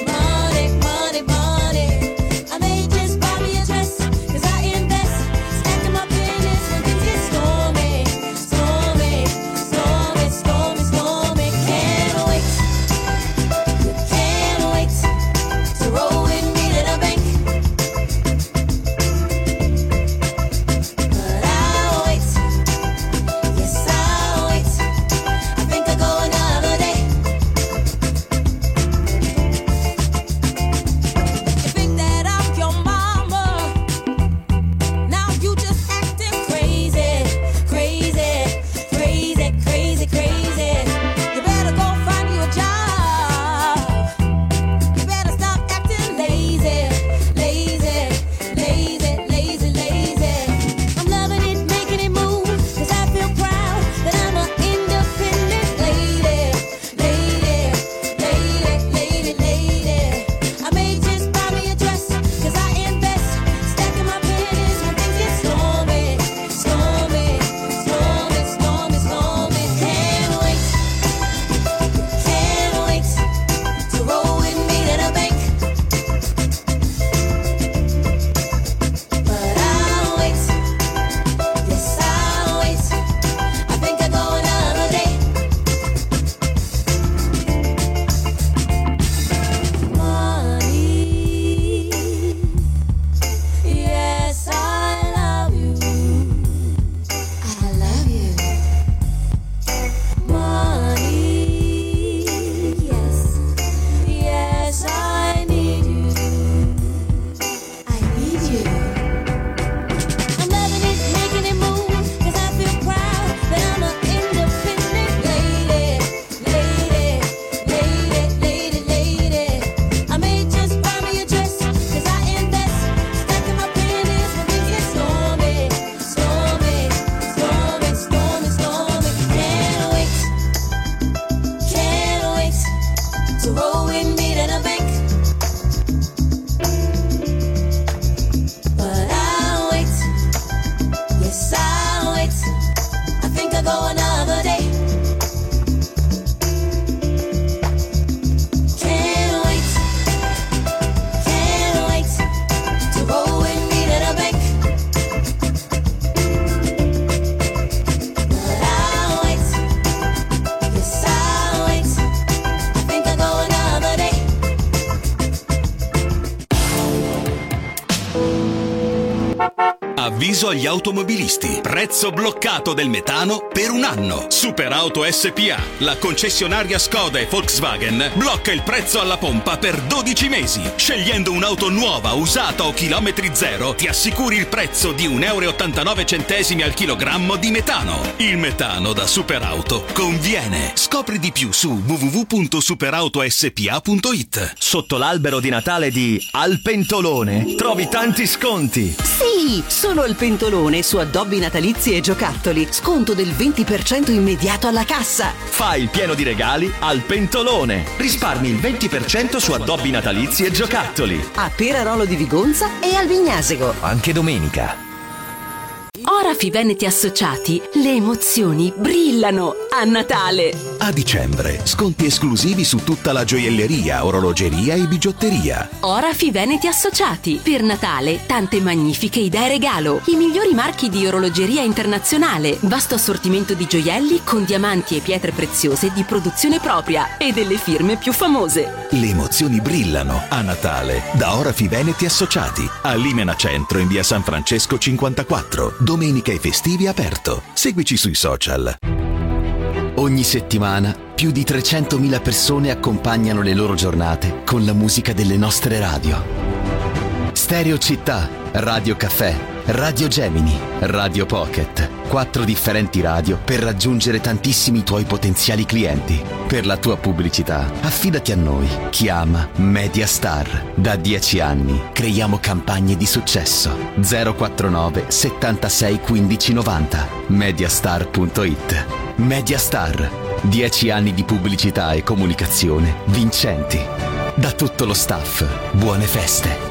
avviso agli automobilisti. Prezzo bloccato del metano per un anno. Superauto SPA, la concessionaria Skoda e Volkswagen, blocca il prezzo alla pompa per 12 mesi. Scegliendo un'auto nuova, usata o chilometri zero, ti assicuri il prezzo di 1,89 € al chilogrammo di metano. Il metano da Superauto conviene. Scopri di più su www.superautospa.it. Sotto l'albero di Natale di Al Pentolone trovi tanti sconti. Sì, solo al Pentolone su addobbi natalizi e giocattoli. Sconto del 20% immediato alla cassa. Fai il pieno di regali al Pentolone. Risparmi il 20% su addobbi natalizi e giocattoli. A Perarolo di Vigonza e al Vignasego. Anche domenica. Orafi Veneti Associati, le emozioni brillano a Natale. A dicembre, sconti esclusivi su tutta la gioielleria, orologeria e bigiotteria. Orafi Veneti Associati, per Natale tante magnifiche idee regalo. I migliori marchi di orologeria internazionale, vasto assortimento di gioielli con diamanti e pietre preziose di produzione propria e delle firme più famose. Le emozioni brillano a Natale da Orafi Veneti Associati, a Limena Centro in via San Francesco 54. Domenica e festivi aperto. Seguici sui social. Ogni settimana più di 300.000 persone accompagnano le loro giornate con la musica delle nostre radio. Stereo Città, Radio Caffè, Radio Gemini, Radio Pocket. 4 differenti radio per raggiungere tantissimi tuoi potenziali clienti. Per la tua pubblicità, affidati a noi. Chiama Mediastar. Da 10 anni creiamo campagne di successo. 049 76 15 90. Mediastar.it. Mediastar. 10 anni di pubblicità e comunicazione vincenti. Da tutto lo staff, buone feste.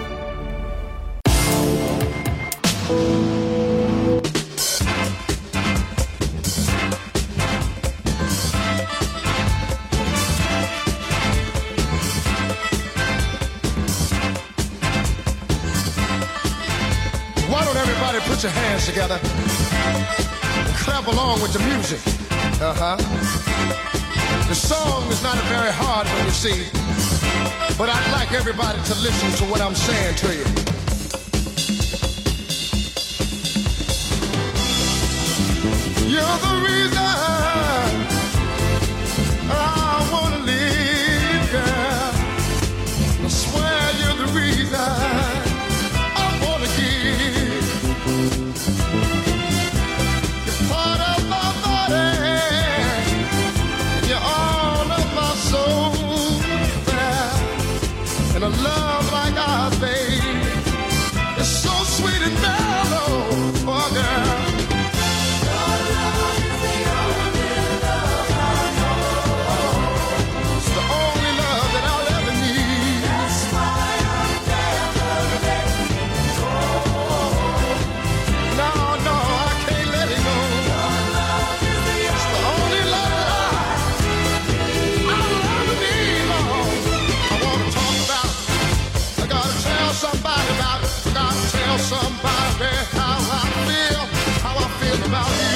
Put your hands together and clap along with the music. The song is not very hard one, you see, but I'd like everybody to listen to what I'm saying to you. You're the reason I wanna live, girl. I swear you're the reason I wanna give. You're part of my body, you're all of my soul, and a love like ours, babe, it's so sweet and mellow, oh girl. Somebody how I feel about you.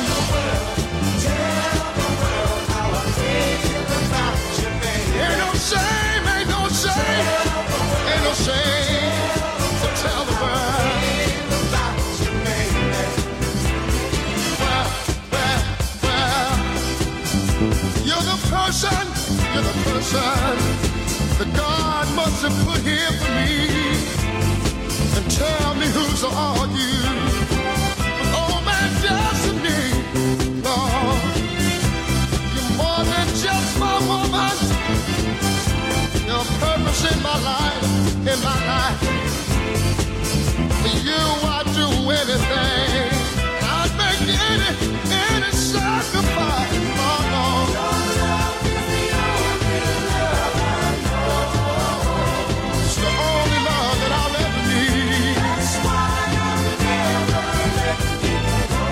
Tell the world how I feel about you, baby. Ain't no shame, ain't no shame, ain't no shame to tell the world about you, baby. Well, you're the person that God must have put here for me. And tell me who's are you? Oh, my destiny, Lord. You're more than just my woman. Your purpose in my life, For you, I'd do anything. I'd make any sacrifice. Oh, Lord. Your love is the only love I know. It's the only love that I'll ever need. That's why I'll never let you go.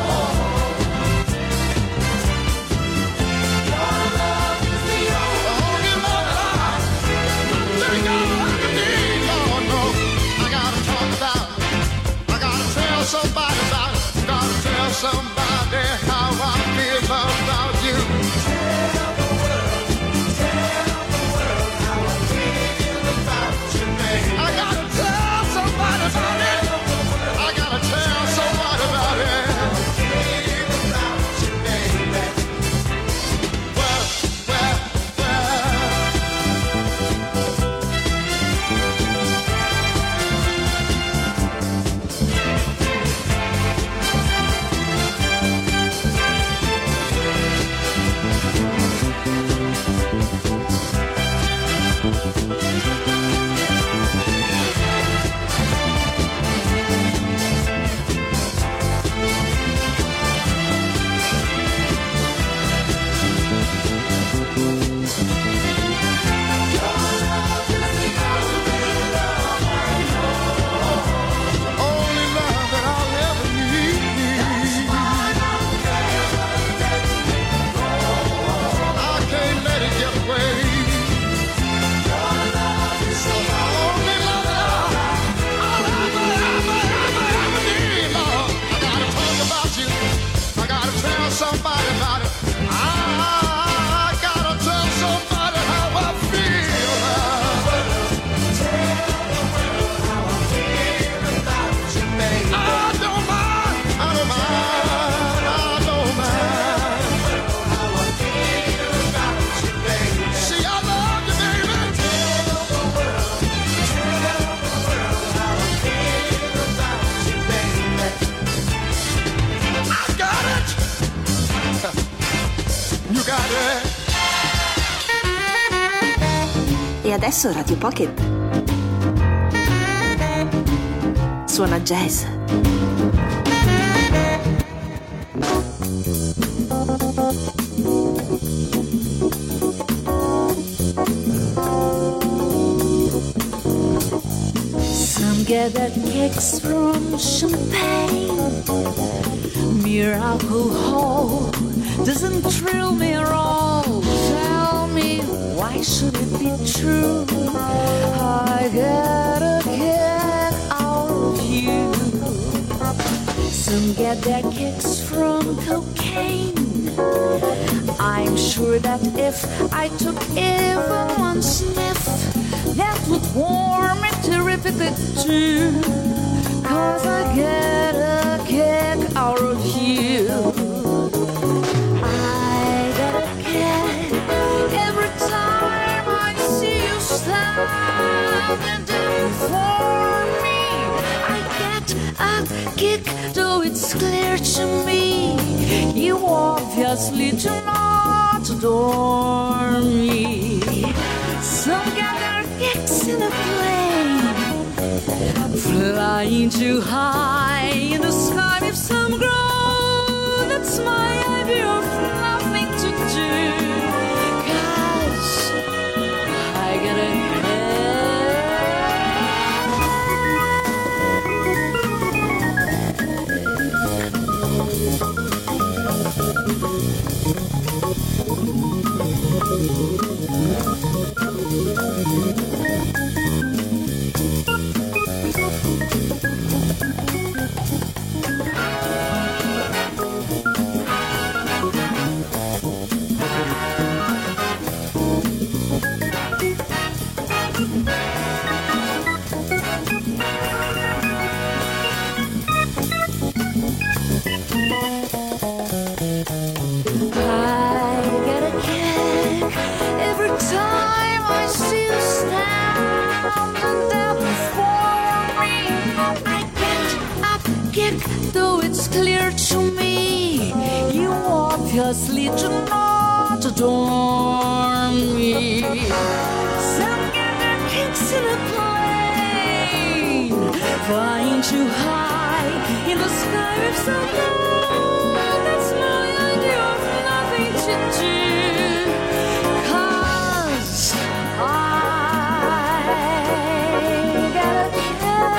Your love is the only love that I think I'll ever need. Oh, no. adesso Radio Pocket suona jazz. Some get their kicks from champagne. Mere alcohol doesn't thrill me at all. Tell me, why should it be true? I get a kick out of you. Some get their kicks from cocaine. I'm sure that if I took even one sniff, that would warm me terrifically too. 'Cause I get a kick out of you. I get a kick every time I see you standing there before me. I get a kick, though it's clear to me you obviously do not adore me. Some get their kicks in a plane, flying too high in the sky with some grow. That's my idea of nothing to do. 'Cause I get a obviously do not adore me. Some get their kicks in a plane, flying too high in the sky with some gold. That's my idea of nothing to do. 'Cause I get a kick.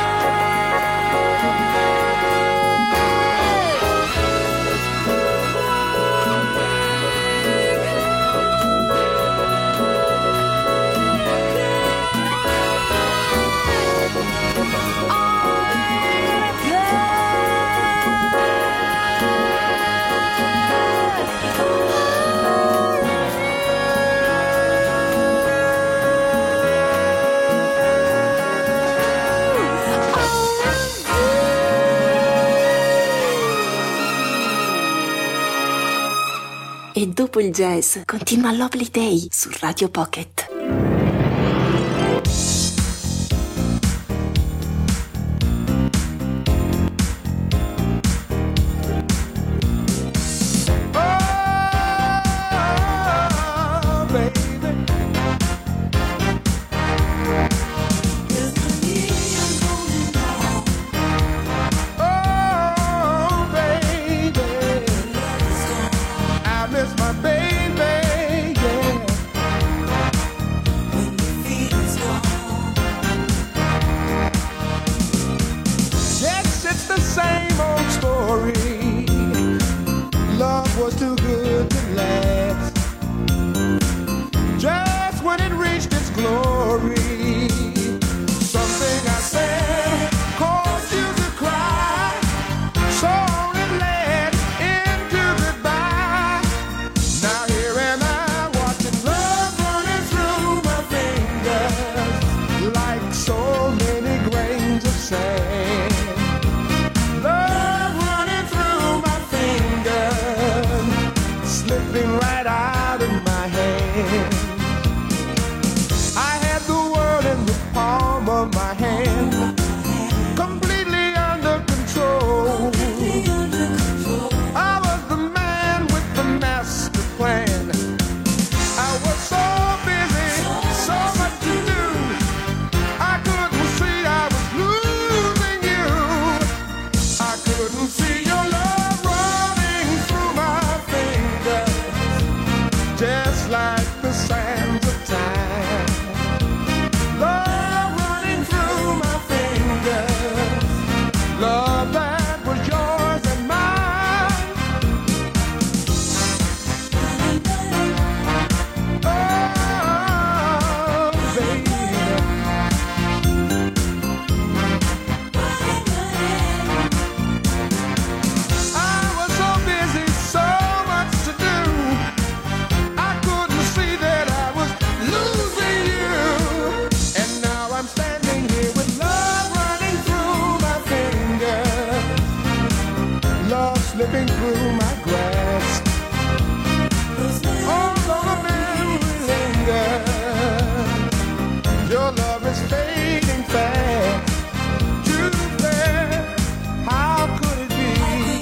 E dopo il jazz continua Lovely Day su Radio Pocket. slipping through my grasp. Although the memory lingers, your love is fading fast. Too fast. How could it be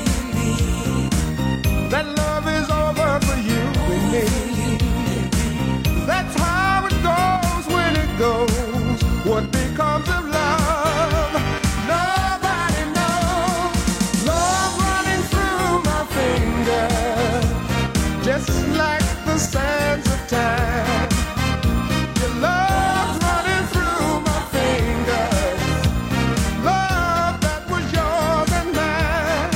that love is over for you and me? That's how it goes when it goes. What becomes of love? Nobody knows. Love running through my fingers, just like the sands of time. Your love's running through my fingers, love that was yours and mine.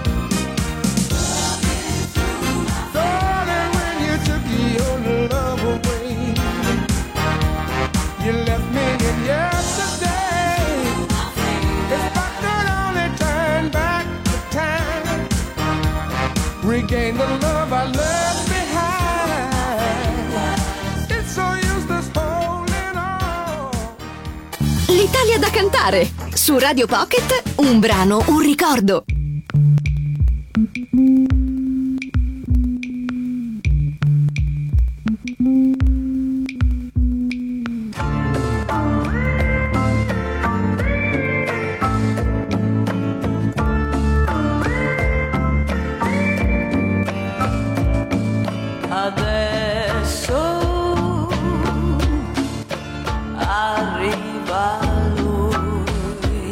Darling, when you took your love away, you left me in yesterday. If I could only turn back the time, regain the love I left behind. It's so useless holding on. L'Italia da cantare su Radio Pocket, un brano, un ricordo. Adesso arriva lui,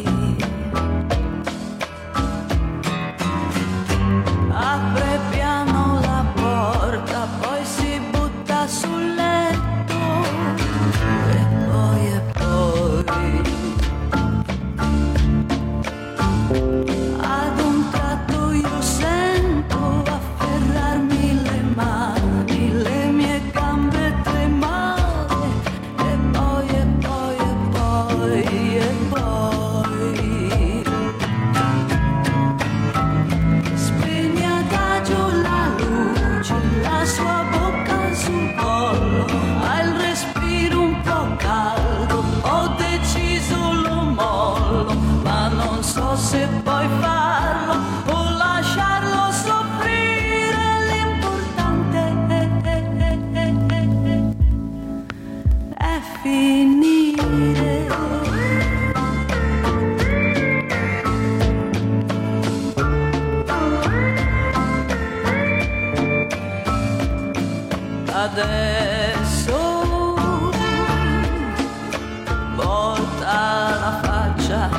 apre piano la porta, poi si butta sul letto e poi ad un tratto io sento afferrarmi le mani, le mie gambe tremare e poi spegne adagio la luce, la sua bocca sul collo, ha il respiro un po' caldo, ho deciso lo mollo, ma non so se poi farlo o lasciarlo soffrire, l'importante è finire. Adesso volta la faccia,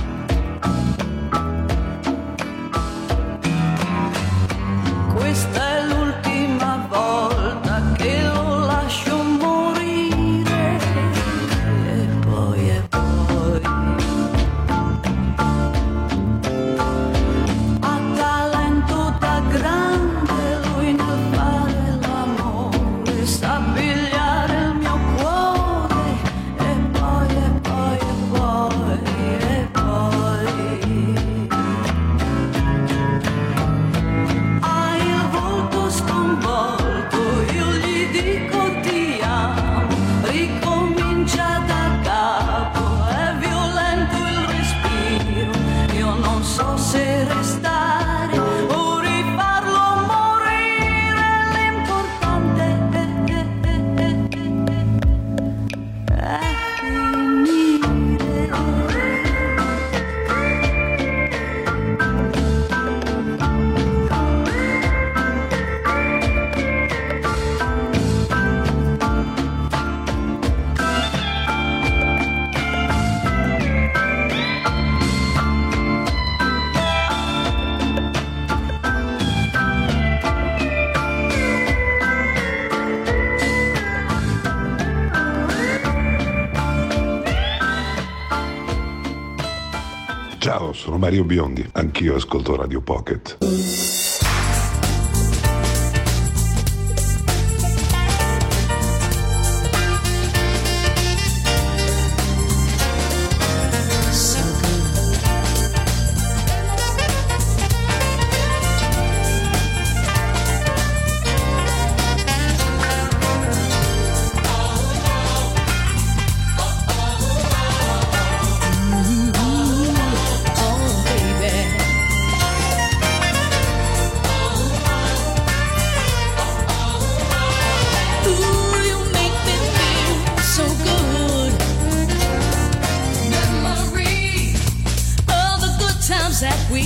questa è l'ultima volta che lo lascio morire e poi ha talento da grande lui nel fare l'amore, sa pigliare il mio cuore e poi ha il volto sconvolto, io gli dico ti amo, ricomincia da capo, è violento il respiro, io non so se restare o rifarlo morire, l'importante è finire. Ciao, sono Mario Biondi, anch'io ascolto Radio Pocket. Oh baby,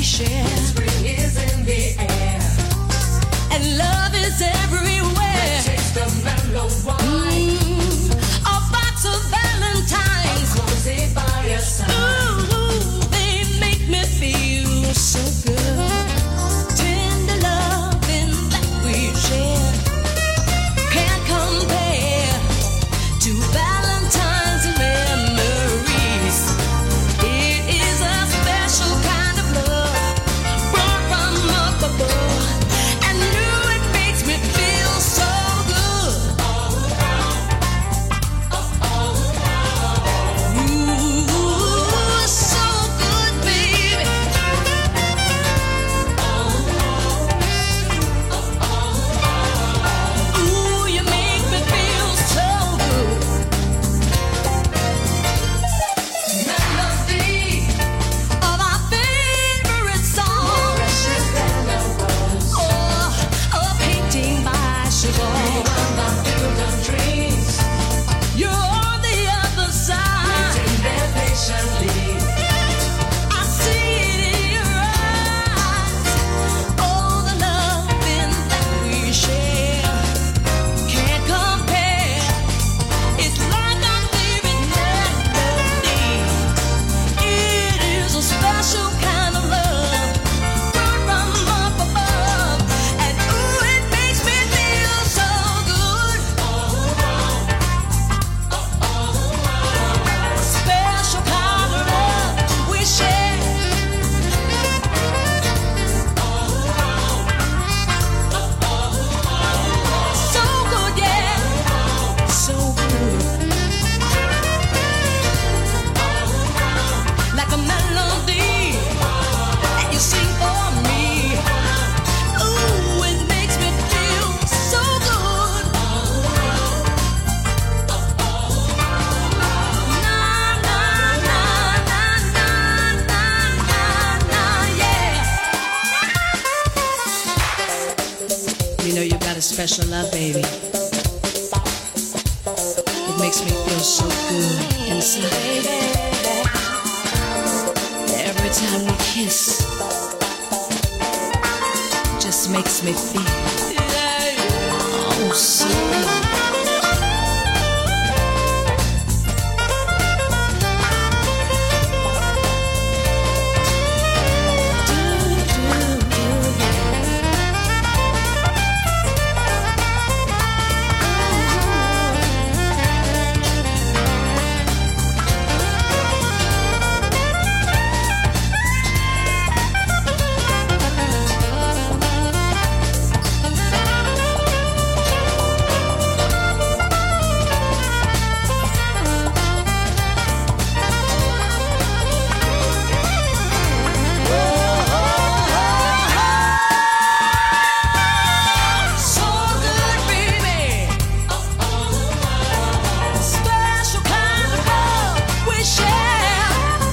share. Spring is in the air, and love is everywhere. Taste of mellow wine, a box of Valentine's, a cozy fireside. Ooh, they make me feel so good. Tender loving that we share can't compare to Valentine's memories. It is a special kind of love brought from up above, and ooh, it makes me feel so good. Ooh, so good, baby. Ooh, you make me feel so good. Melody of our favorite song. Precious than a rose. Oh, a painting by Chagall. Beyond the field of dreams, you're on the other side. Waiting there patiently. I see it in your eyes. Oh, the loving that we share can't compare. It's like our favorite melody. It is a special kind of love brought from up above, and ooh, it makes me feel so good. Special kind of love we share. So good, yeah, so good. Like a melody that you sing for me. Ooh, it makes me feel so good. Na na na na na na na, yeah. You know you got a special love, baby. It makes me feel so good inside. Every time we kiss, just makes me feel oh so good. So good, baby. Special kind of love we share.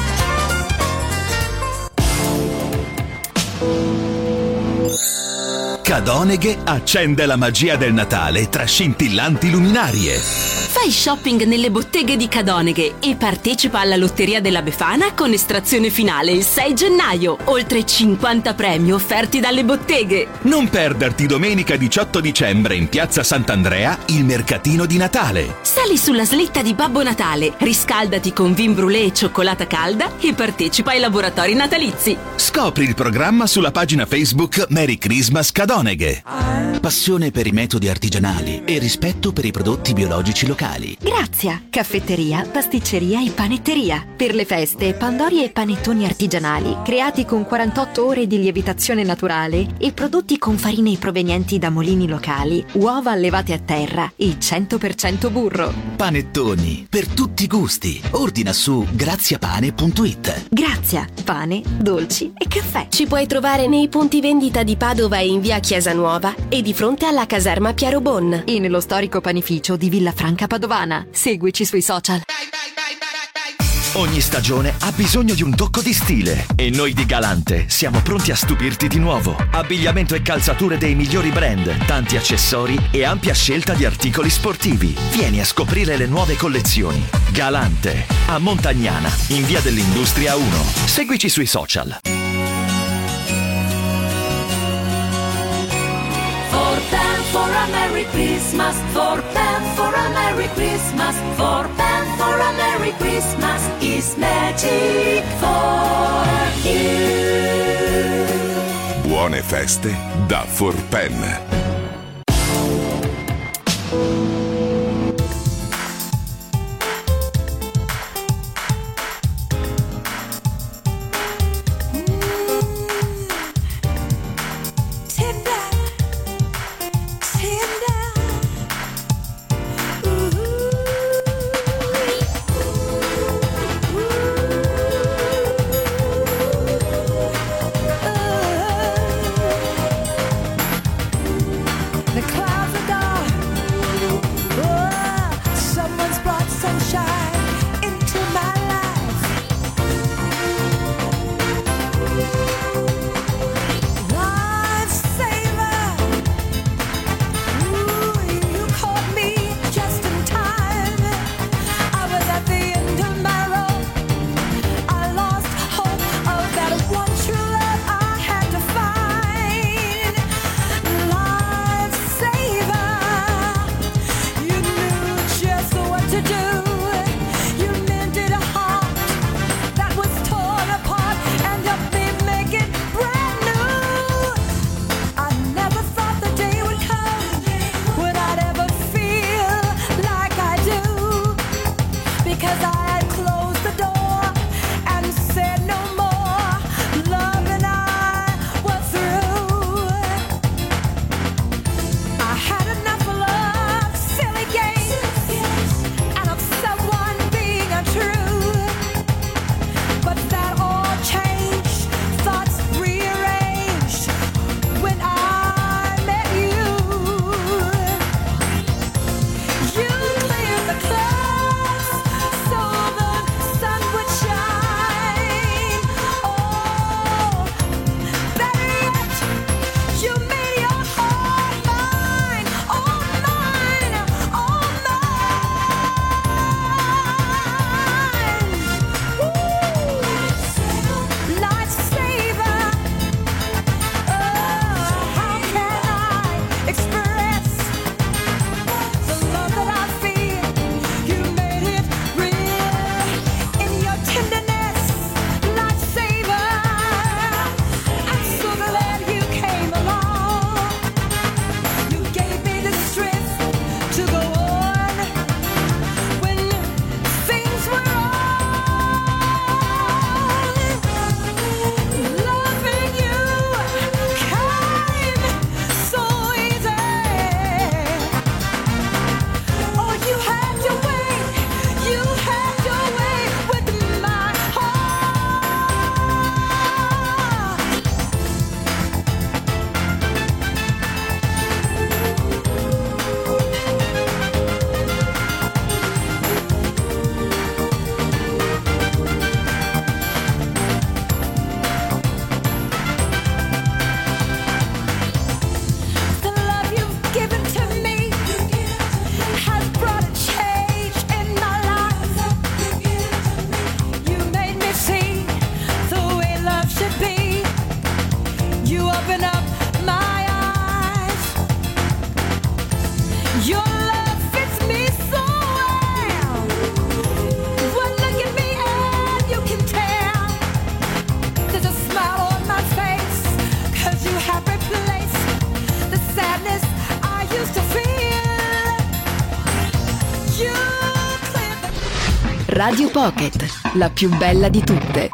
Cadoneghe accende la magia del Natale tra scintillanti luminarie. Fai shopping nelle botteghe di Cadoneghe e partecipa alla Lotteria della Befana con estrazione finale il 6 gennaio. Oltre 50 premi offerti dalle botteghe. Non perderti domenica 18 dicembre in Piazza Sant'Andrea il mercatino di Natale. Sali sulla slitta di Babbo Natale, riscaldati con vin brûlé e cioccolata calda e partecipa ai laboratori natalizi. Scopri il programma sulla pagina Facebook Merry Christmas Cadoneghe. Passione per i metodi artigianali e rispetto per i prodotti biologici locali. Grazia, caffetteria, pasticceria e panetteria. Per le feste, pandori e panettoni artigianali, creati con 48 ore di lievitazione naturale e prodotti con farine provenienti da mulini locali, uova allevate a terra e 100% burro. Panettoni, per tutti i gusti. Ordina su graziapane.it. Grazia, pane, dolci e caffè. Ci puoi trovare nei punti vendita di Padova e in via Chiesa Nuova e di fronte alla caserma Piero Bon. E nello storico panificio di Villafranca Padovana. Seguici sui social. Ogni stagione ha bisogno di un tocco di stile e noi di Galante siamo pronti a stupirti di nuovo. Abbigliamento e calzature dei migliori brand, tanti accessori e ampia scelta di articoli sportivi. Vieni a scoprire le nuove collezioni. Galante, a Montagnana, in via dell'Industria 1. Seguici sui social. a Merry Christmas, for Pam for a Merry Christmas, for Pam for a Merry Christmas is magic for you. Buone feste da Forpen. Radio Pocket, la più bella di tutte.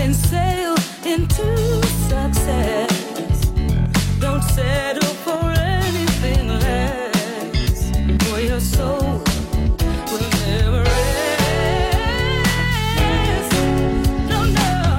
can sail into success. Don't settle for anything less, for your soul will never rest. No, no.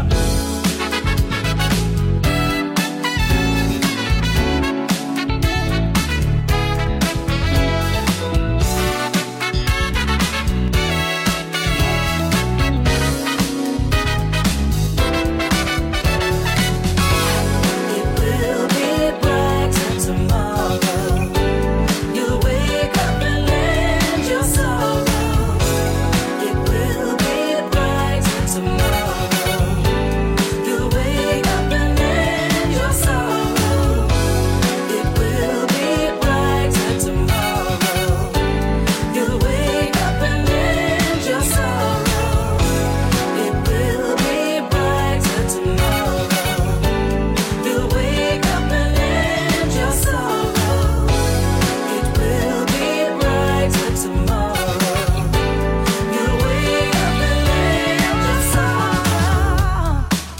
It will be brighter tomorrow. You'll wake up and end your sorrow. It will be brighter tomorrow. You'll wake up and end your sorrow. It will be brighter tomorrow. You'll wake up and end your sorrow. It will be brighter tomorrow. You'll wake up and end your sorrow. It will be brighter tomorrow. You'll wake up and end your sorrow.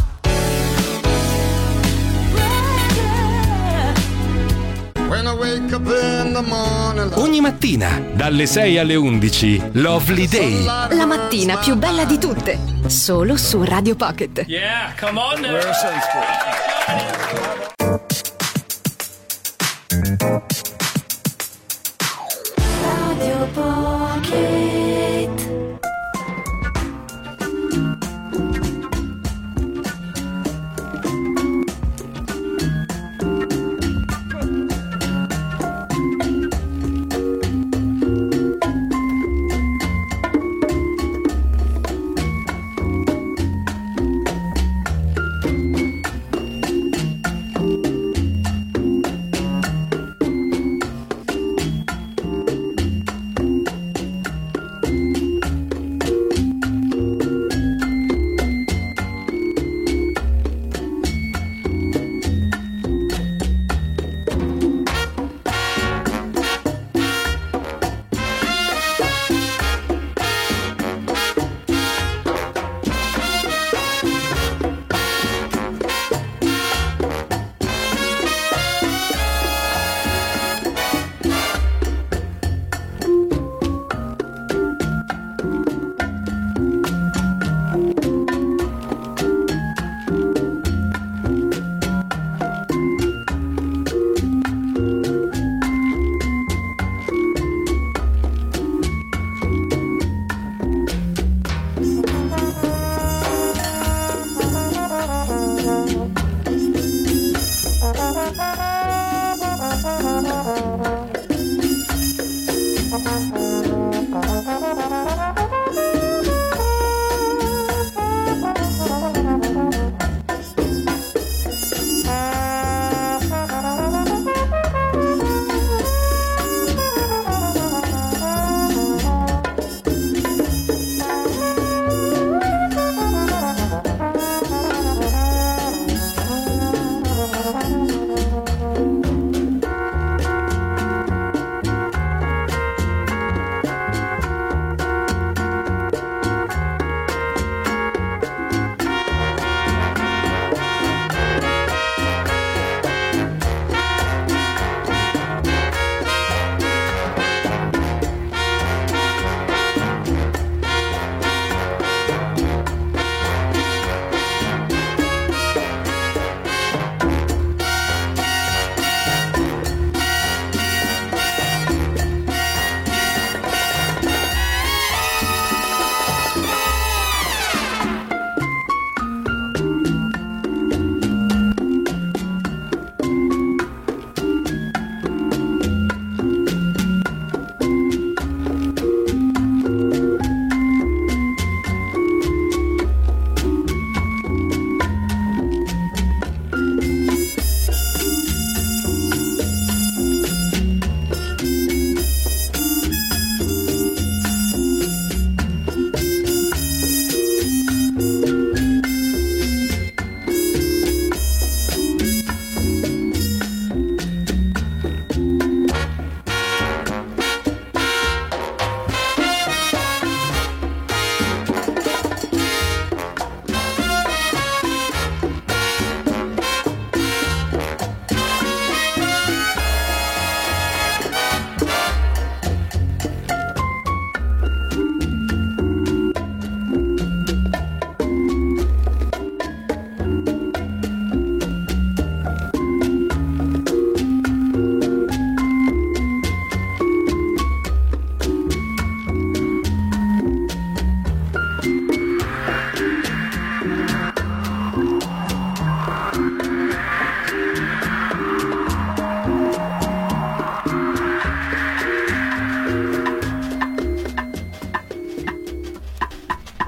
When I wake up in the morning, Ogni mattina, dalle 6 alle 11, Lovely Day. La mattina più bella di tutte, solo su Radio Pocket. Yeah, come on now. Radio Pocket.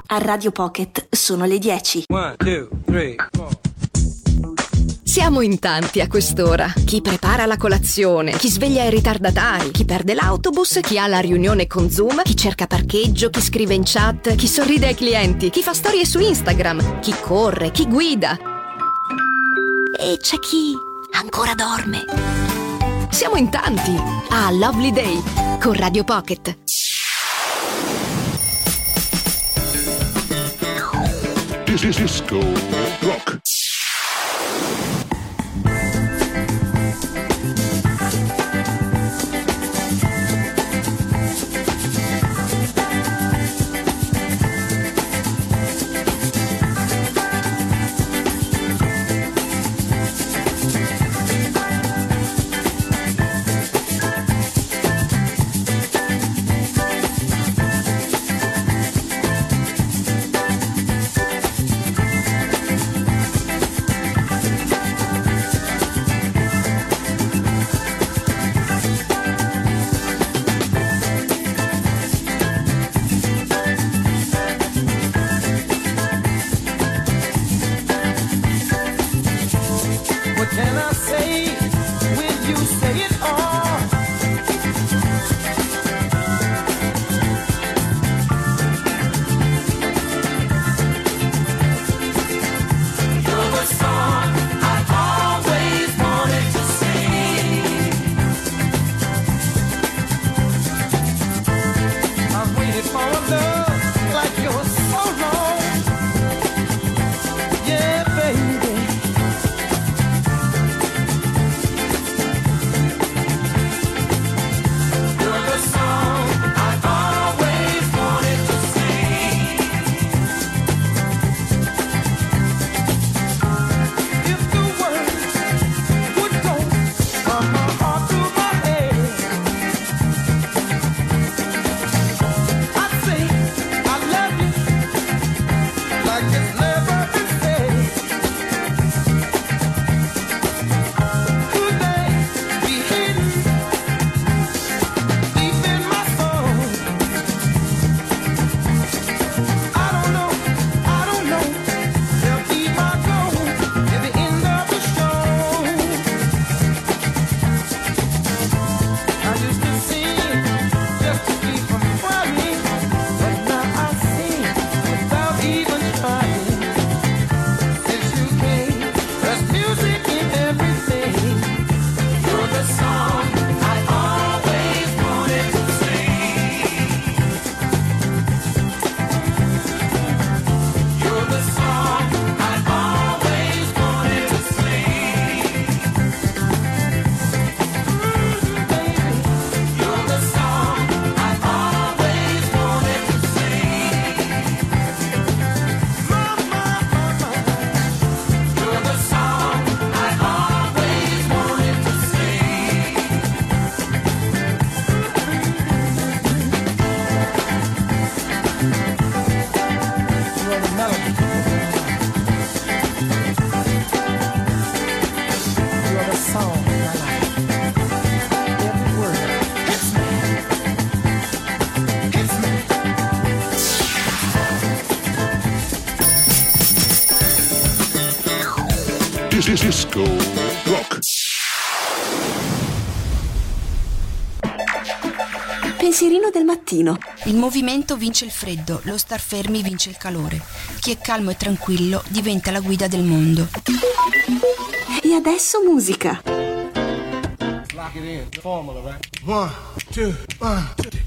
A Radio Pocket sono le 10. 1, 2, 3, 4. Siamo in tanti a quest'ora. Chi prepara la colazione, chi sveglia i ritardatari, chi perde l'autobus, chi ha la riunione con Zoom, chi cerca parcheggio, chi scrive in chat, chi sorride ai clienti, chi fa storie su Instagram, chi corre, chi guida. E c'è chi ancora dorme. Siamo in tanti a Lovely Day con Radio Pocket. Disco Rock. Disco Rock. Pensierino del mattino. Il movimento vince il freddo, lo star fermi vince il calore. Chi è calmo e tranquillo diventa la guida del mondo. E adesso musica. Lock it in, the formula, right? 1, 2, 1, 2.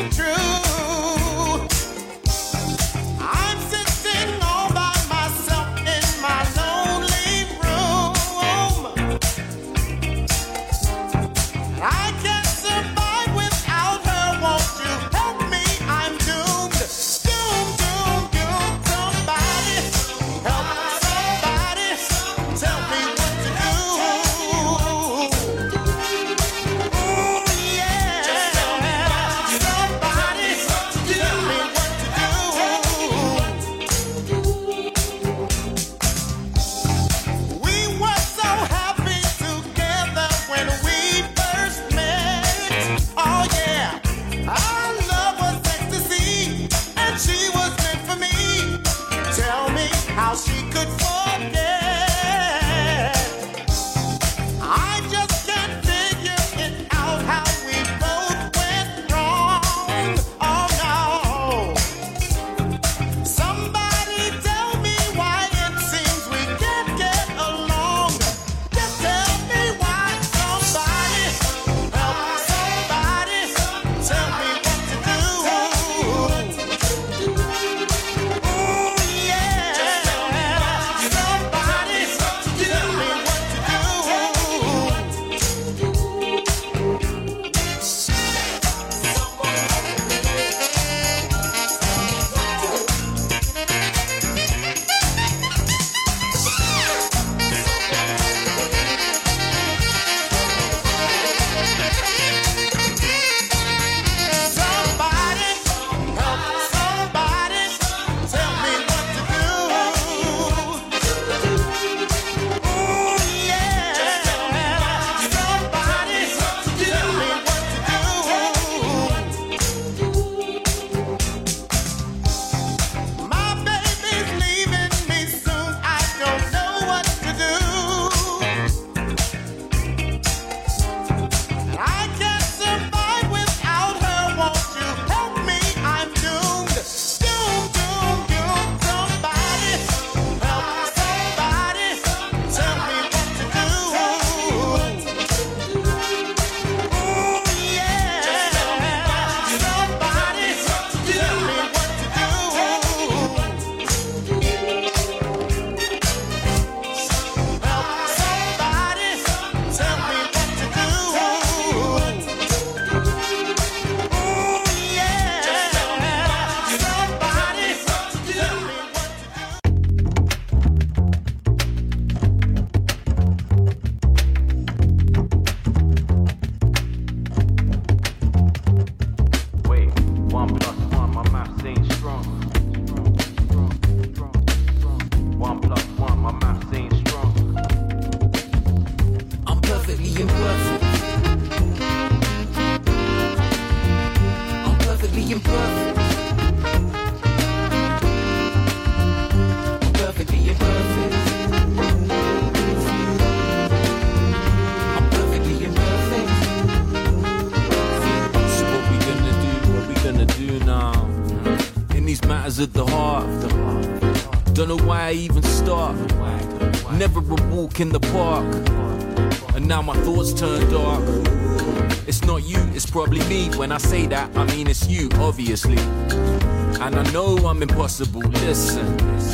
At the heart, don't know why I even start. Never a walk in the park, and now my thoughts turn dark. It's not you, it's probably me. When I say that, I mean it's you, obviously. And I know I'm impossible, listen.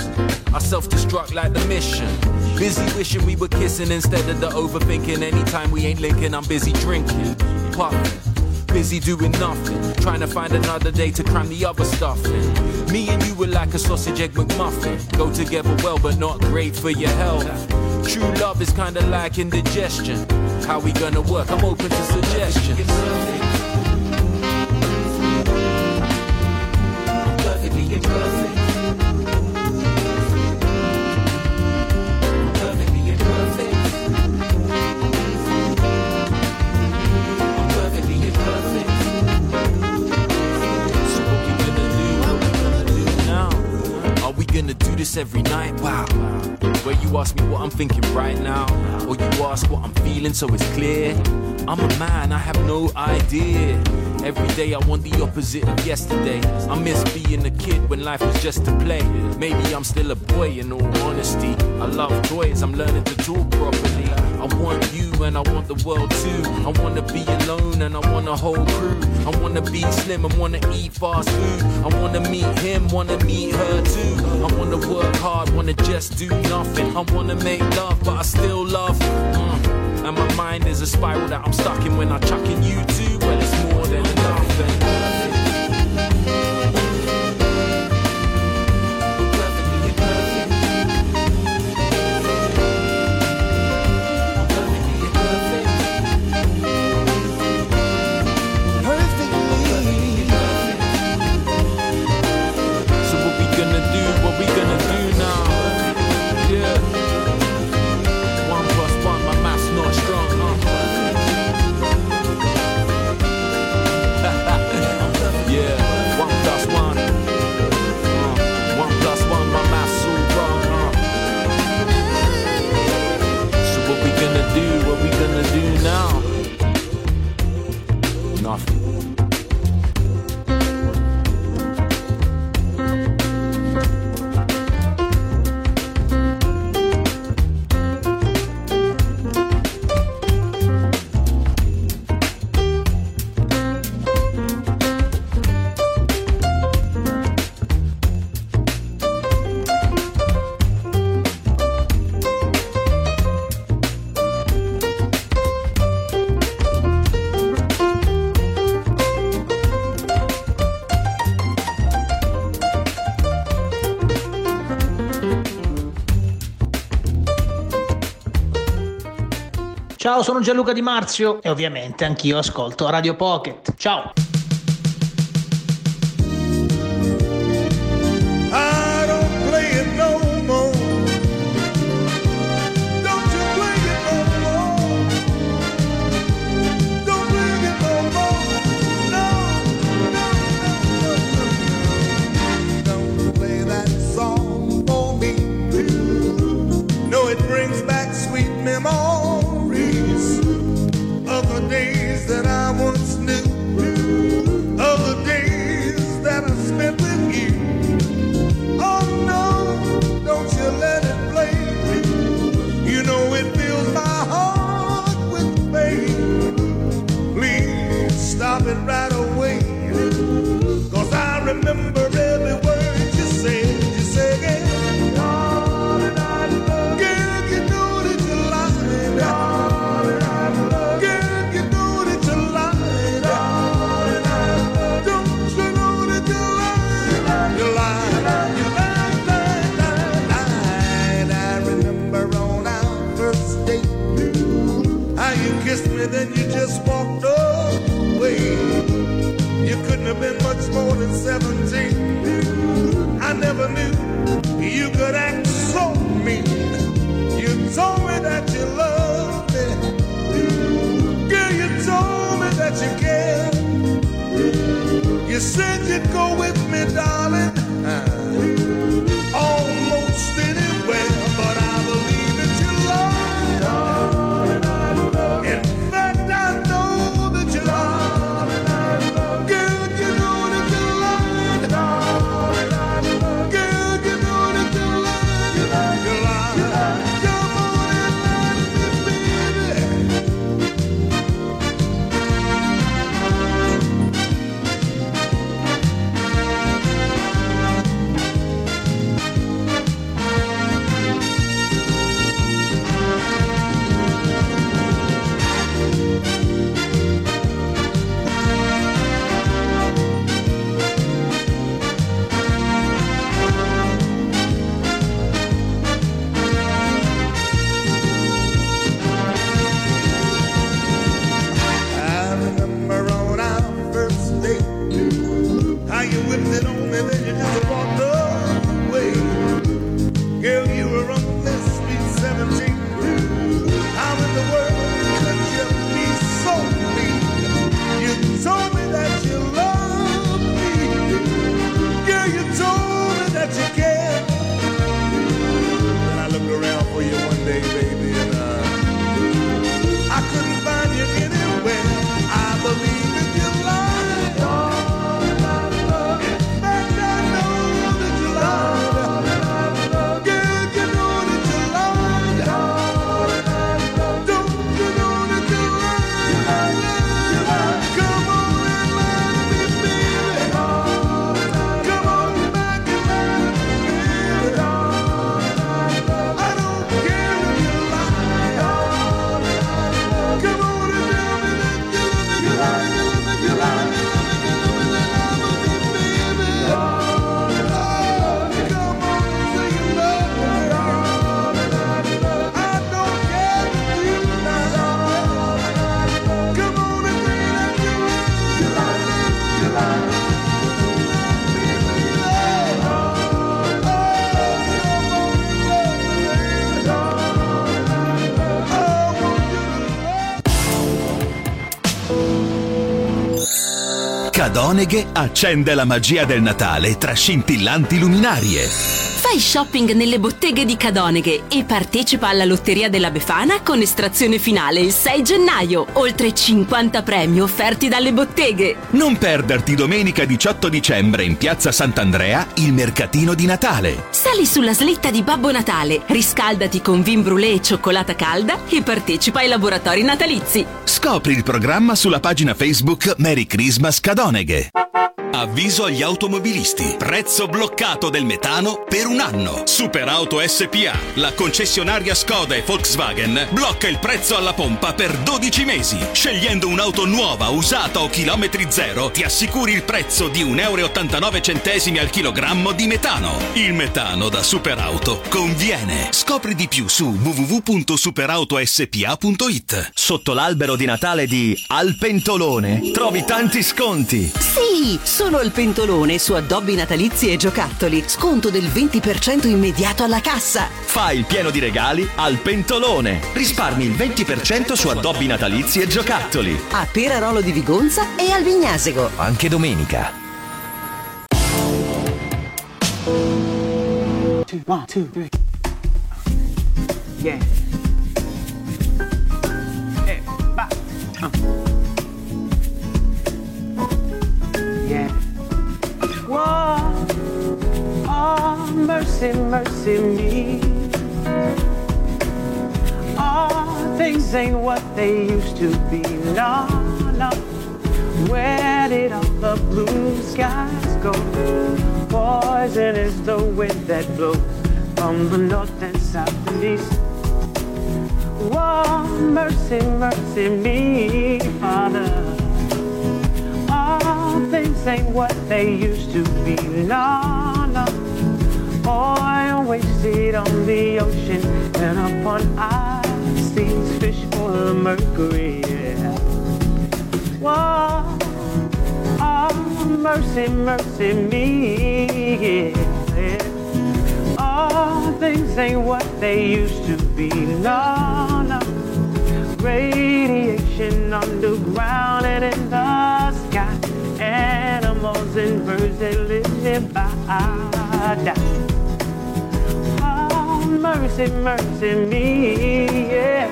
I self-destruct like the mission. Busy wishing we were kissing instead of the overthinking. Anytime we ain't linking, I'm busy drinking, puffing. Busy doing nothing, trying to find another day to cram the other stuff in. Me and you were like a sausage egg McMuffin. Go together well, but not great for your health. True love is kinda like indigestion. How we gonna work? I'm open to suggestions. I'm perfectly imperfect. Gonna do this every night, wow. Where you ask me what I'm thinking right now, or you ask what I'm feeling so it's clear. I'm a man, I have no idea. Every day I want the opposite of yesterday. I miss being a kid when life was just a play. Maybe I'm still a boy in all honesty. I love toys, I'm learning to talk properly. I want you and I want the world too. I wanna be alone and I want a whole crew. I wanna be slim and wanna eat fast food. I wanna meet him, wanna meet her too. I wanna work hard, wanna just do nothing. I wanna make love but I still love. And my mind is a spiral that I'm stuck in when I'm chucking you too. Well, it's more than enough. Ciao, sono Gianluca Di Marzio e ovviamente anch'io ascolto Radio Pocket. Ciao! Cadoneghe accende la magia del Natale tra scintillanti luminarie. Fai shopping nelle botteghe di Cadoneghe e partecipa alla Lotteria della Befana con estrazione finale il 6 gennaio. Oltre 50 premi offerti dalle botteghe. Non perderti domenica 18 dicembre in Piazza Sant'Andrea il mercatino di Natale. Sali sulla slitta di Babbo Natale, riscaldati con vin brûlé e cioccolata calda e partecipa ai laboratori natalizi. Scopri il programma sulla pagina Facebook Merry Christmas Cadoneghe. Avviso agli automobilisti. Prezzo bloccato del metano per un anno. Superauto SPA, la concessionaria Skoda e Volkswagen, blocca il prezzo alla pompa per 12 mesi. Scegliendo un'auto nuova, usata o chilometri zero, ti assicuri il prezzo di 1,89 € al chilogrammo di metano. Il metano da Superauto conviene. Scopri di più su www.superautospa.it. Sotto l'albero di Natale di Al Pentolone trovi tanti sconti. Sì, sono al Pentolone su addobbi natalizi e giocattoli. Sconto del 20% immediato alla cassa. Fai il pieno di regali al Pentolone. Risparmi il 20% su addobbi natalizi e giocattoli. A Perarolo di Vigonza e al Vignasego. Anche domenica. 1, 2, 3. Yeah. Back. Yeah. Whoa. Oh, mercy, mercy me. Oh, things ain't what they used to be. No, no. Where did all the blue skies go? Poison is the wind that blows from the north and south and east. Whoa, mercy, mercy me, Father. All things ain't what they used to be. No, no. Oil wasted on the ocean and upon our seas, fish full of mercury. Yeah. Whoa, oh, mercy, mercy me. Yeah. All things ain't what they used to be. No, no. Radiation underground and in the sky. Animals and birds that live nearby die. Oh, mercy, mercy me, yeah.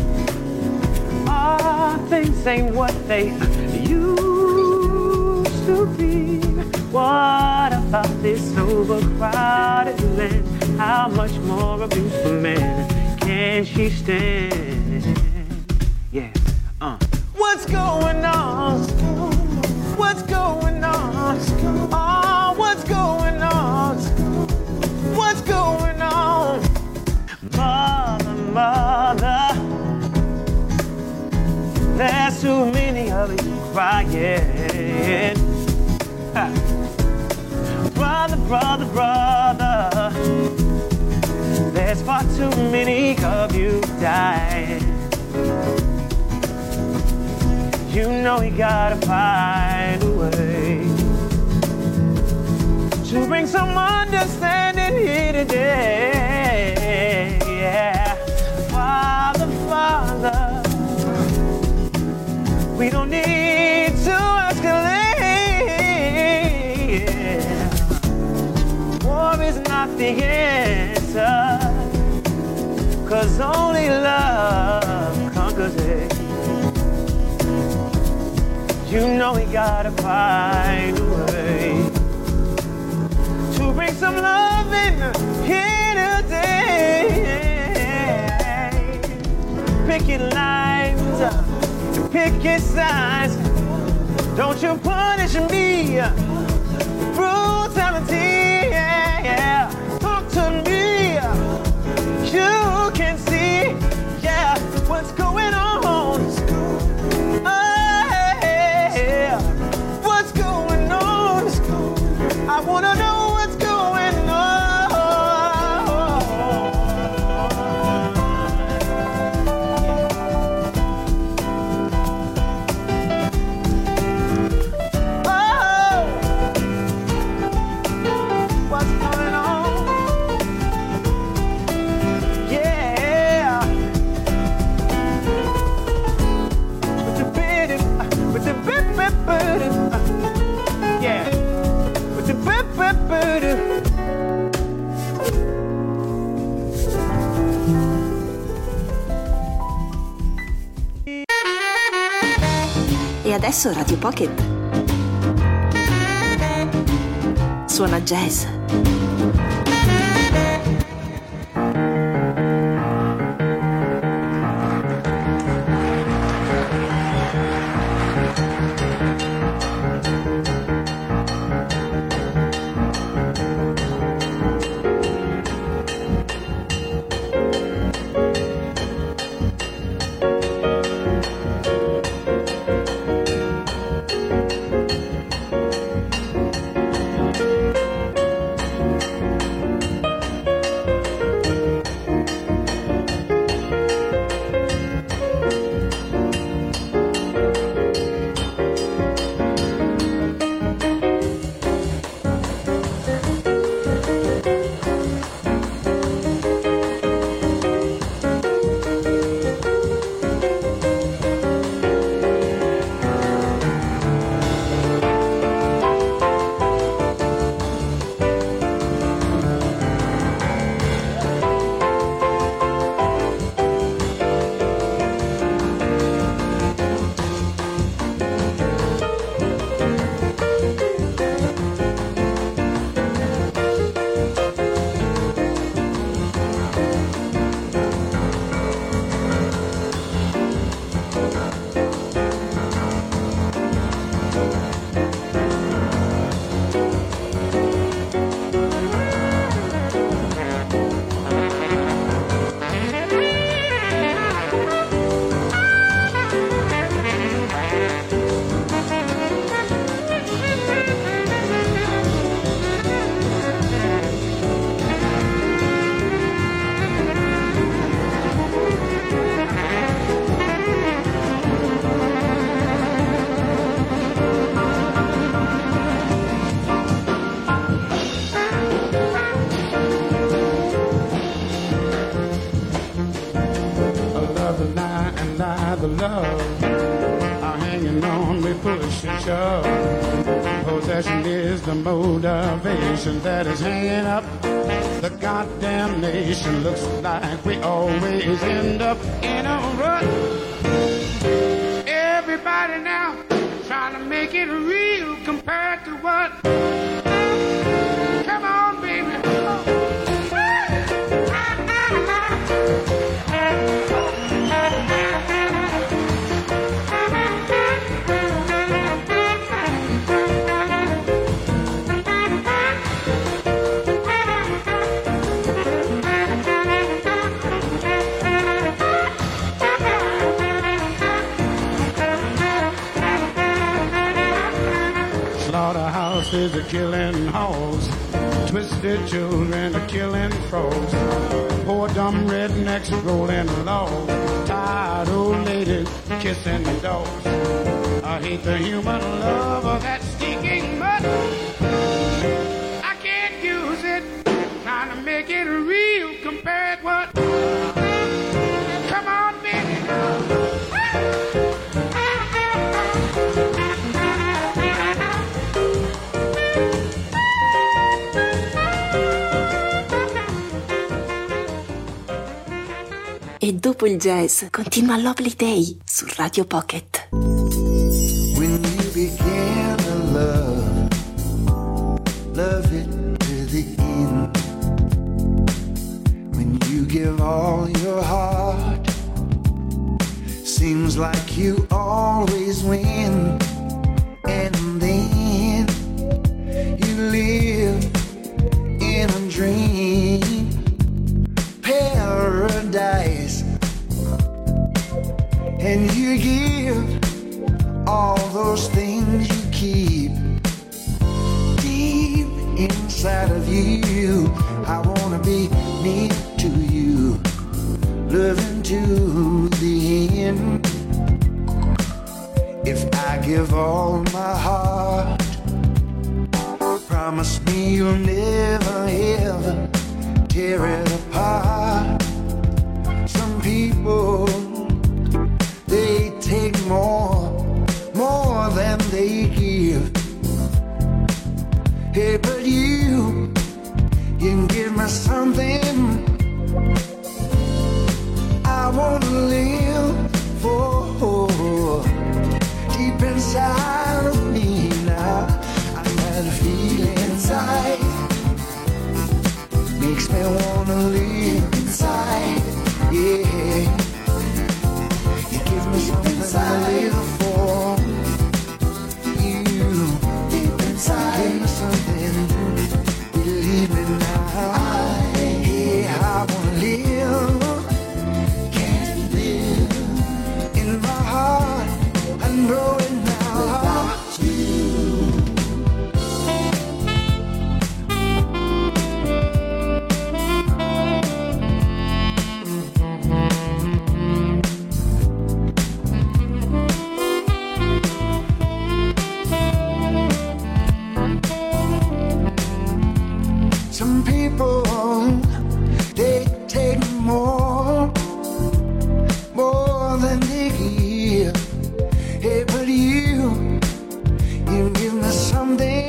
All things ain't what they used to be. What about this overcrowded land? How much more abuse for man can she stand? Yeah, What's going on? What's going on? Oh, what's going on? What's going on? Mother, mother, there's too many of you crying. Brother, brother, brother, there's far too many of you dying. You know you gotta find a way to bring some understanding here today. Yeah, Father, Father, we don't need to escalate. Yeah. War is not the answer, 'cause only love conquers it. You know we gotta find a way to bring some love in here today. Pick your lines, pick your sides. Don't you punish me, brutality, yeah. Talk to me, you can see, yeah, what's going on. I wanna know what's going on. Oh, adesso Radio Pocket suona jazz. The love are hanging on, we push and shove. Possession is the motivation that is hanging up the goddamn nation. Looks like we always end up in a rut. Everybody now trying to make it real compared to what? Come on, baby. Slaughterhouses are killing hoes, twisted children are killing frogs, poor dumb rednecks rolling low, tired old ladies kissing dogs. I hate the human love of that stinking mud. I can't use it, trying to make it real compared what? Come on, baby. E dopo il jazz continua Lovely Day su Radio Pocket. When you begin to love it to the end. When you give all your heart, seems like you always win. And then you live in a dream paradise, and you give all those things you keep deep inside of you. I wanna be near to you, loving to the end. If I give all my heart, promise me you'll never ever tear it apart. Some people, they take more than they give. Hey, but you can give me something I wanna live for. Deep inside people, they take more than they give. Hey, but you give me something,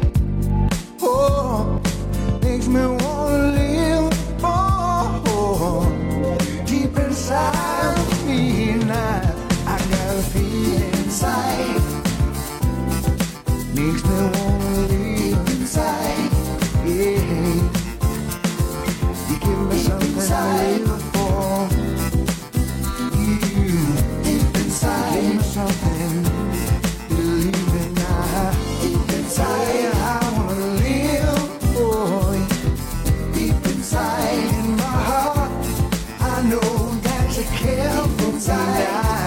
oh, makes me wanna live, oh, deep inside of me now. I got a feeling inside, makes me wanna live inside, yeah. You give me something inside. To live for, you deep inside, give me something to believe in now. Deep inside, I wanna live for you. Deep inside in my heart, I know that you care for me.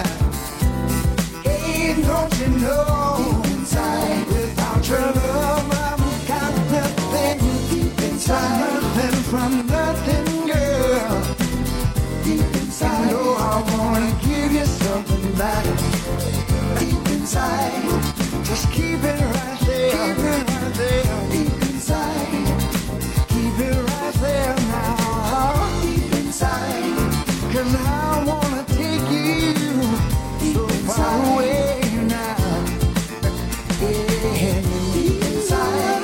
Hey, don't you know, inside, without your love, I've got nothing. Deep inside, nothing from nothing, girl. Deep inside, you know I wanna give you something back. Deep inside, just keep it right there. Keep it right there. Deep inside, keep it right there now. Deep inside, 'cause I wanna take you so far away now. Yeah, deep inside,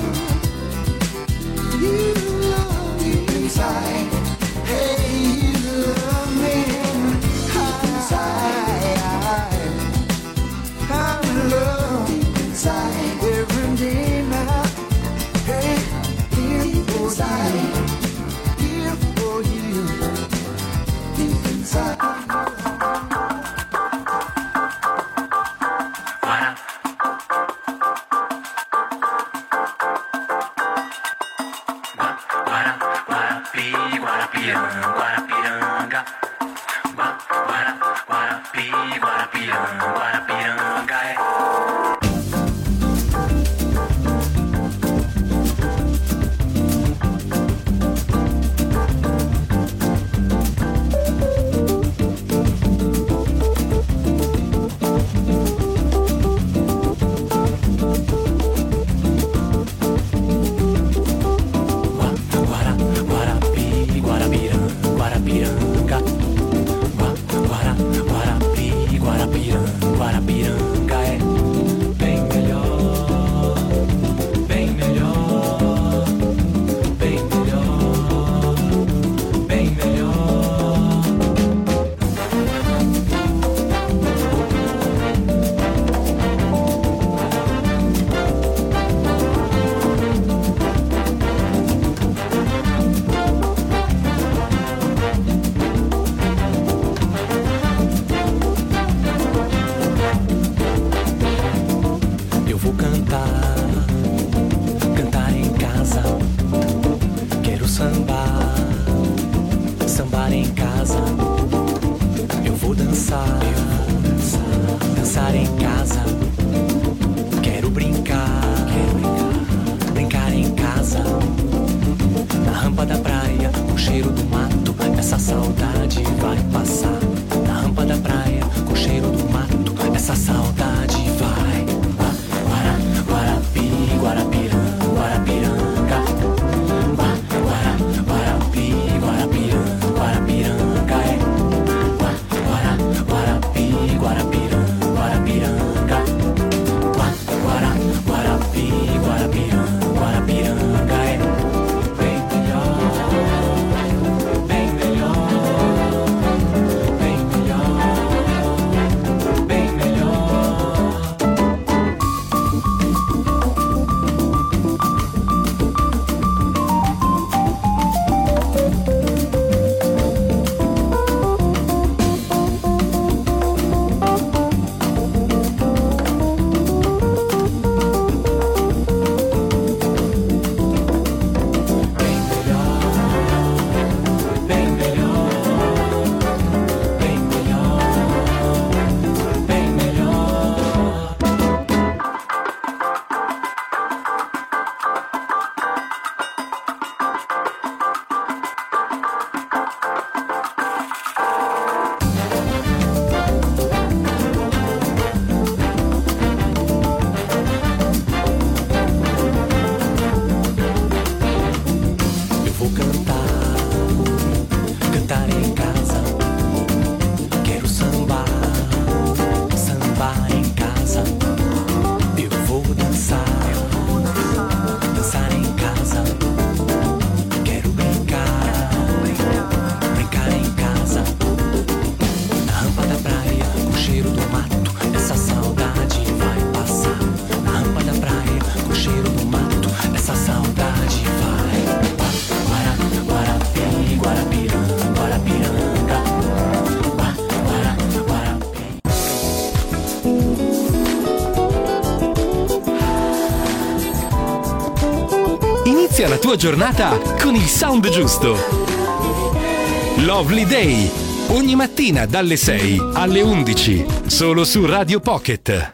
you love deep inside. Hey, you love me inside. I'm in love deep inside every day now. Hey, here for you, here for you, deep inside. Guarapiranga, Guarapiranga, Inizia la tua giornata con il sound giusto. Lovely Day, ogni mattina dalle 6 alle 11, solo su Radio Pocket.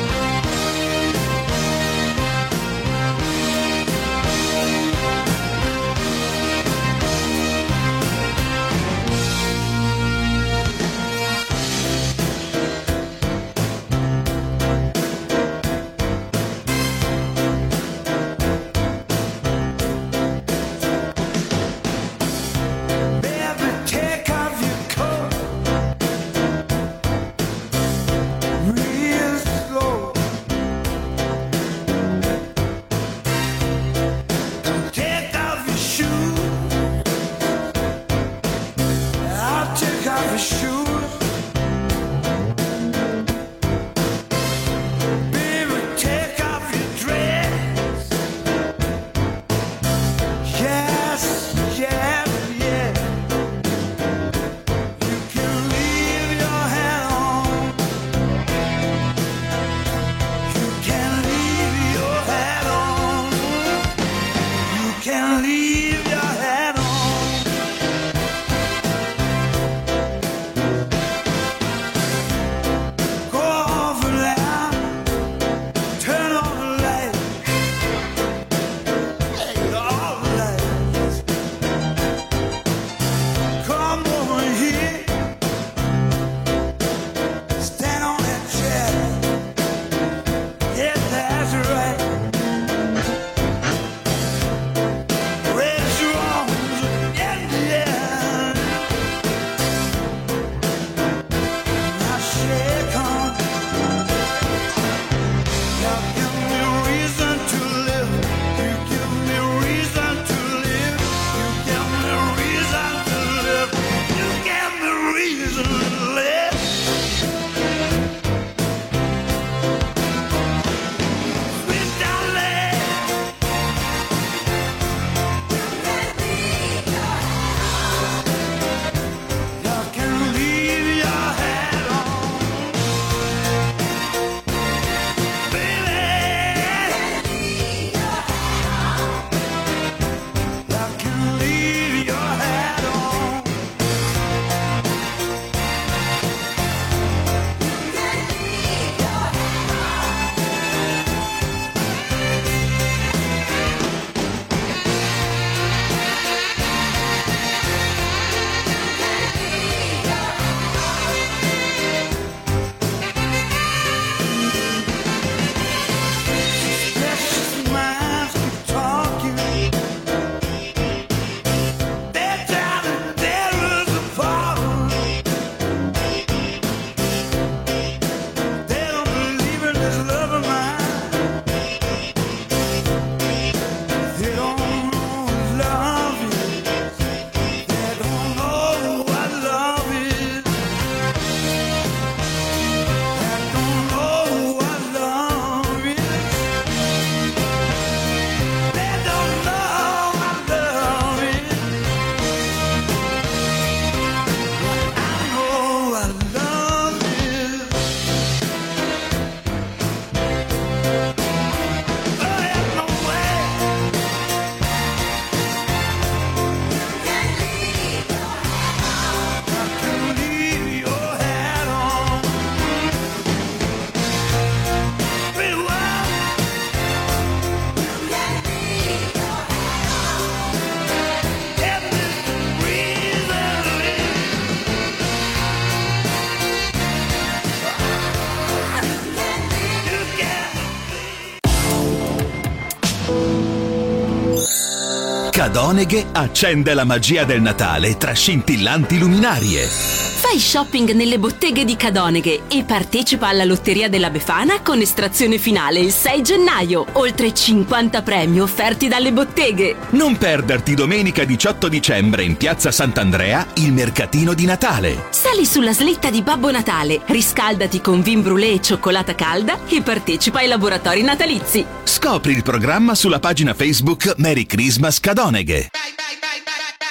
Cadoneghe accende la magia del Natale tra scintillanti luminarie. Fai shopping nelle botteghe di Cadoneghe e partecipa alla Lotteria della Befana con estrazione finale il 6 gennaio. Oltre 50 premi offerti dalle botteghe. Non perderti domenica 18 dicembre in Piazza Sant'Andrea il mercatino di Natale. Sali sulla slitta di Babbo Natale, riscaldati con vin brûlé e cioccolata calda e partecipa ai laboratori natalizi. Scopri il programma sulla pagina Facebook Merry Christmas Cadoneghe.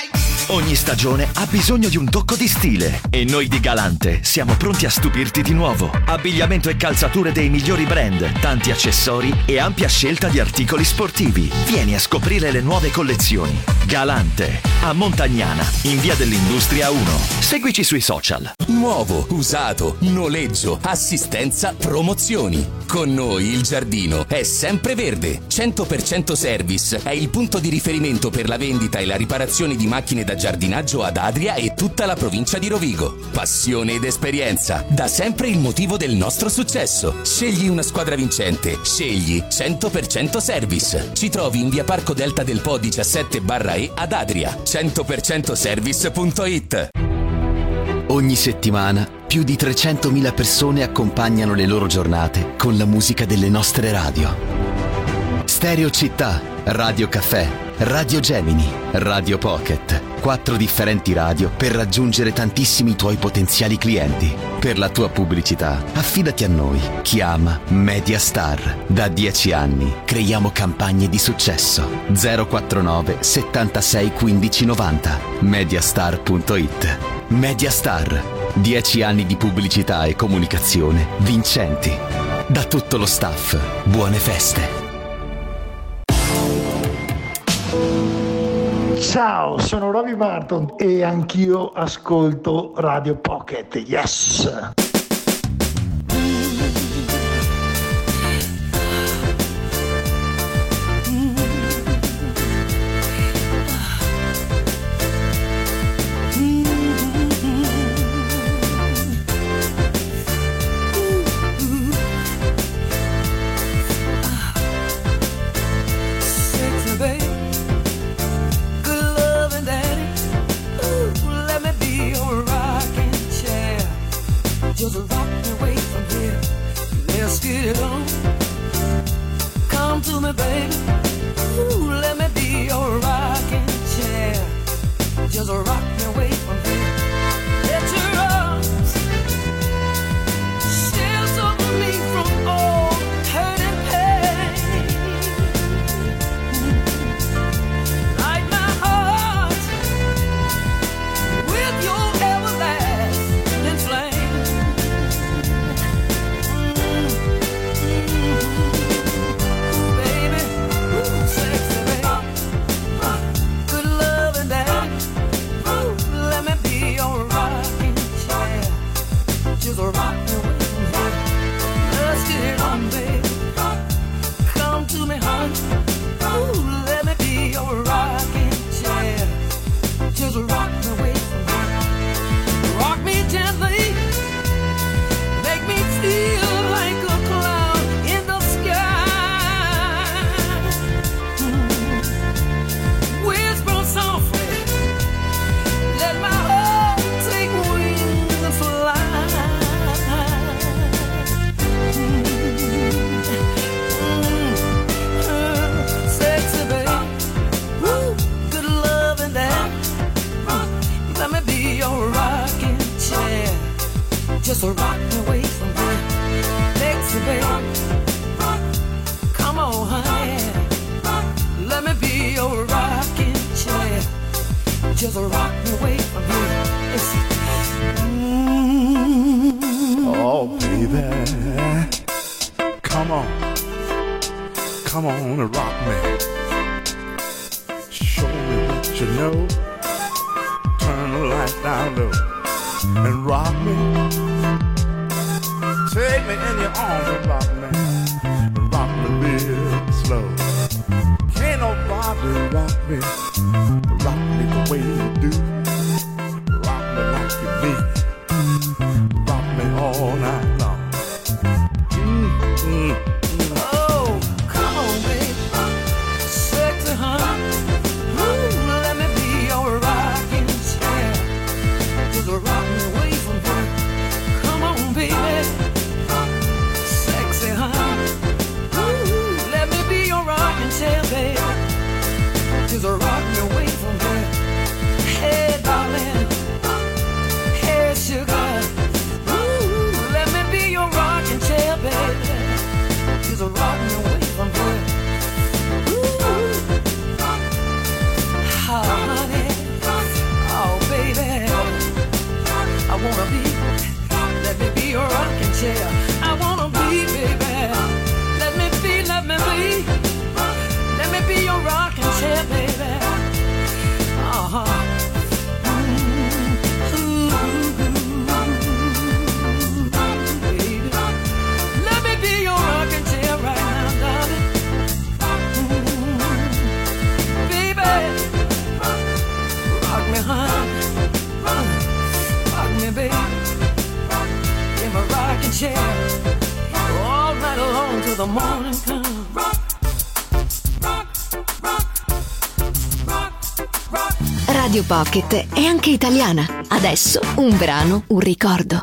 Ogni stagione ha bisogno di un tocco di stile e noi di Galante siamo pronti a stupirti di nuovo. Abbigliamento e calzature dei migliori brand, tanti accessori e ampia scelta di articoli sportivi. Vieni a scoprire le nuove collezioni. Galante, a Montagnana, in via dell'Industria 1. Seguici sui social. Nuovo, usato, noleggio, assistenza, promozioni. Con noi il giardino è sempre verde. 100% Service è il punto di riferimento per la vendita e la riparazione di macchine da giardinaggio ad Adria e tutta la provincia di Rovigo. Passione ed esperienza, da sempre il motivo del nostro successo. Scegli una squadra vincente. Scegli 100% Service. Ci trovi in via Parco Delta del Po 17/E ad Adria. 100%service.it. Ogni settimana più di 300.000 persone accompagnano le loro giornate con la musica delle nostre radio. Stereo Città, Radio Caffè, Radio Gemini, Radio Pocket. 4 differenti radio per raggiungere tantissimi tuoi potenziali clienti. Per la tua pubblicità, affidati a noi. Chiama Mediastar. Da 10 anni creiamo campagne di successo. 049 76 15 90. Mediastar.it. Mediastar. 10 anni di pubblicità e comunicazione vincenti. Da tutto lo staff, buone feste. Ciao, sono Roby Martin e anch'io ascolto Radio Pocket. Yes! Just rock me away from here. Let's get it on. Come to me, baby. Ooh, let me be your rocking chair. Just rock me away from here. Let your arms shelter me from all hurt and pain. Light my heart with your everlasting flame. Rock me away from here. Let's get it on, baby. Come to me, honey. Ooh, let me be your rocking chair. Just rock me away from here. Rock me gently. Make me feel like a cloud in the sky. Whisper softly. Let my heart take wings and fly. Sexy baby, woo, good love and that. Let me be your rocking chair. Just rock me away from here. Sexy baby, come on, honey. Let me be your rocking chair. Just rock me away from here. Oh, baby, come on and rock me. Show me what you know. Turn the light down low and rock me. Take me in your arms and rock me real slow. Can't nobody rock me the way you do. Rock me like you need. Rock me all night long. Oh, come on, baby. Sexy, honey. Ooh, let me be your rocking chair. Just rock me away from here. Come on, baby. Sexy, honey. Ooh, let me be your rocking chair, baby. Just rock chair. I wanna be, baby. Let me be, let me be. Let me be your rocking chair, baby. Uh-huh. All night long till the morning comes. Radio Pocket è anche italiana. Adesso un brano, un ricordo.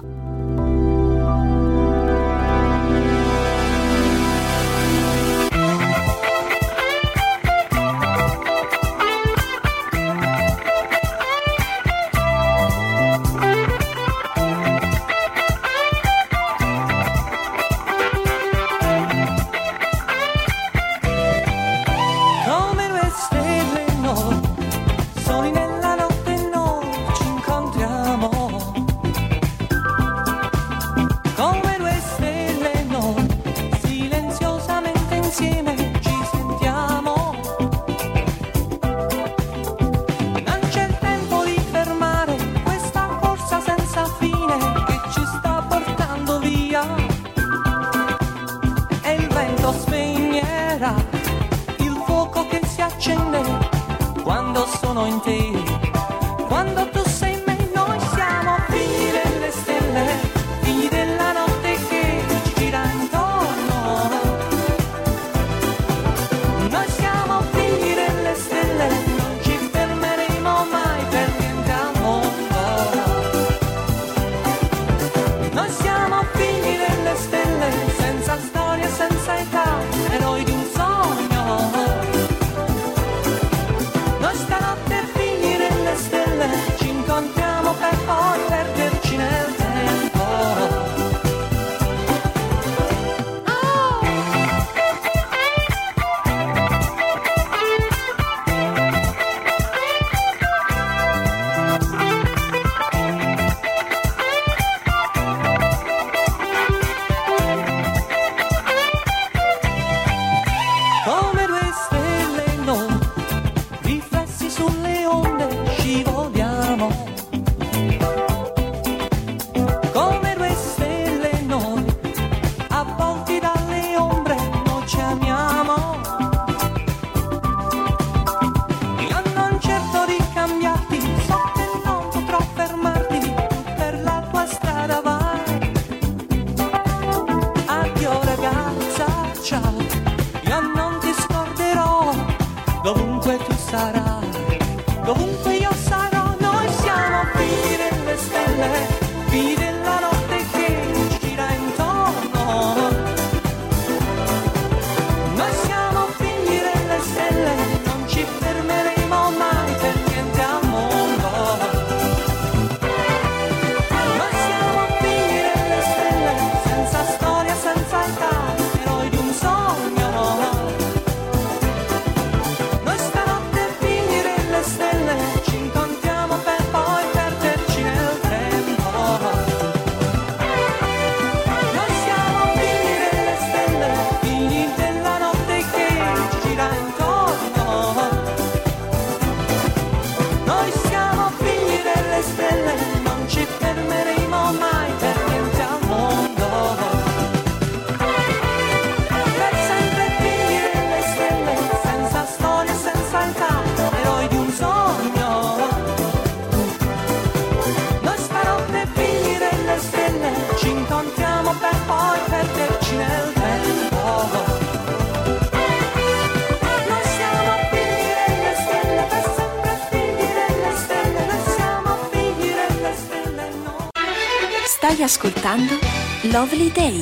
Stai ascoltando Lovely Day.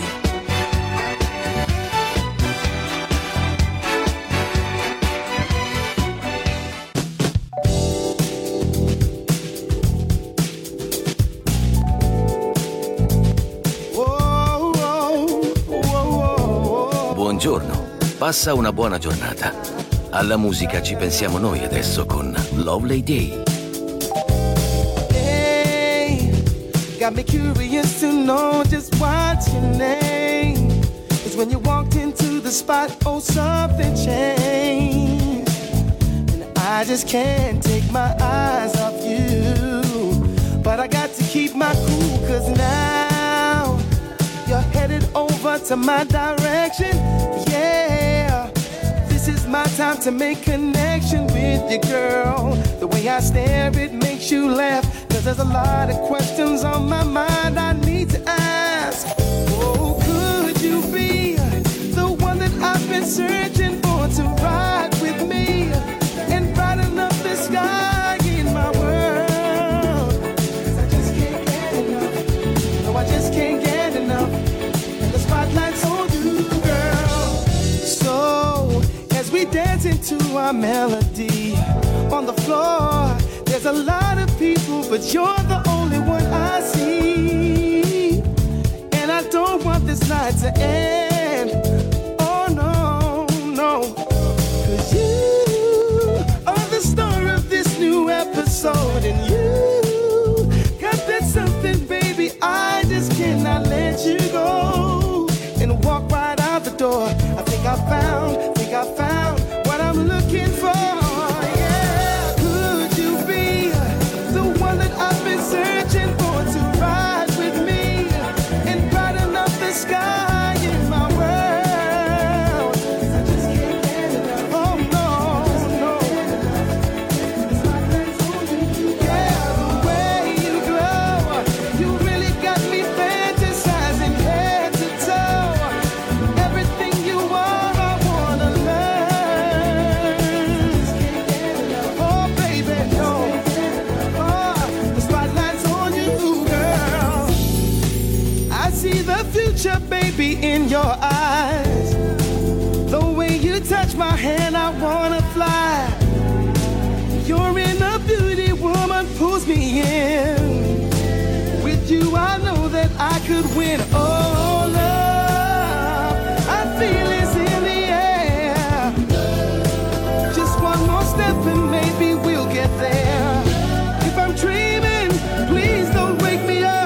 Buongiorno, passa una buona giornata. Alla musica ci pensiamo noi adesso con Lovely Day. got me curious to know just what's your name. 'Cause when you walked into the spot, oh, something changed. And I just can't take my eyes off you. But I got to keep my cool, 'cause now you're headed over to my direction. Yeah, this is my time to make connection with you, girl. The way I stare, it makes you laugh. 'Cause there's a lot of questions on my mind I need to ask. Oh, could you be the one that I've been searching for to ride with me and brighten up the sky in my world? 'Cause I just can't get enough. No, I just can't get enough. And the spotlight's on you, girl. So, as we dance into our melody on the floor, there's a lot of people, but you're the only one I see. And I don't want this night to end. Oh no, no. 'Cause you are the star of this new episode. And you got that something, baby, I just cannot let you go. And walk right out the door. I think I found what I'm looking for. Searching for to ride with me and brighten up the sky in my world. 'Cause I just can't get enough. Oh no, no. Yeah, the way you glow, you really got me fantasizing head to toe. Everything you are, I wanna learn. Oh baby, no. See the future, baby, in your eyes. The way you touch my hand, I wanna fly. You're in a beauty, woman, pulls me in. With you, I know that I could win. Oh, love, I feel it's in the air. Just one more step and maybe we'll get there. If I'm dreaming, please don't wake me up.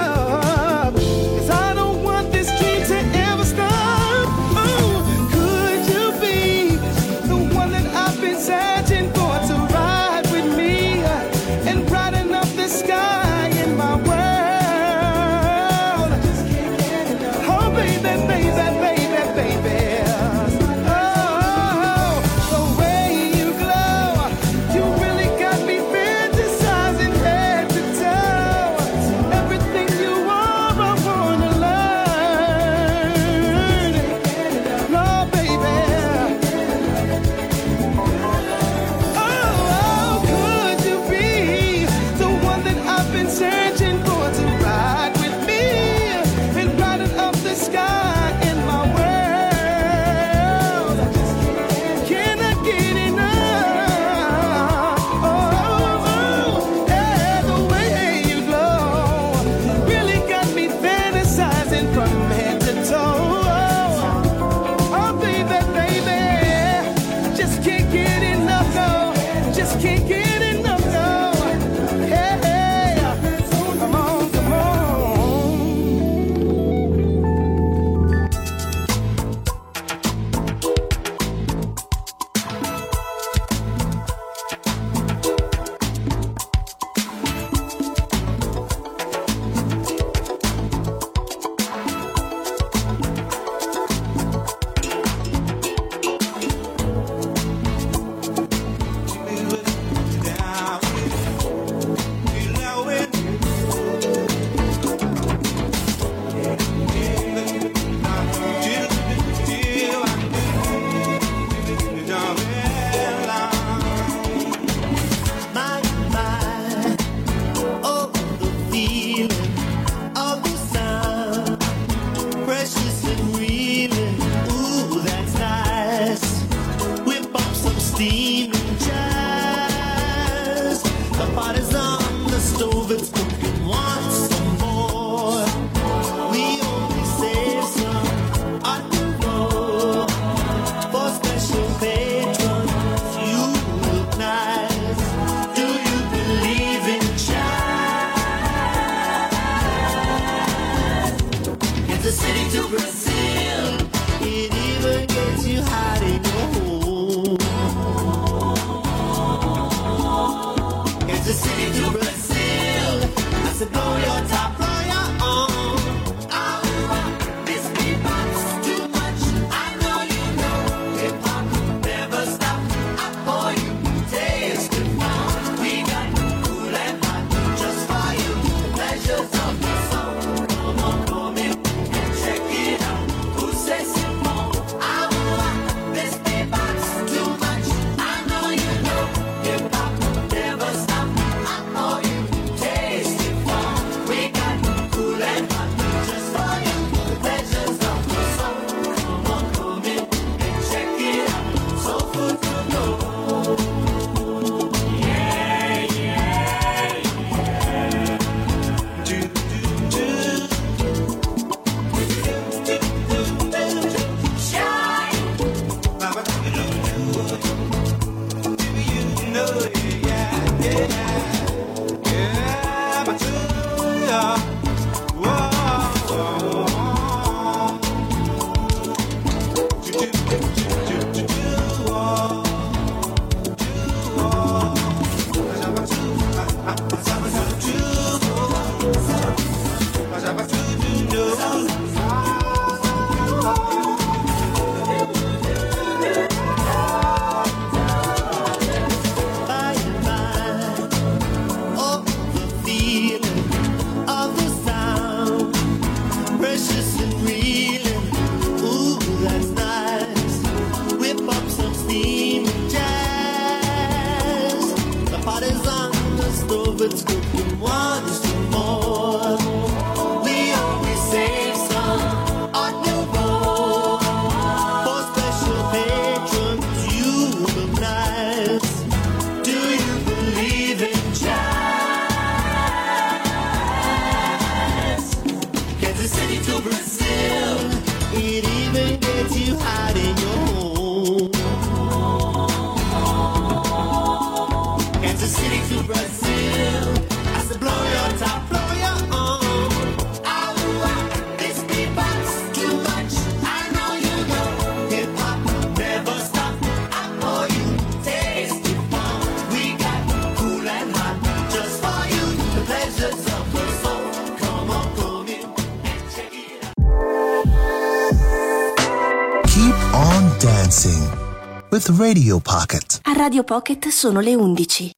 Searching for to ride with me and brighten up the sky in my world. Oh baby, baby, baby, baby. Oh, the way you glow, you really got me fantasizing head to toe. Everything you are, I wanna learn. No, baby. Searching for to ride with me and brighten up the sky in my world. Cannot get enough. Oh, yeah, the way you glow really got me fantasizing from head to toe. Oh, baby, baby, just can't get enough, no. Just can't get enough, no. city to Brazil. I said blow your top, blow your own. This beatbox too much. I know you know hip hop never stop. I know you taste it fun. We got cool and hot just for you. The pleasures of the soul. Come on, come in and check it out. Keep on dancing with Radio Pocket. A Radio Pocket sono le 11.